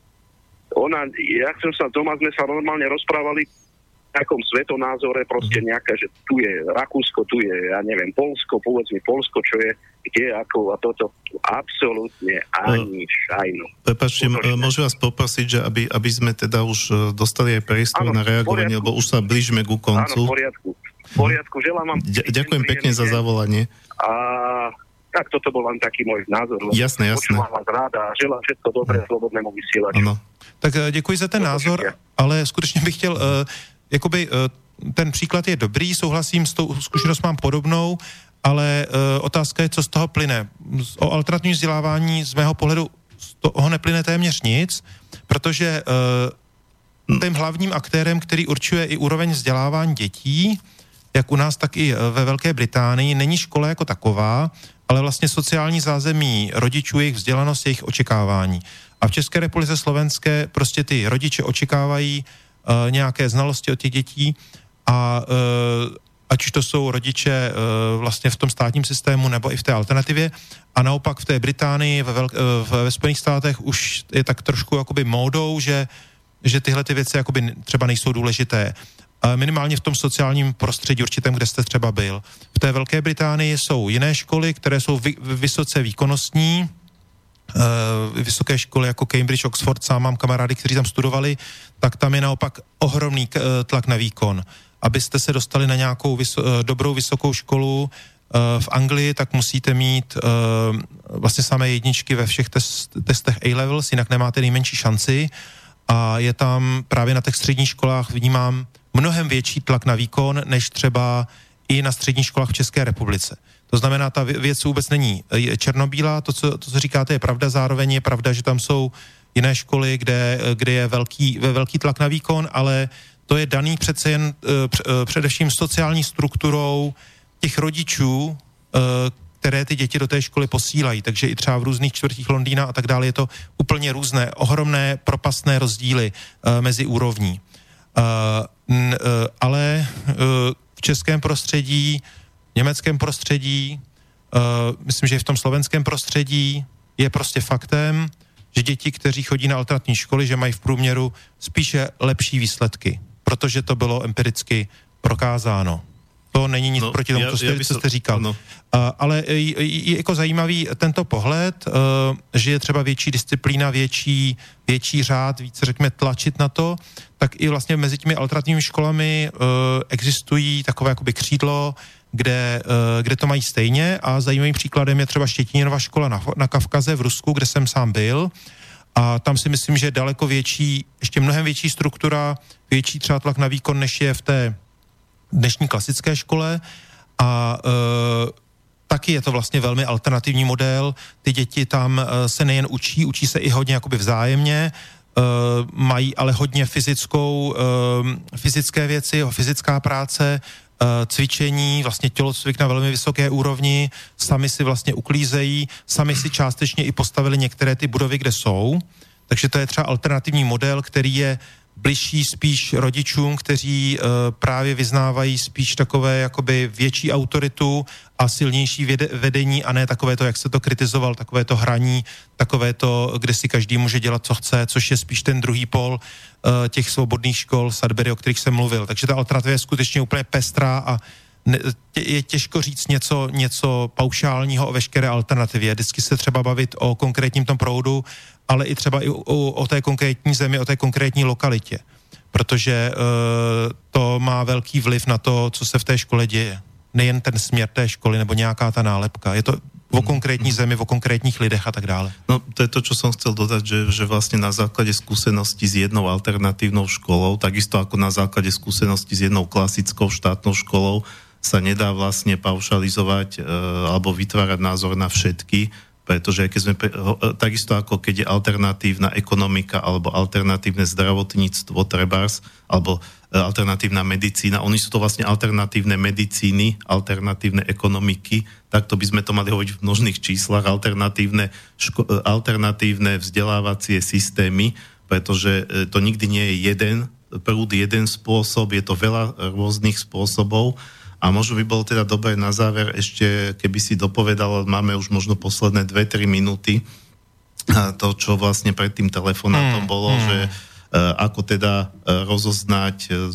ona, ja som sa doma, sme sa normálne rozprávali v takom svetonázore, proste nejaká, že tu je Rakúsko, tu je, ja neviem, Poľsko, povedz mi Poľsko, čo je, kde, ako a toto. Absolútne ani šajnu. Prepáčte, môžem vás poprosiť, že aby, aby sme teda už dostali aj priestor na reagovanie, lebo už sa blížime ku koncu. Áno, v poriadku. V poriadku, želám vám... D- ďakujem pekne za zavolanie. A tak toto bol len taký môj názor. Jasné, jasné. Počúvam vás rád a želám všetko dobré slobodnému vysielaču. Ano. Tak děkuji za ten názor, ale skutečně bych chtěl, uh, jakoby uh, ten příklad je dobrý, souhlasím, s tou zkušenost mám podobnou, ale uh, otázka je, co z toho plyne. O alternativním vzdělávání z mého pohledu z toho neplyne téměř nic, protože uh, tím hlavním aktérem, který určuje i úroveň vzdělávání dětí, jak u nás, tak i ve Velké Británii, není škola jako taková, ale vlastně sociální zázemí rodičů, jejich vzdělanost, jejich očekávání. A v České republice slovenské prostě ty rodiče očekávají uh, nějaké znalosti od těch dětí a uh, ať už to jsou rodiče uh, vlastně v tom státním systému nebo i v té alternativě. A naopak v té Británii, ve, velk- uh, ve Spojených státech už je tak trošku jakoby módou, že, že tyhle ty věci jakoby třeba nejsou důležité. Uh, minimálně v tom sociálním prostředí určitém, kde jste třeba byl. V té Velké Británii jsou jiné školy, které jsou vy- vysoce výkonnostní, Uh, vysoké školy jako Cambridge, Oxford, sám mám kamarády, kteří tam studovali, tak tam je naopak ohromný uh, tlak na výkon. Abyste se dostali na nějakou vyso- uh, dobrou vysokou školu uh, v Anglii, tak musíte mít uh, vlastně samé jedničky ve všech test- testech A-levels, jinak nemáte nejmenší šanci a je tam právě na těch středních školách vnímám mnohem větší tlak na výkon, než třeba i na středních školách v České republice. To znamená, ta věc vůbec není černobílá, to co, to, co říkáte, je pravda, zároveň je pravda, že tam jsou jiné školy, kde, kde je velký, velký tlak na výkon, ale to je daný přece jen především sociální strukturou těch rodičů, které ty děti do té školy posílají. Takže i třeba v různých čtvrtích Londýna a tak dále je to úplně různé, ohromné propastné rozdíly mezi úrovní. Ale v českém prostředí, německém prostředí, uh, myslím, že i v tom slovenském prostředí je prostě faktem, že děti, kteří chodí na alternativní školy, že mají v průměru spíše lepší výsledky, protože to bylo empiricky prokázáno. To není nic no, proti tomu, ja, co, jste, ja co jste říkal. No. Uh, ale je, je jako zajímavý tento pohled, uh, že je třeba větší disciplína, větší, větší řád, více řekněme tlačit na to, tak i vlastně mezi těmi alternativními školami uh, existují takové jakoby křídlo, kde, uh, kde to mají stejně a zajímavým příkladem je třeba Štětíninova škola na, na Kavkaze v Rusku, kde jsem sám byl a tam si myslím, že je daleko větší, ještě mnohem větší struktura, větší třeba tlak na výkon, než je v té dnešní klasické škole a uh, taky je to vlastně velmi alternativní model. Ty děti tam uh, se nejen učí, učí se i hodně jakoby vzájemně, uh, mají ale hodně fyzickou, uh, fyzické věci, fyzická práce, uh, cvičení, vlastně tělocvik na velmi vysoké úrovni, sami si vlastně uklízejí, sami si částečně i postavili některé ty budovy, kde jsou. Takže to je třeba alternativní model, který je bližší spíš rodičům, kteří uh, právě vyznávají spíš takové jakoby větší autoritu a silnější věde, vedení a ne takové to, jak se to kritizoval, takové to hraní, takové to, kde si každý může dělat, co chce, což je spíš ten druhý pol uh, těch svobodných škol Sudbury, o kterých jsem mluvil. Takže ta alternativa je skutečně úplně pestrá a ne, tě, je těžko říct něco, něco paušálního o veškeré alternativě. Vždycky se třeba bavit o konkrétním tom proudu, ale i třeba i o, o té konkrétní zemi, o té konkrétní lokalitě. Protože uh, to má velký vliv na to, co se v té škole děje. Nejen ten směr té školy nebo nějaká ta nálepka. Je to o konkrétní zemi, o konkrétních lidech a tak dále. No, to je to, čo som chcel dodať, že, že vlastne na základe skúsenosti s jednou alternatívnou školou, takisto ako na základe skúsenosti s jednou klasickou štátnou školou, sa nedá vlastne paušalizovať e, alebo vytvárať názor na všetky, pretože keď sme, takisto ako keď je alternatívna ekonomika alebo alternatívne zdravotníctvo trebárs, alebo alternatívna medicína, oni sú to vlastne alternatívne medicíny, alternatívne ekonomiky, takto by sme to mali hovoriť v množných číslach, alternatívne, ško- alternatívne vzdelávacie systémy, pretože to nikdy nie je jeden prúd, jeden spôsob, je to veľa rôznych spôsobov. A možno by bolo teda dobré na záver ešte, keby si dopovedal, máme už možno posledné dve tri minúty, to, čo vlastne pred tým telefonátom mm, bolo, mm. že uh, ako teda uh, rozoznať uh,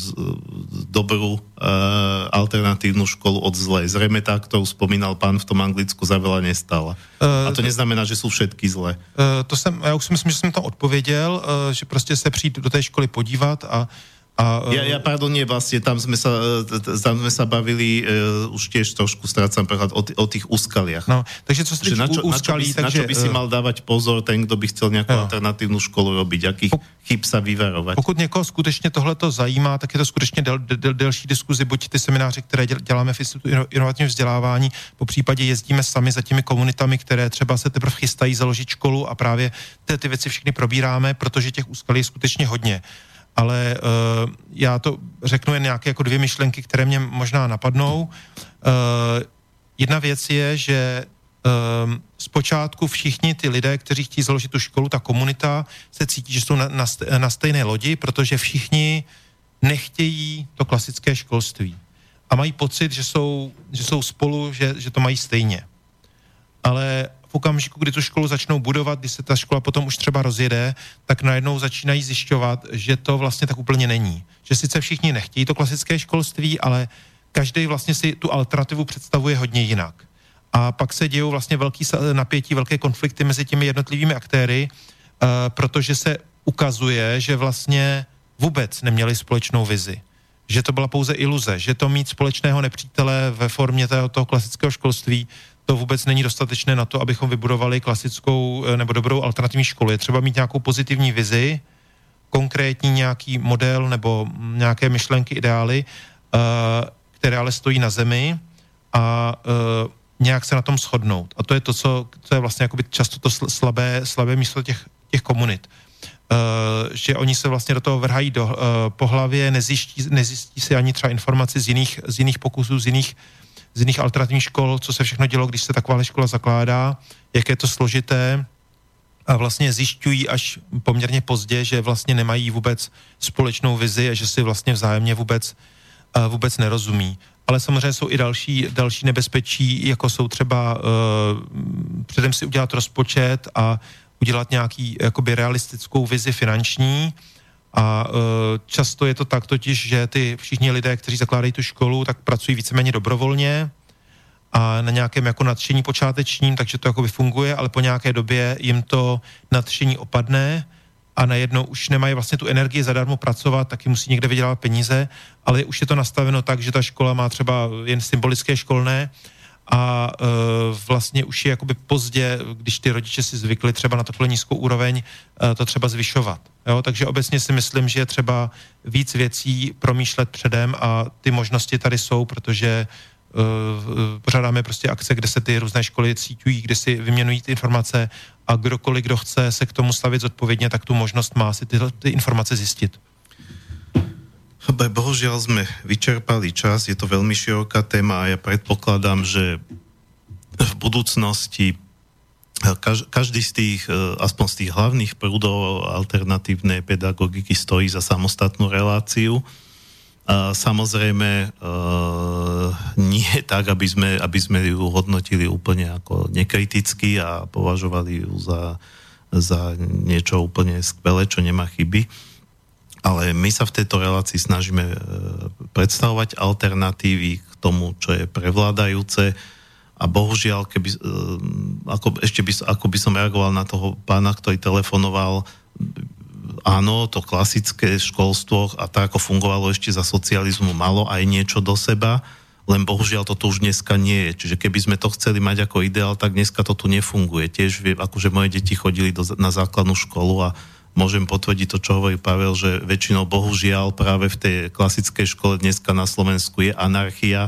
dobrú uh, alternatívnu školu od zlej. Zrejme tá, ktorú spomínal pán v tom Anglicku, za veľa nestala. Uh, A to neznamená, že sú všetky zlé. Uh, to jsem, já už si myslím, že jsem to odpověděl, uh, že prostě se přijít do té školy podívat a A, ja, ja, pardon, nie, vlastne, tam sme sa, tam sme sa bavili, uh, už tiež trošku strácam prehľad o, t- o tých úskaliach. No, takže co sa tých úskalí, takže... Na čo by si mal dávať pozor ten, kto by chcel nejakú jo. alternatívnu školu robiť, akých chyb sa vyvarovať? Pokud někoho skutečně tohleto zajímá, tak je to skutečně del, del, delší diskuzi, buď ty semináře, které děláme v Institutu inovativního vzdělávání, po případě jezdíme sami za těmi komunitami, které třeba se teprve chystají založit školu a právě ty, ty věci všechny probíráme, protože těch úskalí je skutečně hodně. Ale uh, já to řeknu jen nějaké jako dvě myšlenky, které mě možná napadnou. Uh, jedna věc je, že uh, zpočátku všichni ty lidé, kteří chtějí založit tu školu, ta komunita, se cítí, že jsou na, na, na stejné lodi, protože všichni nechtějí to klasické školství. A mají pocit, že jsou, že jsou spolu, že, že to mají stejně. Ale v okamžiku, kdy tu školu začnou budovat, když se ta škola potom už třeba rozjede, tak najednou začínají zjišťovat, že to vlastně tak úplně není. Že sice všichni nechtějí to klasické školství, ale každý vlastně si tu alternativu představuje hodně jinak. A pak se dějou vlastně velký napětí, velké konflikty mezi těmi jednotlivými aktéry, uh, protože se ukazuje, že vlastně vůbec neměli společnou vizi. Že to byla pouze iluze, že to mít společného nepřítele ve formě toho, toho klasického školství, to vůbec není dostatečné na to, abychom vybudovali klasickou nebo dobrou alternativní školu. Je třeba mít nějakou pozitivní vizi, konkrétní nějaký model nebo nějaké myšlenky, ideály, které ale stojí na zemi a nějak se na tom shodnout. A to je to, co to je vlastně jakoby často to slabé, slabé místo těch, těch komunit. Že oni se vlastně do toho vrhají do, po hlavě, nezjistí, nezjistí si ani třeba informaci z jiných, z jiných pokusů, z jiných z jiných alternativních škol, co se všechno dělo, když se taková škola zakládá, jak je to složité a vlastně zjišťují až poměrně pozdě, že vlastně nemají vůbec společnou vizi a že si vlastně vzájemně vůbec, vůbec nerozumí. Ale samozřejmě jsou i další, další nebezpečí, jako jsou třeba uh, předem si udělat rozpočet a udělat nějaký jakoby realistickou vizi finanční. A uh, často je to tak totiž, že ty všichni lidé, kteří zakládají tu školu, tak pracují víceméně dobrovolně a na nějakém jako nadšení počátečním, takže to jakoby funguje, ale po nějaké době jim to nadšení opadne a najednou už nemají vlastně tu energii zadarmo pracovat, taky musí někde vydělávat peníze, ale už je to nastaveno tak, že ta škola má třeba jen symbolické školné a e, vlastně už je jakoby pozdě, když ty rodiče si zvykli třeba na takhle nízkou úroveň, e, to třeba zvyšovat. Jo? Takže obecně si myslím, že je třeba víc věcí promýšlet předem a ty možnosti tady jsou, protože e, pořádáme prostě akce, kde se ty různé školy cítují, kde si vyměnují ty informace a kdokoliv, kdo chce se k tomu stavit zodpovědně, tak tu možnost má si ty, ty informace zjistit. Bohužiaľ sme vyčerpali čas, je to veľmi široká téma a ja predpokladám, že v budúcnosti každý z tých, aspoň z tých hlavných prúdov alternatívnej pedagogiky stojí za samostatnú reláciu. A samozrejme nie tak, aby sme, aby sme ju hodnotili úplne ako nekriticky a považovali ju za, za niečo úplne skvelé, čo nemá chyby. Ale my sa v tejto relácii snažíme predstavovať alternatívy k tomu, čo je prevládajúce a bohužiaľ, keby, ako, ešte by, ako by som reagoval na toho pána, ktorý telefonoval, áno, to klasické školstvo a tak, ako fungovalo ešte za socializmu, malo aj niečo do seba. len bohužiaľ toto už dneska nie je. Čiže keby sme to chceli mať ako ideál, tak dneska to tu nefunguje. Tiež vie, akože moje deti chodili do, na základnú školu a môžem potvrdiť to, čo hovorí Pavel, že väčšinou bohužiaľ práve v tej klasickej škole dneska na Slovensku je anarchia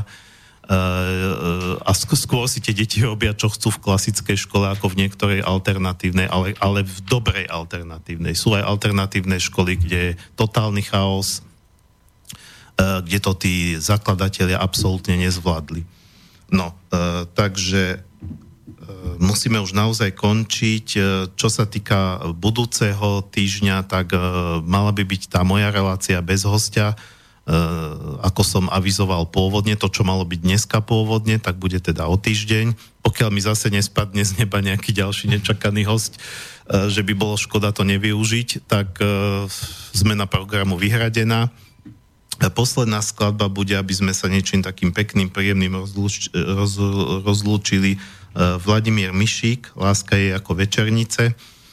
a skôr si tie deti robia, čo chcú v klasickej škole, ako v niektorej alternatívnej, ale, ale v dobrej alternatívnej. Sú aj alternatívne školy, kde je totálny chaos, kde to tí zakladatelia absolútne nezvládli. No, takže musíme už naozaj končiť. Čo sa týka budúceho týždňa, tak mala by byť tá moja relácia bez hostia, ako som avizoval pôvodne, to, čo malo byť dneska pôvodne, tak bude teda o týždeň. Pokiaľ mi zase nespadne z neba nejaký ďalší nečakaný host, že by bolo škoda to nevyužiť, tak zmena programu vyhradená. Posledná skladba bude, aby sme sa niečím takým pekným, príjemným rozlúč, roz, rozlúčili, Vladimír Mišík, Láska je ako večernice.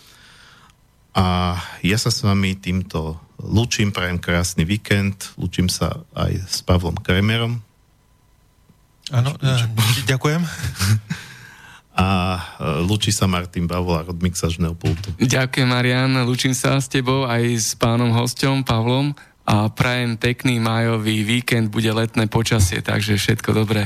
A ja sa s vami týmto lúčim, prajem krásny víkend, lúčim sa aj s Pavlom Kremerom. Áno, ďakujem. A lúči sa Martin Bavola od mixažného pultu. Ďakujem, Marian, lúčim sa s tebou aj s pánom hosťom Pavlom a prajem pekný májový víkend, bude letné počasie, takže všetko dobré.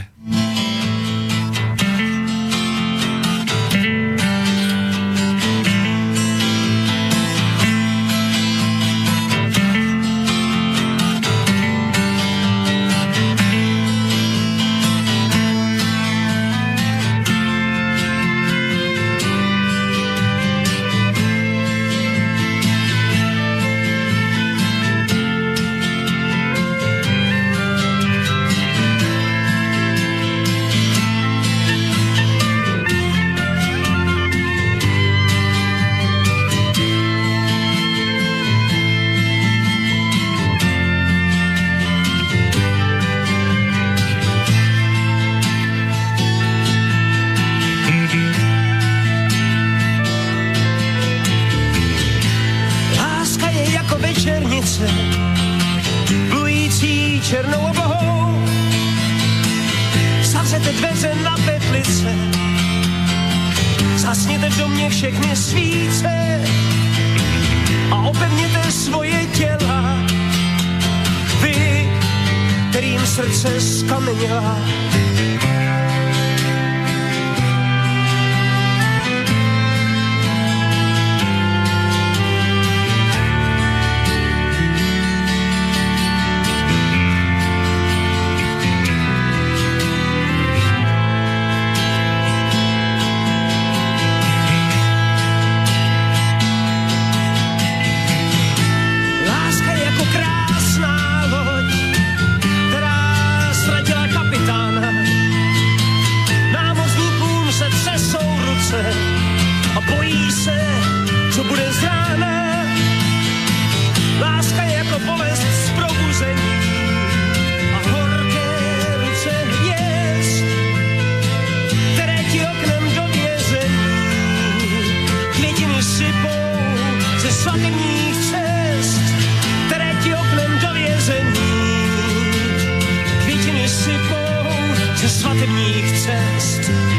svatebních cest, které ti oknem do vězení. Květiny sypou ze svatebních cest.